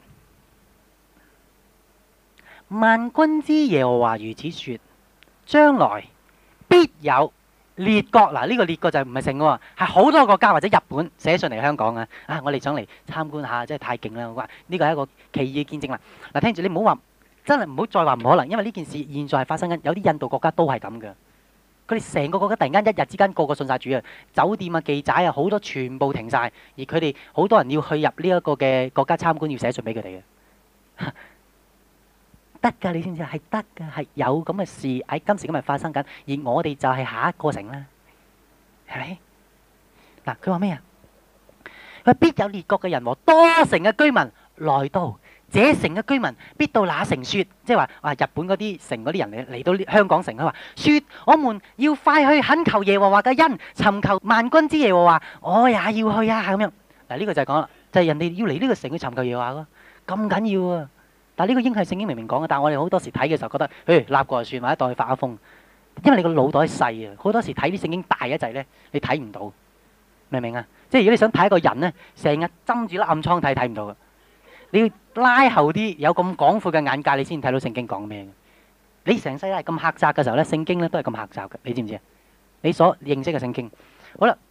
萬軍之耶和華如此說：將來必有列國。嗱，呢個列國就唔係城喎，係好多國家或者日本寫信嚟香港啊！啊，我哋想嚟參觀下，真係太勁啦！我話呢個係一個奇異嘅見證啦。嗱，聽住你唔好話，真係唔好再話唔可能，因為呢件事現在係發生緊，有啲印度國家都係咁嘅。佢哋成個國家突然間一日之間個個信晒主啊，酒店啊、記仔啊好多全部停晒，而佢哋好多人要去入呢一個嘅國家參觀，要寫信俾佢哋嘅。得㗎，你知唔知啊？係得㗎，係有咁嘅事喺今時今日發生緊，而我哋就係下一個城啦，係咪？嗱，佢話咩啊？佢話必有列國嘅人和多城嘅居民來到，這城嘅居民必到那城説，即係話啊，日本嗰啲城嗰啲人嚟嚟到香港城，佢話説我們要快去懇求耶和華嘅恩，尋求萬軍之耶和華，我也要去啊咁樣。嗱，呢個就係講啦，就係人哋要嚟呢個城去尋求耶和華咯，咁緊要啊！但係呢個應係聖經明明講嘅，但係我哋好多時睇嘅時候覺得，誒立過就算，或者當佢發下瘋，因為你個腦袋細啊，好多時睇啲聖經大一陣咧，你睇唔到，明唔明啊？即係如果你想睇一個人咧，成日針住粒暗瘡睇，睇唔到嘅，你要拉後啲，有咁廣闊嘅眼界，你先睇到聖經講咩嘅。你成世都係咁狹窄嘅時候咧，聖經咧都係咁狹窄嘅，你知唔知啊？ 你所認識嘅聖經。好啦，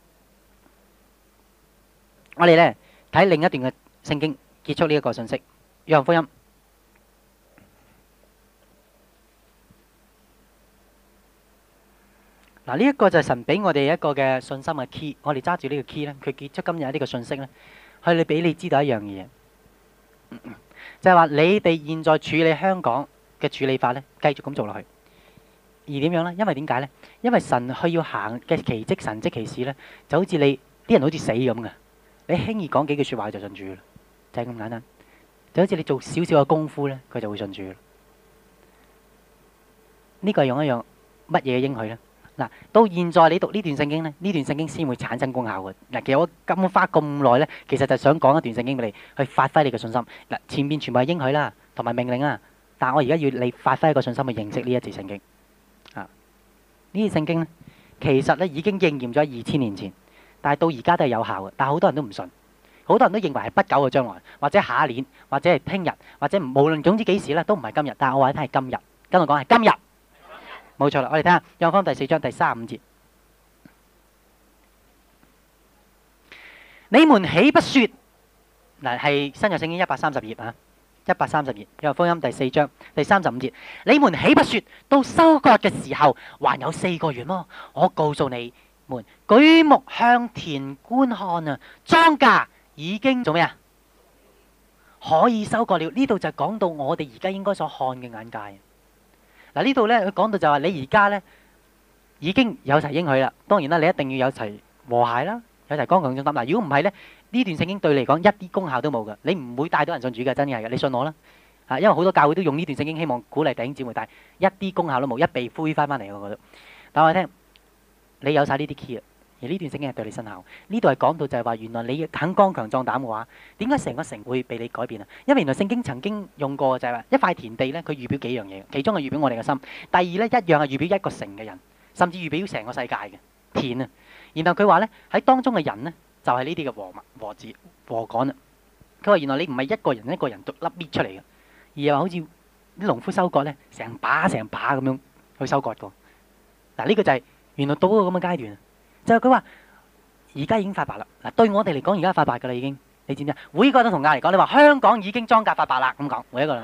我哋咧睇另一段嘅聖經，結束呢一個信息。約翰福音嗱，呢一個就係神俾我哋一個嘅信心嘅 key。我哋揸住呢個 key 咧，佢結束今日呢個信息咧，係你俾你知道一樣嘢，就係話你哋現在處理香港嘅處理法咧，繼續咁做落去。而點樣咧？因為點解咧？因為神佢要行嘅奇蹟神蹟奇事咧，就好似你啲人好似死咁嘅，你輕易講幾句説話就信主啦，就係咁簡單。就好似你做少少嘅功夫咧，佢就會信主啦。呢個係用一樣乜嘢嘅應許咧？嗱，到現在你讀呢段聖經咧，呢段聖經先會產生功效嘅。嗱，其實我咁花咁耐咧，其實就想講一段聖經俾你，去發揮你嘅信心。嗱，前面全部係應許啦，同埋命令啊，但係我而家要你發揮一個信心去認識呢一節聖經。啊，呢節聖經咧，其實咧已經應驗咗二千年前，但係到而家都係有效嘅。但係好多人都唔信，好多人都認為係不久嘅將來，或者下一年，或者係聽日，或者無論總之幾時咧，都唔係今日。但係我話你聽係今日，跟我講係今日。冇錯啦，我哋睇下《約翰福音》第四章第三十五節。你們豈不說？嗱，係新約聖經一百三十頁啊，一百三十頁《約翰福音》第四章第三十五節。你們豈不說到收割嘅時候還有四個月麼？我告訴你們，舉目向田觀看啊，莊稼已經做咩啊？可以收割了。呢度就講到我哋而家應該所看嘅眼界。嗱，呢度咧，佢講到就話你而家咧已經有齊應許啦。當然啦，你一定要有齊和諧啦，有齊剛強壯膽。嗱，如果唔係咧，呢段聖經對你嚟講一啲功效都冇㗎。你唔會帶到人信主嘅，真係嘅。你信我啦，啊，因為好多教會都用呢段聖經，希望鼓勵弟兄姊妹，但係一啲功效都冇，一被灰翻翻嚟。我覺得，但係我聽你有曬呢啲 key 啊，而呢段聖經係對你生效。呢度係講到就係話，原來你肯剛強壯膽嘅話，點解成個城會被你改變啊？因為原來聖經曾經用過就係話一塊田地咧，佢預表幾樣嘢，其中係預表我哋嘅心。第二咧，一樣係預表一個城嘅人，甚至預表成個世界嘅田啊。然後佢話咧，喺當中嘅人咧，就係呢啲嘅禾物、禾子、禾稈啊。佢話原來你唔係一個人一個人獨粒搣出嚟嘅，而係話好似啲農夫收割咧，成把成把咁樣去收割過。嗱，呢個就係原來到咗咁嘅階段。就係佢話而家已經發白啦。嗱，對我哋嚟講而家發白㗎啦已經，你知唔知啊？每個都同亞嚟講，你話香港已經莊稼發白啦咁講，每一個。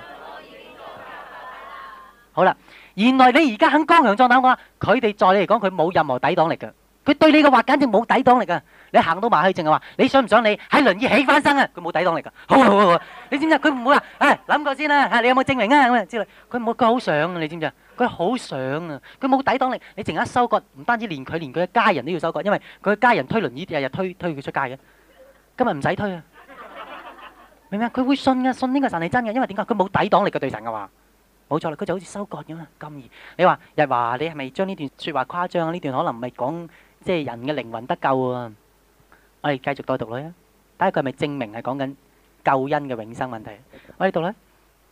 好啦，原來你而家肯剛強壯膽嘅話，佢哋在你嚟講佢冇任何抵擋力㗎，佢對你嘅話簡直冇抵擋力㗎。你行到埋去淨係話你想唔想你喺輪椅起翻身啊？佢冇抵擋力㗎。好好好，你知唔知啊？佢唔會話誒諗過先啦，你有冇證明啊咁啊之類。佢冇，佢好想啊，你知唔知啊？佢好想啊，佢冇抵擋力。你淨係一收割，唔單止連佢，連佢嘅家人都要收割，因為佢嘅家人推輪椅日日推推佢出街嘅。今日唔使推啊，明唔明啊？佢會信嘅，信呢個神係真嘅，因為點解？佢冇抵擋力嘅對神嘅話，冇錯啦，佢就好似收割咁啊，咁易。你話日華，你係咪將呢段説話誇張啊？呢段可能唔係講即係人嘅靈魂得救啊。我哋繼續再讀落去啊，睇下佢係咪證明係講緊救恩嘅永生問題。我哋讀咧，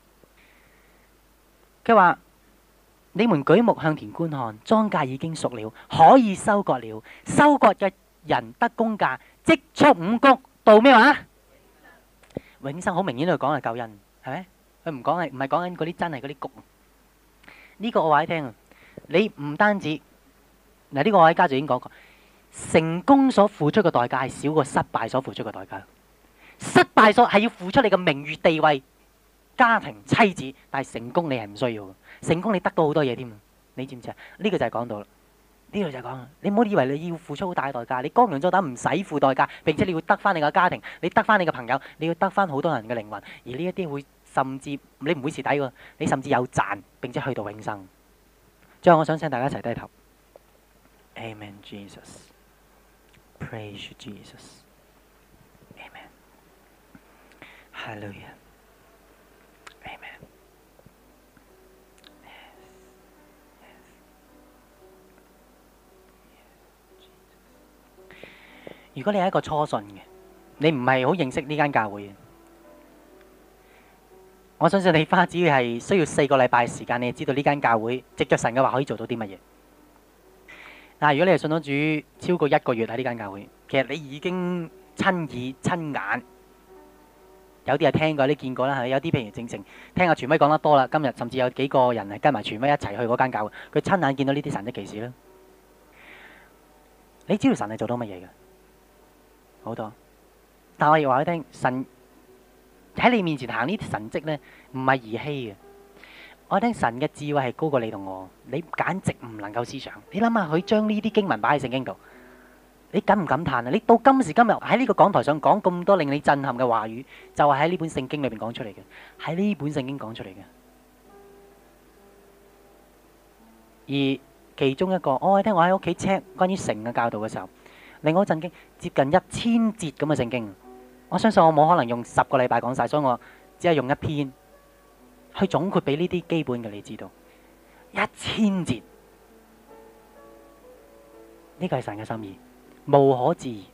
佢話。你們舉目向田觀看，莊稼已經熟了，可以收割了。收割嘅人得工價，積蓄五穀，到咩話？永生好明顯喺度講係救恩，係咪？佢唔講係唔係講緊嗰啲真係嗰啲穀。呢個我話你聽啊，你唔單止嗱，呢個我喺家就已經講過，成功所付出嘅代價係少過失敗所付出嘅代價。失敗所係要付出你嘅名譽地位、家庭、妻子，但係成功你係唔需要嘅。成功你得到好多嘢添，你知唔知啊？呢個就係講到啦，呢度就係講啦。你唔好以為你要付出好大嘅代價，你剛強壯膽唔使付代價，並且你要得翻你嘅家庭，你得翻你嘅朋友，你要得翻好多人嘅靈魂，而呢一啲會甚至你唔會蝕底喎，你甚至有賺，並且去到永生。最後我想請大家一齊低頭。Amen, Jesus. Praise you, Jesus. Amen. Hallelujah. Amen.如果你係一個初信嘅，你唔係好認識呢間教會嘅，我相信你花只要係需要四個禮拜嘅時間，你就知道呢間教會藉着神嘅話可以做到啲乜嘢。嗱，如果你係信咗主超過一個月喺呢間教會，其實你已經親耳親眼，有啲係聽過，有啲見過啦，有啲譬如正正聽阿傳威講得多啦，今日甚至有幾個人係跟埋傳威一齊去嗰間教會，佢親眼見到呢啲神蹟奇事啦。 你知道神係做到乜嘢嘅？好多。但我亦話俾你聽，神喺你面前行呢啲神蹟咧，唔係兒戲嘅。我聽神嘅智慧係高過你同我，你簡直唔能夠思想。你諗下，佢將呢啲經文擺喺聖經度，你感唔感嘆啊？你到今時今日喺呢個講台上講咁多令你震撼嘅話語，就係喺呢本聖經裏邊講出嚟嘅，喺呢本聖經講出嚟嘅。而其中一個，我聽我喺屋企 check 關於城嘅教導嘅時候，令我震驚，接近一千節咁嘅聖經。我相信我冇可能用十個禮拜講晒，所以我只係用一篇去總括俾呢啲基本嘅你知道。一千節，呢個係神嘅心意，無可置疑。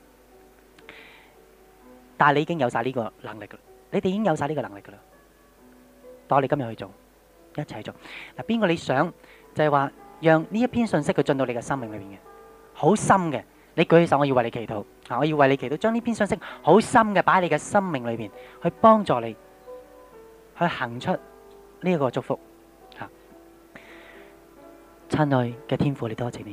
但係你已經有晒呢個能力噶，你哋已經有晒呢個能力噶啦。當我哋今日去做，一齊做。嗱，邊個你想就係話，讓呢一篇信息佢進到你嘅生命裏邊嘅，好深嘅。你舉起手，我要為你祈禱。啊，我要為你祈禱，將呢篇信息好深嘅擺喺你嘅生命裏邊，去幫助你去行出呢一個祝福。吓，親愛嘅天父，你多謝你，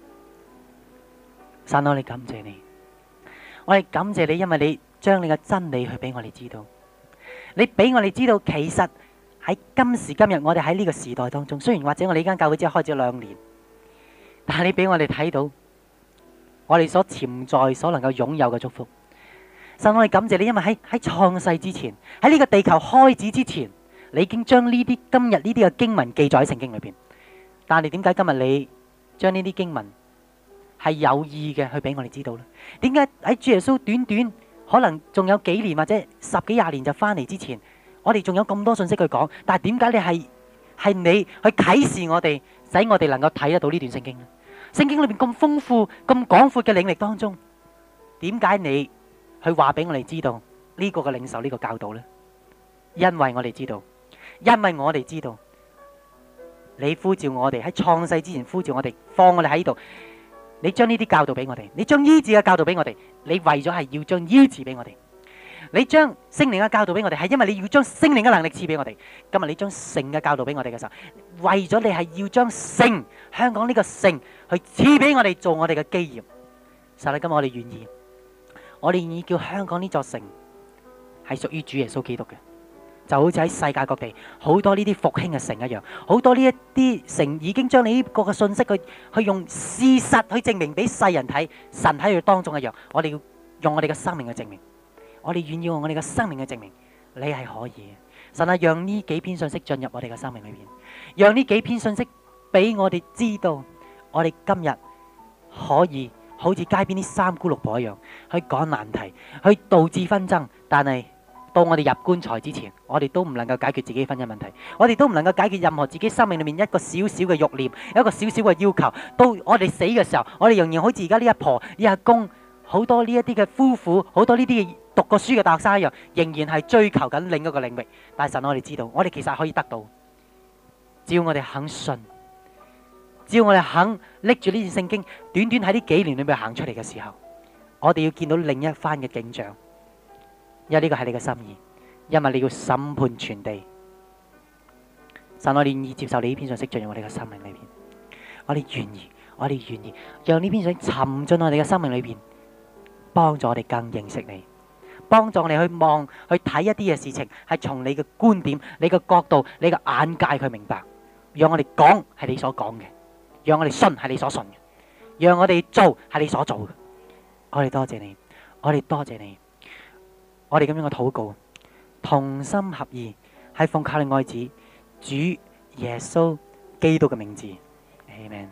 神，我哋感謝你，我哋感謝你，因為你將你嘅真理去俾我哋知道，你俾我哋知道，其實喺今時今日，我哋喺呢個時代當中，雖然或者我哋呢間教會只係開咗兩年，但係你俾我哋睇到。我哋所潛在、所能夠擁有嘅祝福，神，我哋感謝你，因為喺喺創世之前，喺呢個地球開始之前，你已經將呢啲今日呢啲嘅經文記載喺聖經裏邊。但係點解今日你將呢啲經文係有意嘅去俾我哋知道呢？點解喺主耶穌短短可能仲有幾年或者十幾廿年就翻嚟之前，我哋仲有咁多信息去講？但係點解你係係你去啟示我哋，使我哋能夠睇得到呢段聖經呢？聖經裏邊咁豐富、咁廣闊嘅領域當中，點解你去話俾我哋知道呢個嘅領受呢個教導呢？因為我哋知道，因為我哋知道，你呼召我哋喺創世之前呼召我哋，放我哋喺呢度，你將呢啲教導俾我哋，你將醫治嘅教導俾我哋，你為咗係要將醫治俾我哋，你將聖靈嘅教導俾我哋，係因為你要將聖靈嘅能力賜俾我哋。今日你將聖嘅教導俾我哋嘅時候，為咗你係要將聖香港呢個聖去賜俾我哋做我哋嘅基業。神啊，今日我哋願意，我哋願意叫香港呢座城係屬於主耶穌基督嘅，就好似喺世界各地好多呢啲復興嘅城一樣，好多呢一啲城已經將你呢個嘅信息去去用事實去證明俾世人睇，神喺佢當中一樣。我哋要用我哋嘅生命去證明。我哋願意用我哋嘅生命去證明，你係可以嘅。神啊，讓呢幾篇信息進入我哋嘅生命裏邊，讓呢幾篇信息俾我哋知道，我哋今日可以好似街邊啲三姑六婆一樣，去講難題，去導致紛爭。但係到我哋入棺材之前，我哋都唔能夠解決自己婚姻問題，我哋都唔能夠解決任何自己生命裏面一個小小嘅慾念，一個小小嘅要求。到我哋死嘅時候，我哋仍然好似而家呢一婆、呢阿公，好多呢一啲嘅夫婦，好多呢啲嘅讀過書嘅大學生一樣，仍然係追求緊另一個領域。但係神，我哋知道，我哋其實可以得到，只要我哋肯信，只要我哋肯拎住呢段聖經，短短喺呢幾年裏面行出嚟嘅時候，我哋要見到另一番嘅景象。因為呢個係你嘅心意，因為你要審判全地。神，我哋願意接受你呢篇信息進入我哋嘅生命裏邊，我哋願意，我哋願意讓呢篇信息沉進我哋嘅生命裏邊，幫助我哋更認識你，幫助我哋去望去睇一啲嘅事情，係從你嘅觀點、你嘅角度、你嘅眼界去明白。讓我哋講係你所講嘅，讓我哋信係你所信嘅，讓我哋做係你所做嘅。我哋多謝你，我哋多謝你。我哋咁樣嘅禱告，同心合意，係奉靠你愛子主耶穌基督嘅名字，阿們。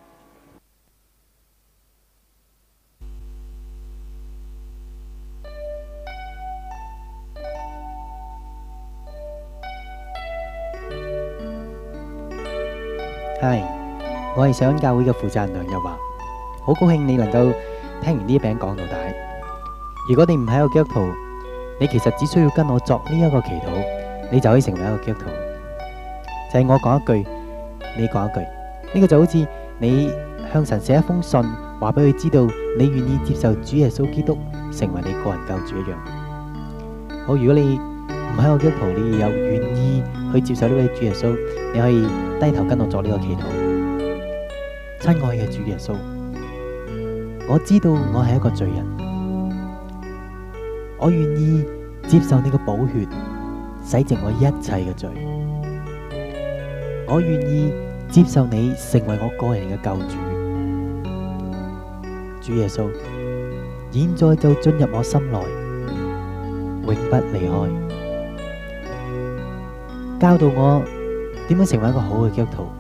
係，我係上恩教會嘅負責人梁日華，好高興你能夠聽完呢一餅講到底。如果你唔係一個基督徒，你其實只需要跟我作呢一個祈禱，你就可以成為一個基督徒。就係我講一句，你講一句，呢個就好似你向神寫一封信，話俾佢知道你願意接受主耶穌基督成為你個人救主一樣。好，如果你唔係一個基督徒，你有願意去接受呢位主耶穌，你可以低頭跟我作呢個祈禱。親愛嘅主耶穌， 我知道我係一個罪人，我願意接受你嘅寶血洗淨我一切嘅罪，我願意接受你成為我個人嘅救主。主耶穌，現在就進入我心內，永不離開，教導我點樣成為一個好嘅基督徒，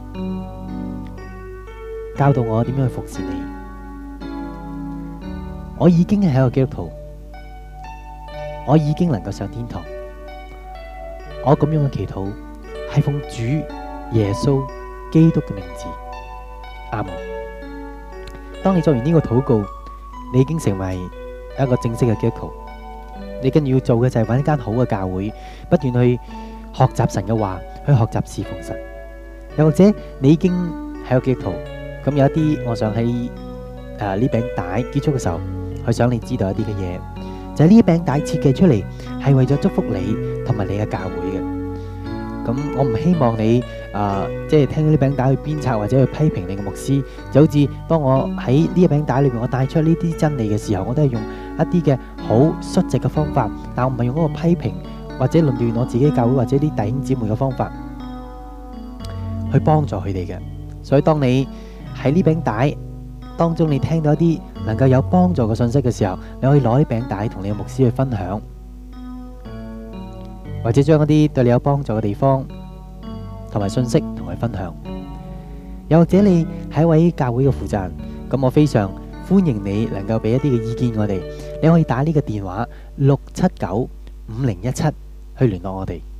教導我點樣去服侍你。我已經係一個基督徒，我已經能夠上天堂。我咁樣嘅祈禱係奉主耶穌基督嘅名字，阿門。當你做完呢個禱告，你已經成為一個正式嘅基督徒。你跟住要做嘅就係揾一間好嘅教會，不斷去學習神嘅話，去學習侍奉神。又或者你已經係個基督徒，咁有一啲，我想喺誒呢餅帶結束嘅時候，去想你知道一啲嘅嘢，就係呢餅帶設計出嚟係為咗祝福你同埋你嘅教會嘅。咁我唔希望你誒、呃、即係聽呢餅帶去鞭策或者去批評你嘅牧師，就好似當我喺呢一餅帶裏邊我帶出呢啲真理嘅時候，我都係用一啲嘅好率直嘅方法，但我唔係用嗰個批評或者論斷我自己教會或者啲弟兄姊妹嘅方法去幫助佢哋嘅。所以當你喺呢餅帶當中你聽到一啲能夠有幫助嘅信息嘅時候，你可以攞啲餅帶同你嘅牧師去分享，或者將一啲對你有幫助嘅地方同埋信息同佢分享。又或者你係一位教會嘅負責人，咁我非常歡迎你能夠俾一啲嘅意見我哋。你可以打呢個電話六七九五零一七去聯絡我哋。